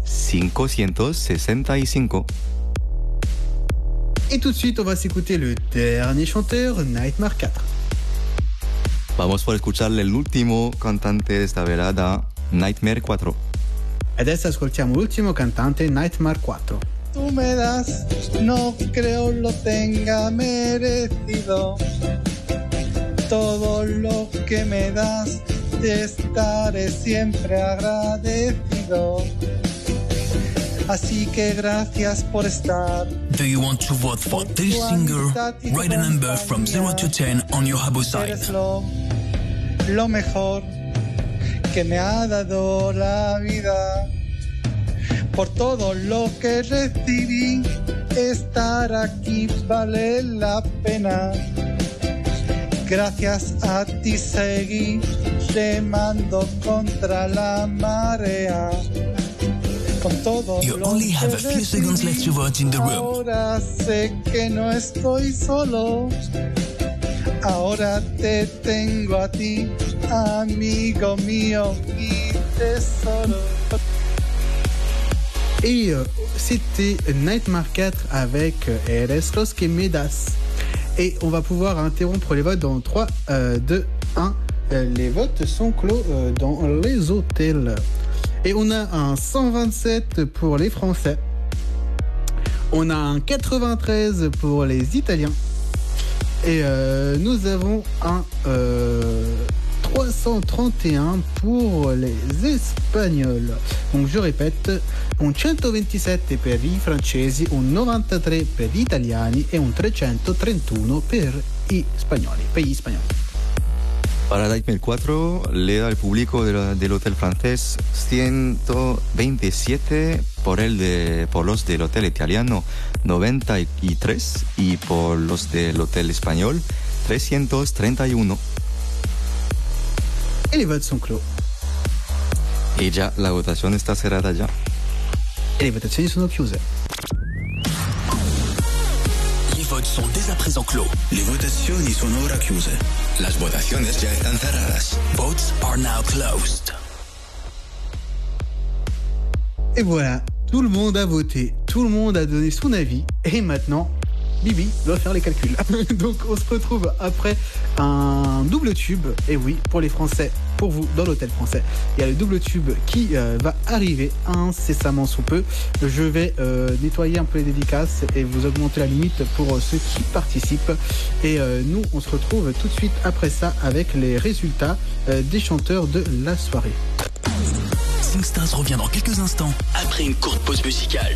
565. Et tout de suite, on va s'écouter le dernier chanteur, Nightmare 4. Vamos por escucharle el último cantante de esta velada, Nightmare 4. Adesso ascoltiamo l'ultimo cantante, Nightmare 4. Tú me das, no creo lo tenga merecido. Todo lo que me das, te estaré siempre agradecido. Así que gracias por estar. Do you want to vote for this singer? Write a number from 0 to 10 on your Habbo side. Eres lo mejor que me ha dado la vida. Por todo lo que recibí, estar aquí vale la pena. Gracias a ti seguí remando contra la marea. Con todo You only have a few seconds left to vote in the room. Ahora sé que no estoy solo. Ahora te tengo a ti, amigo mío, mi tesoro. Et c'était Nightmare 4 avec Eres los que me das. Et on va pouvoir interrompre les votes dans 3, 2, 1. Les votes sont clos dans les hôtels. Et on a un 127 pour les Français. On a un 93 pour les Italiens. Et nous avons un 331 pour les Espagnols. Donc je répète, un 127 per i francesi, un 93 per gli italiani e un 331 per gli spagnoli. Para Nightmare 4 le da al público del hotel francés 127, por los del hotel italiano 93 y por los del hotel español 331. Et les votes sont clos. Y ya la votación está cerrada ya. E le votazioni sono chiuse. Les votes sont dès à présent clos. Le votazioni sono ora chiuse. Las votaciones ya están cerradas. Votes are now closed. Et voilà, tout le monde a voté, tout le monde a donné son avis. Et maintenant, Bibi doit faire les calculs. Donc on se retrouve après un double tube. Et oui, pour les Français, pour vous, dans l'hôtel français, il y a le double tube qui va arriver incessamment sous peu. Je vais nettoyer un peu les dédicaces et vous augmenter la limite pour ceux qui participent. Et nous, on se retrouve tout de suite après ça avec les résultats des chanteurs de la soirée. SingStars revient dans quelques instants après une courte pause musicale.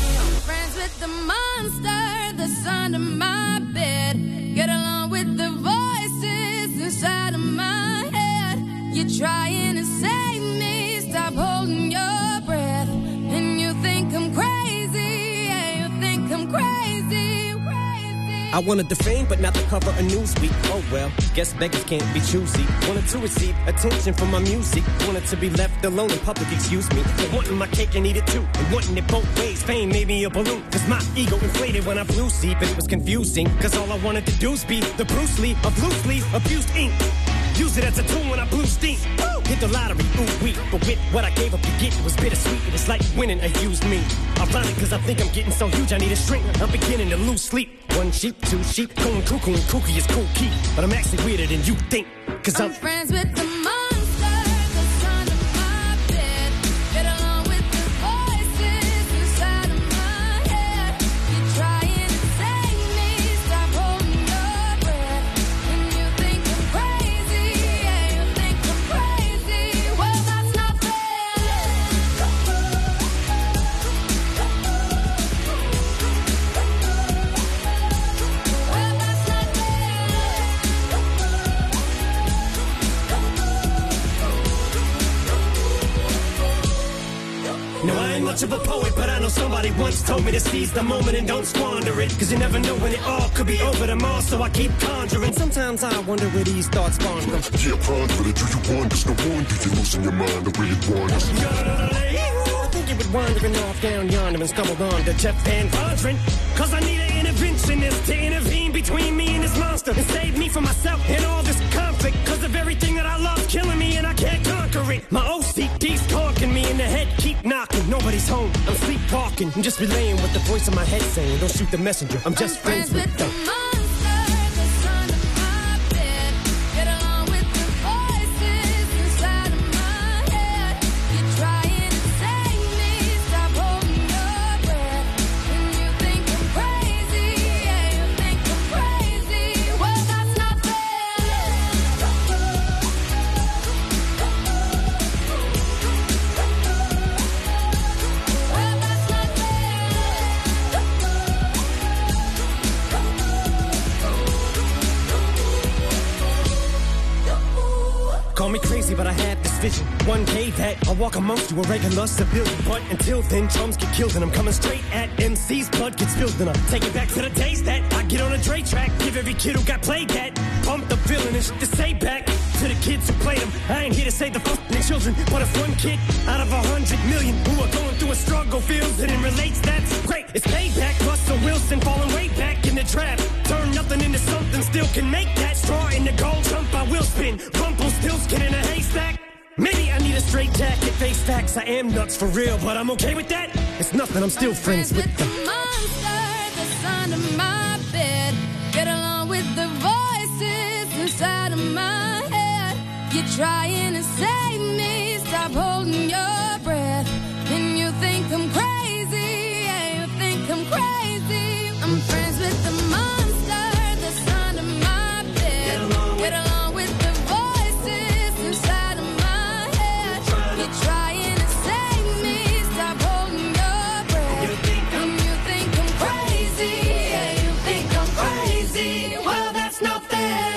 That's under my bed. Get along with the voices inside of my head. You're trying to save me, stop holding your breath. And you think I'm crazy, yeah, you think I'm crazy, crazy. I wanted the fame, but not the cover of Newsweek. Oh well, guess beggars can't be choosy. Wanted to receive attention from my music. Wanted to be left alone in public, excuse me. But wanting my cake and eat it too. And wanting it both ways, fame made me a balloon. Cause my ego inflated when I blew sleep. And it was confusing, cause all I wanted to do was be the Bruce Lee of loosely abused ink. Use it as a tool when I blew steam. Woo! Hit the lottery, ooh wee. But with what I gave up to get, it was bittersweet. It was like winning a used me. Ironic, cause I think I'm getting so huge I need a shrink. I'm beginning to lose sleep. One sheep, two sheep, going cuckoo and kooky is cool key. But I'm actually weirder than you think. Cause I'm friends with the monster that's under my bed. Get along with the voices inside of my head. You're trying to save me, stop holding your breath. And you think I'm crazy, yeah, you think I'm crazy. Well, that's not fair. No, I ain't much of a poet, but I know somebody once told me to seize the moment and don't squander it. Cause you never know when it all could be over tomorrow, so I keep conjuring. Sometimes I wonder where these thoughts spawn from. Yeah, ponder it, do you wonder? No wonder you're losing your mind the way it wanders. I think you were wandering off down yonder and stumbled on to Jeff Van Vondren. Cause I need an interventionist to intervene between me and this monster and save me from myself and all this conflict. Cause of everything that I love killing me and I can't conquer it. My OCD's conking me in the head, keep knocking. Nobody's home, I'm sleepwalking. I'm just relaying what the voice in my head saying. Don't shoot the messenger, I'm just friends with them. Call me crazy, but I had this vision. One day that I'll walk amongst you, a regular civilian. But until then, drums get killed and I'm coming straight at MC's blood gets spilled. And I'm taking back to the days that I get on a Dre track, give every kid who got played that. Bump the villain feeling this shit to say back to the kids who played them. I ain't here to say the fucking children, but if one kid out of 100 million who are going through a struggle feels it and relates, that's great. It's payback. Russell Wilson falling way back in the draft. Turn nothing into something, still can make that straw in the gold jump. I will spin. Rumpelstiltskin in a haystack. Maybe I need a straight jacket, face facts. I am nuts for real, but I'm okay with that. It's nothing, I'm still friends with the monster that's under my bed. Get along with the voices inside of my head. You're trying to save me, stop holding your breath. And you think I'm crazy, yeah, you think I'm crazy. I'm friends with the monster that's under my bed. Get along with the voices inside of my head. You're trying to save me, stop holding your breath. And you think I'm crazy, yeah, you think I'm crazy. Well, that's not fair.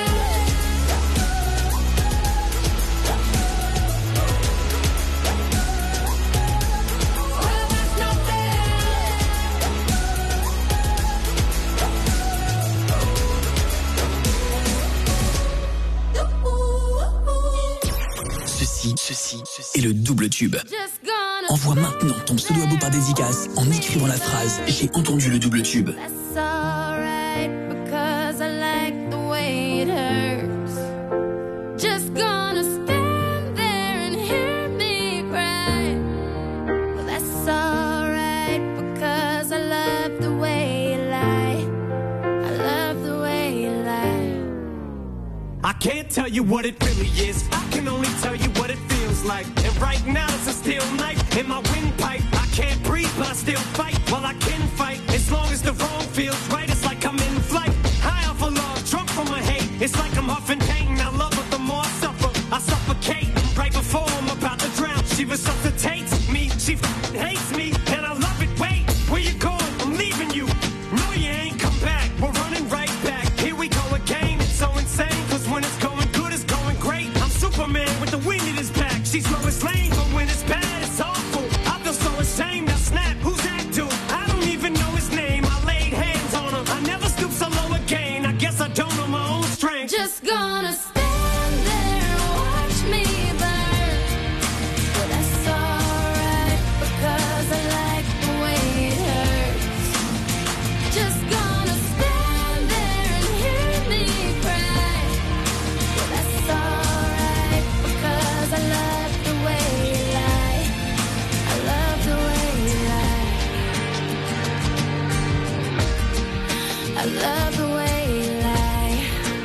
Ceci est le double tube. Envoie maintenant ton pseudo abo par dédicace en écrivant la phrase « J'ai entendu le double tube ». That's alright, because I like the way it hurts. Just gonna stand there and hear me cry. Well, that's alright, because I love the way you lie. I love the way you lie. I can't tell you what it really is. I can only tell you what it feels like. And right now it's a steel knife in my windpipe. I can't breathe, but I still fight. Well, I can fight as long as the wrong feels right. It's like I'm in flight, high off of love, drunk from my hate. It's like I'm huffing pain. I love her, the more I suffer, I suffocate. Right before I'm about to drown, she resuscitates me. She hates me, and I love it. Wait, where you going? I'm leaving you. No, you ain't come back. We're running right back. Here we go again. It's so insane, cause when it's going good, it's going great. I'm Superman with the wind in his back. She's Lois Lane, but when it's bad, it's awful. I feel so ashamed. I snap. Who's that dude? I don't even know his name. I laid hands on him. I never stoop so low again. I guess I don't know my own strength. Just gonna stand there and watch me burn. Well, that's alright, because I like the way it hurts. Just gonna stand there and hear me cry. Well, that's alright, because I love the way you lie. I love the way you lie. I love the way you lie.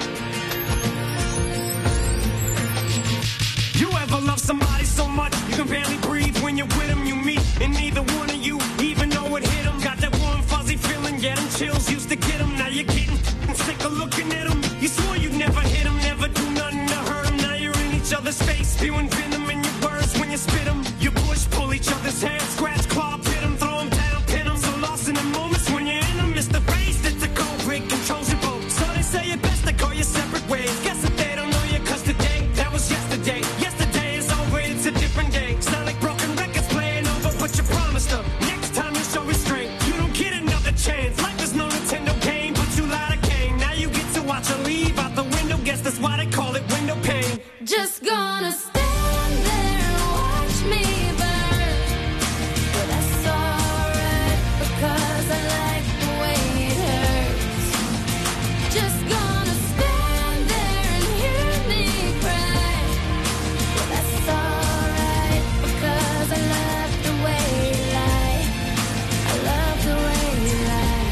You ever love somebody so much you can barely breathe when you're with them? You meet, and neither one of you even know it hit them. Got that warm fuzzy feeling, yeah, them chills used to get them. Now you're getting sick of looking at them. You swore you'd never hit them, never do nothing to hurt them. Now you're in each other's face, spewing venom in your words when you spit them. You push, pull each other's hair, scratch, claw, pit them, throw them down, pin them. So lost in the moments when you're in them, it's the race that's a cold break, controls your boat. So they say it best to go your separate ways. Guess that they don't know you, cause today, that was yesterday. Yesterday is over, it's a different day. Sound like broken records playing over, but you promised her next time you show restraint, you don't get another chance. Life is no Nintendo game, but you lied again. Now you get to watch her leave out the window. Guess that's why they call it window pane. Just gonna stand there and watch me burn. Well, that's alright, because I like the way it hurts. Just gonna stand there and hear me cry. Well, that's alright, because I love the way you lie. I love the way you lie.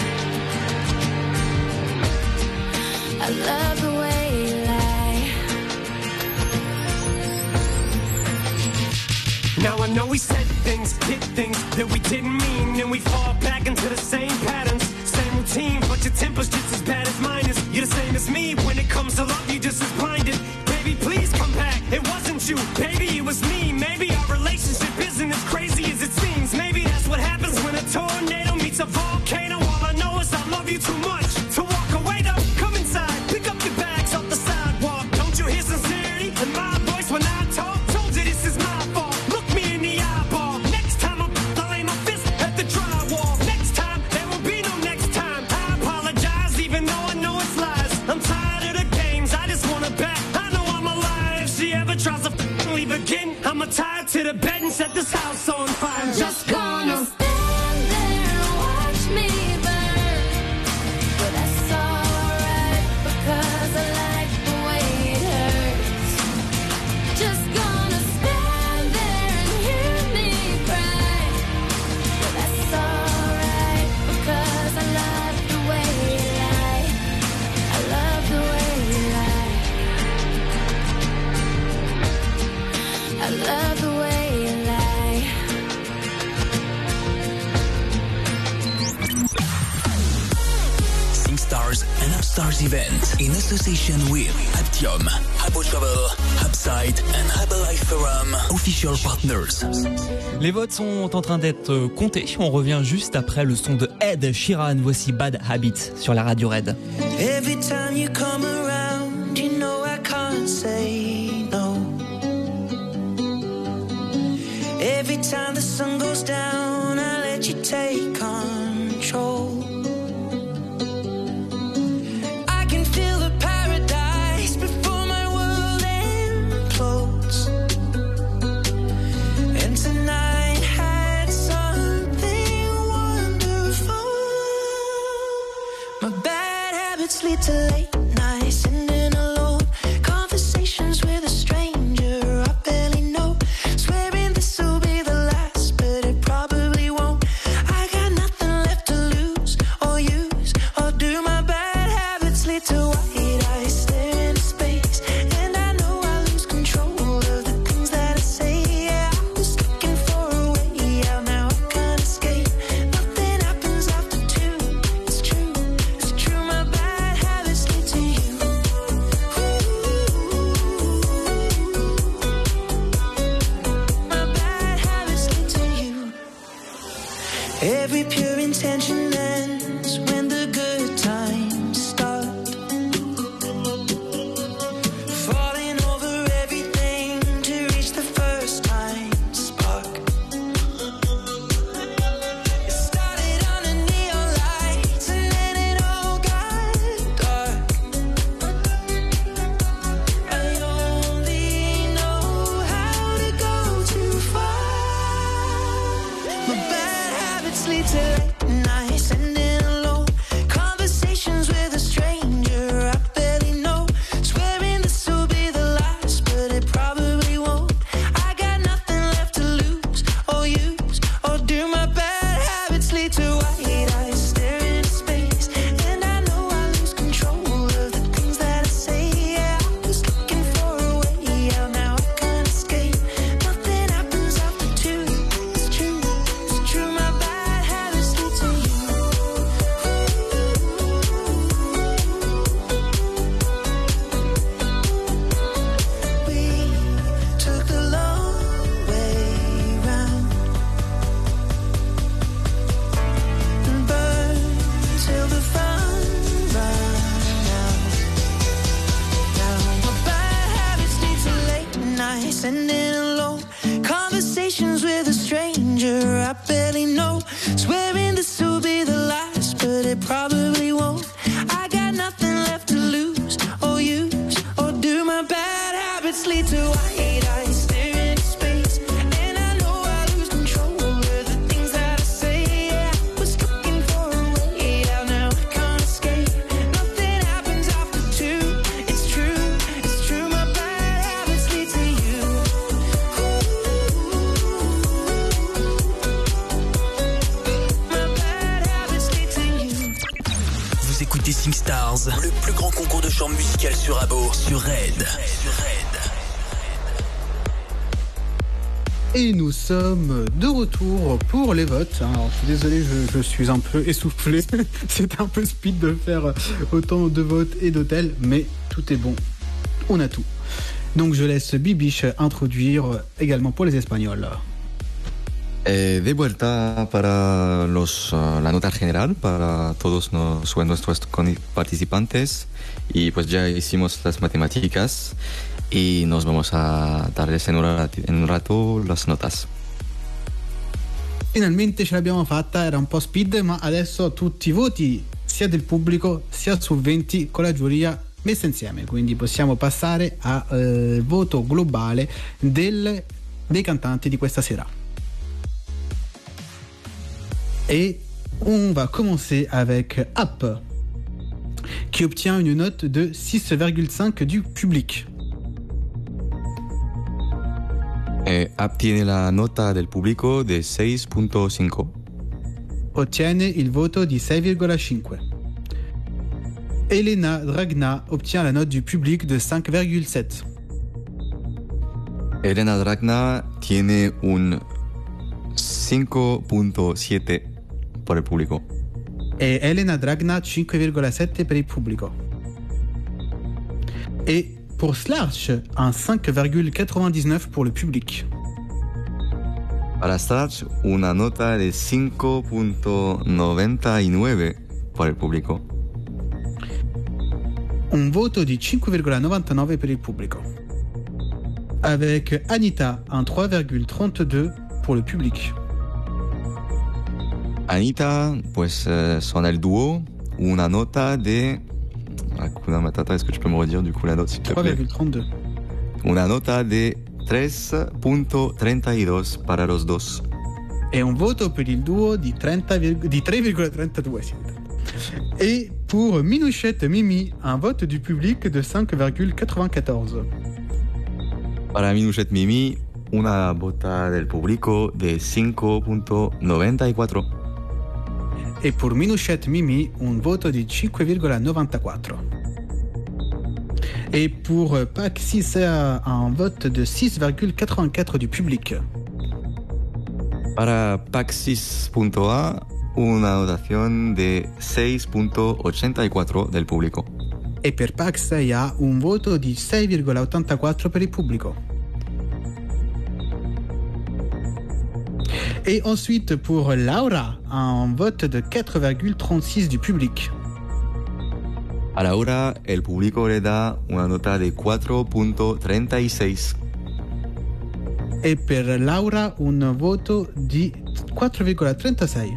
I love the way you lie. Now I know we said things, did things that we didn't mean, and we fall back into the same patterns, same routine, but your temper's just as bad as mine is. You're the same as me, when it comes to love, you're just as blinded. Baby, please come back, it wasn't you, baby, it was me. Maybe our relationship isn't as crazy as it seems. Maybe that's what happens when a tornado meets a volcano. All I know is I love you too much to walk away though. Come inside, pick up your bags off the sidewalk. Don't you hear sincerity in my voice when I talk? Told you this is my fault, look me in the eyeball. Next time I'll lay my fist at the drywall. Next time, there will be no next time. I apologize even though I'ma tie it to the bed and set this house on fire. I'm just gonna stand there and watch me burn. But that's alright because I like the way it hurts. Just gonna stand there and hear me cry. But that's alright because I love the way you lie. I love the way you lie. I love the way you lie. SingStars and Upstars event in association with Aptium, Habbo Travel, Upside and Herbalife Forum, official partners. Les votes sont en train d'être comptés. On revient juste après le son de Ed Sheeran. Voici Bad Habits sur la radio Red. Every time you come around, you know I can't say no. Every time the sun goes down, I let you take control. I can feel the paradise before my world implodes. And tonight had something wonderful. My bad habits lead to late nights, sitting alone, conversations with a stranger I barely know, swearing this will be the last, but it probably won't. I got nothing left to lose or use or do. My bad habits lead to white eyes staring into space, and I know I lose control of the things that I say. Yeah, I was looking for a way out, now I can't escape. Nothing happens after two. It's true, it's true. My bad habits lead to you. My bad habits lead to you. Every pure intention ends when the good times start. Falling over everything to reach the first time spark. It started under neon lights and then it all got dark. I only know how to go too far. My bad habits lead to late nights, ending alone, conversations with a stranger I barely know, swearing this will be the last, but it probably won't. I got nothing left to lose or use or do. My bad habits lead to white eyes staring into space, and I know I lose control of the things that I say. Yeah, I was looking for a way out, now I can't escape. Nothing happens after two. It's true, it's true. My bad habits lead to you. We took the long way round and burned till the fun ran out. Now my bad habits lead to late nights, ending alone, conversations with a stranger I barely know, swearing this will be the last, but it probably won't. I got nothing left to lose or use or do. My bad habits lead to white eyes staring into space, and I know I lose control of the things that I say. Yeah, I was looking for a way out, now I can't escape. Nothing happens after two. It's true, it's true. My bad habits lead to you. My bad habits lead to you. Vous écoutez SingStars, le plus grand concours de chant musical sur Habbo, sur Red. Et nous sommes de retour pour les votes. Alors, je suis désolé, je suis un peu essoufflé. C'est un peu speed de faire autant de votes et d'hôtels, mais tout est bon. On a tout. Donc je laisse Bibiche introduire également pour les Espagnols. De vuelta para la nota general para todos nuestros participantes, y pues ya hicimos las matemáticas y nos vamos a darles en un rato las notas. Finalmente ce l'abbiamo fatta, era un po' speed, ma adesso tutti i voti sia del pubblico sia su 20 con la giuria messa insieme, quindi possiamo passare al voto globale dei cantanti di questa sera. Et on va commencer avec Up, qui obtient une note de 6,5 du public. Up tiene la nota del pubblico de 6.5. Ottiene il voto di 6,5. Elena Dragna obtient la note du public de 5,7. Elena Dragna tiene un 5.7 por el público. E Elena Dragna 5,7 per il pubblico. Et pour Slarch, un 5,99 pour le public. Para Slarch, una nota de 5.99 por el público. Un voto di 5,99 per il pubblico. Avec Anita, un 3,32 pour le public. Anita, pues son el dúo, una nota de... Hakuna Matata, est-ce que tu peux me redire du coup la note s'il te plaît? 3,32. Una nota de 3.32 para los dos. E un voto per il duo di 3,32. Sì. Et pour Minouchette Mimi, un vote du public de 5,94. Para Minouchette Mimi, una vota del público de 5.94. Et pour Minouchette Mimi, un voto di 5,94. Et pour Paxis, un vote de 6,84 du public. Para Paxis.a, una notación de 6.84 del público. E per Pax ha un voto di 6,84 per il pubblico. Et ensuite pour Laura, un vote de 4,36 du public. A Laura, el público le da una nota de 4.36. E per Laura un voto di 4,36.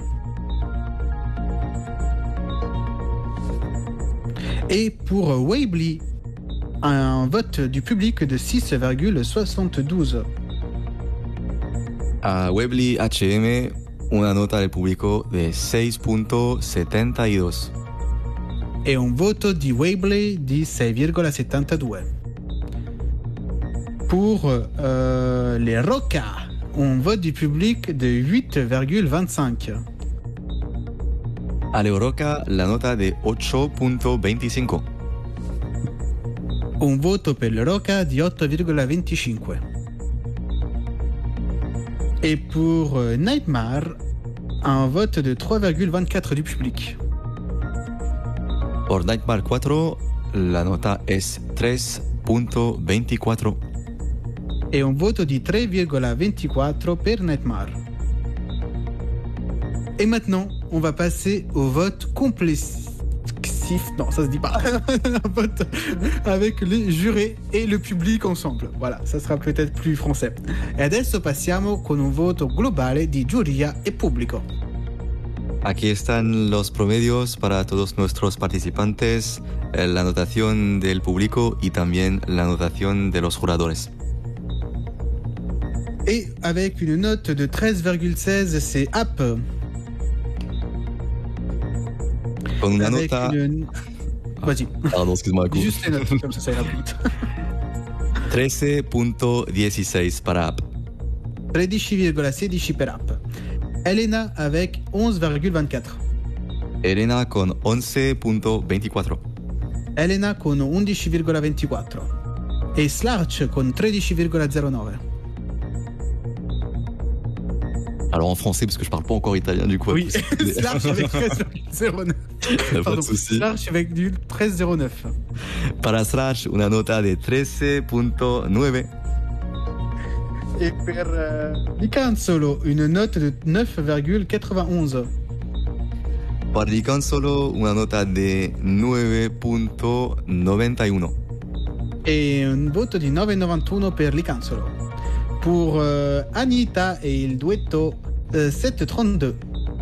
Et pour Weebly, un vote du public de 6,72. A Weebly HM, una nota del público de 6.72. E un voto di Weebly di 6,72. Pour les Roca, un vote du public de 8,25. A Roca, la nota de 8.25. Un voto per le Roca di 8,25. Et pour Nightmare, un vote de 3,24 du public. Por Nightmare 4, la nota es 3.24. Et un voto di 3,24 per Nightmare. Et maintenant, on va passer au vote complessif. Non, ça se dit pas. Un vote avec les jurés et le public ensemble. Voilà, ça sera peut-être plus français. E adesso passiamo con un voto globale di giuria e pubblico. Aquí están los promedios para todos nuestros participantes, la anotación del público y también la anotación de los juradores. Et avec une note de 13,16, c'est Up. Con una Avec nota... Vas-y. Pardon, excuse-moi. Juste les notes, comme ça ira plus vite. 13.16 para Up. 13,16 per Up. Elena avec 11,24. Elena con 11.24. Elena con 11,24. E Slarch con 13,09. Alors en français, parce que je parle pas encore italien du coup. Oui, Slarch avec 13,09. Pas de souci. Slarch avec du 13,09. Para Slarch, una nota de 13.9. Et per Licanzolo, une note de 9,91. Para Licanzolo, una nota de 9.91. E un voto di 9,91 per Licanzolo. Pour Anita e il duetto 7,32.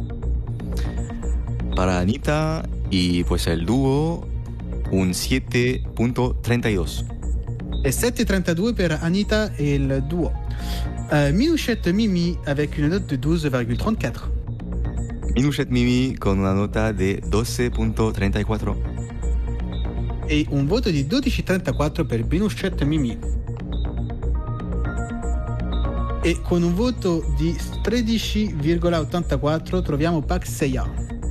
Para Anita y pues el dúo, un 7.32. E 7,32 per Anita e il duo. Minouchette Mimi avec une note de 12,34. Minouchette Mimi con una nota de 12.34. E un voto di 12,34 per Minouchette Mimi. E con un voto di 13,84 troviamo Pak Seiya.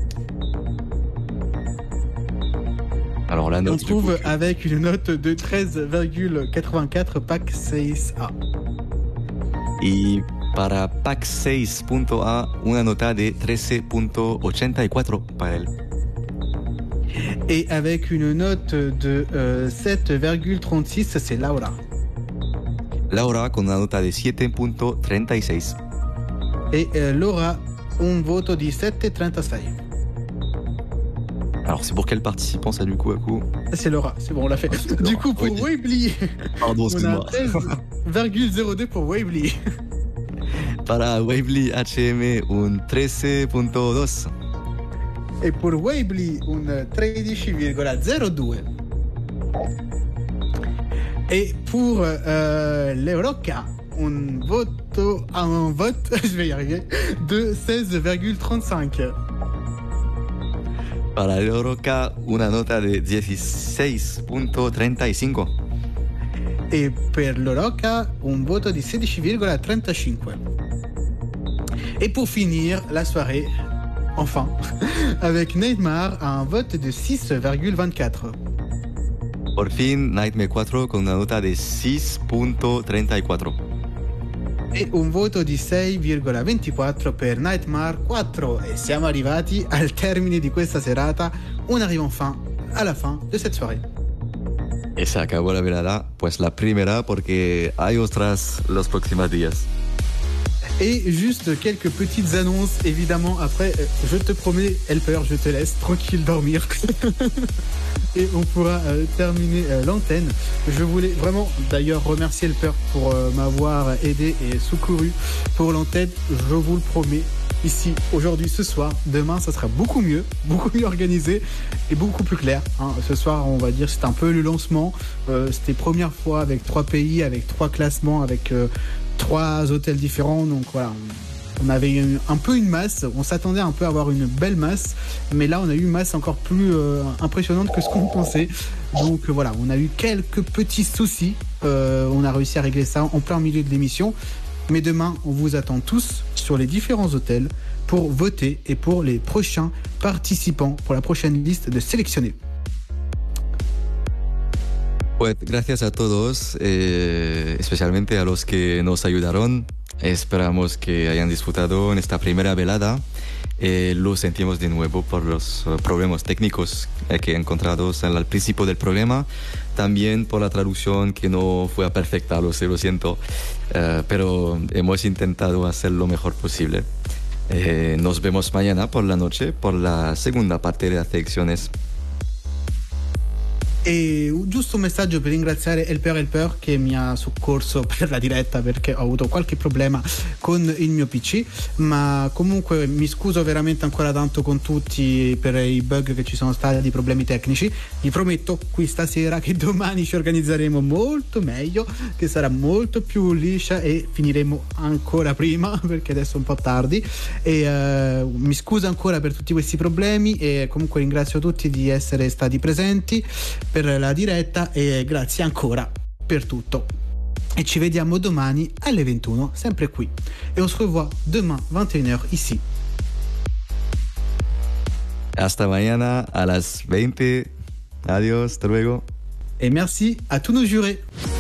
Alors la On note trouve avec une note de 13,84 Pak Seiya. y para Pack 6.A una nota de 13.84 para él. Et avec une note de 7,36, c'est Laura. Laura con una nota de 7.36. Et Laura, un voto di 7,36. Alors c'est pour quel participant ça du coup à coup? C'est Laura, c'est bon, on l'a fait. Du coup, pour Oui. Weebly, Pardon, on excuse-moi. a 13,02 pour Weebly. Para Weebly HM un 13.2. E per Weebly un 13,02. Et pour l'Euroca, un vote, je vais y arriver, de 16,35. Para l'Euroca una nota de 16.35. E per l'Euroca un voto di 16,35. Et pour finir la soirée, enfin, avec Neymar un vote de 6,24. Por fin Nightmare 4 con una nota de 6.34. E un voto di 6,24 per Nightmare 4. E siamo arrivati al termine di questa serata. On arrive enfin à la fin de cette soirée. Y se acabó la velada, pues la primera porque hay otras los próximos días. Et juste quelques petites annonces, évidemment. Après, je te promets, Helper, je te laisse tranquille dormir. Et on pourra terminer l'antenne. Je voulais vraiment d'ailleurs remercier Helper pour m'avoir aidé et secouru pour l'antenne. Je vous le promets. Ici, aujourd'hui, ce soir, demain, ça sera beaucoup mieux organisé et beaucoup plus clair. Hein. Ce soir, on va dire, c'était un peu le lancement. C'était première fois avec 3 pays, avec 3 classements, avec 3 hôtels différents. Donc voilà, on avait un peu une masse. On s'attendait un peu à avoir une belle masse, mais là, on a eu une masse encore plus impressionnante que ce qu'on pensait. Donc voilà, on a eu quelques petits soucis. On a réussi à régler ça en plein milieu de l'émission. Mais demain, on vous attend tous sur les différents hôtels pour voter et pour les prochains participants, pour la prochaine liste de sélectionnés. Pues gracias a todos, especialmente a los que nos ayudaron. Esperamos que hayan disfrutado en esta primera velada. Lo sentimos de nuevo por los problemas técnicos que encontrados al principio del programa. También por la traducción que no fue perfecta, lo siento. Pero hemos intentado hacer lo mejor posible. Nos vemos mañana por la noche por la segunda parte de las selecciones. E giusto un messaggio per ringraziare Helper che mi ha soccorso per la diretta perché ho avuto qualche problema con il mio PC, ma comunque mi scuso veramente ancora tanto con tutti per i bug che ci sono stati, i problemi tecnici. Vi prometto qui stasera che domani ci organizzeremo molto meglio, che sarà molto più liscia e finiremo ancora prima perché adesso è un po' tardi e mi scuso ancora per tutti questi problemi e comunque ringrazio tutti di essere stati presenti per la diretta e grazie ancora per tutto e ci vediamo domani alle 21 sempre qui et on se revoit demain 21h ici. Hasta mañana a las 20. Adiós, hasta luego. Et merci à tous nos jurés.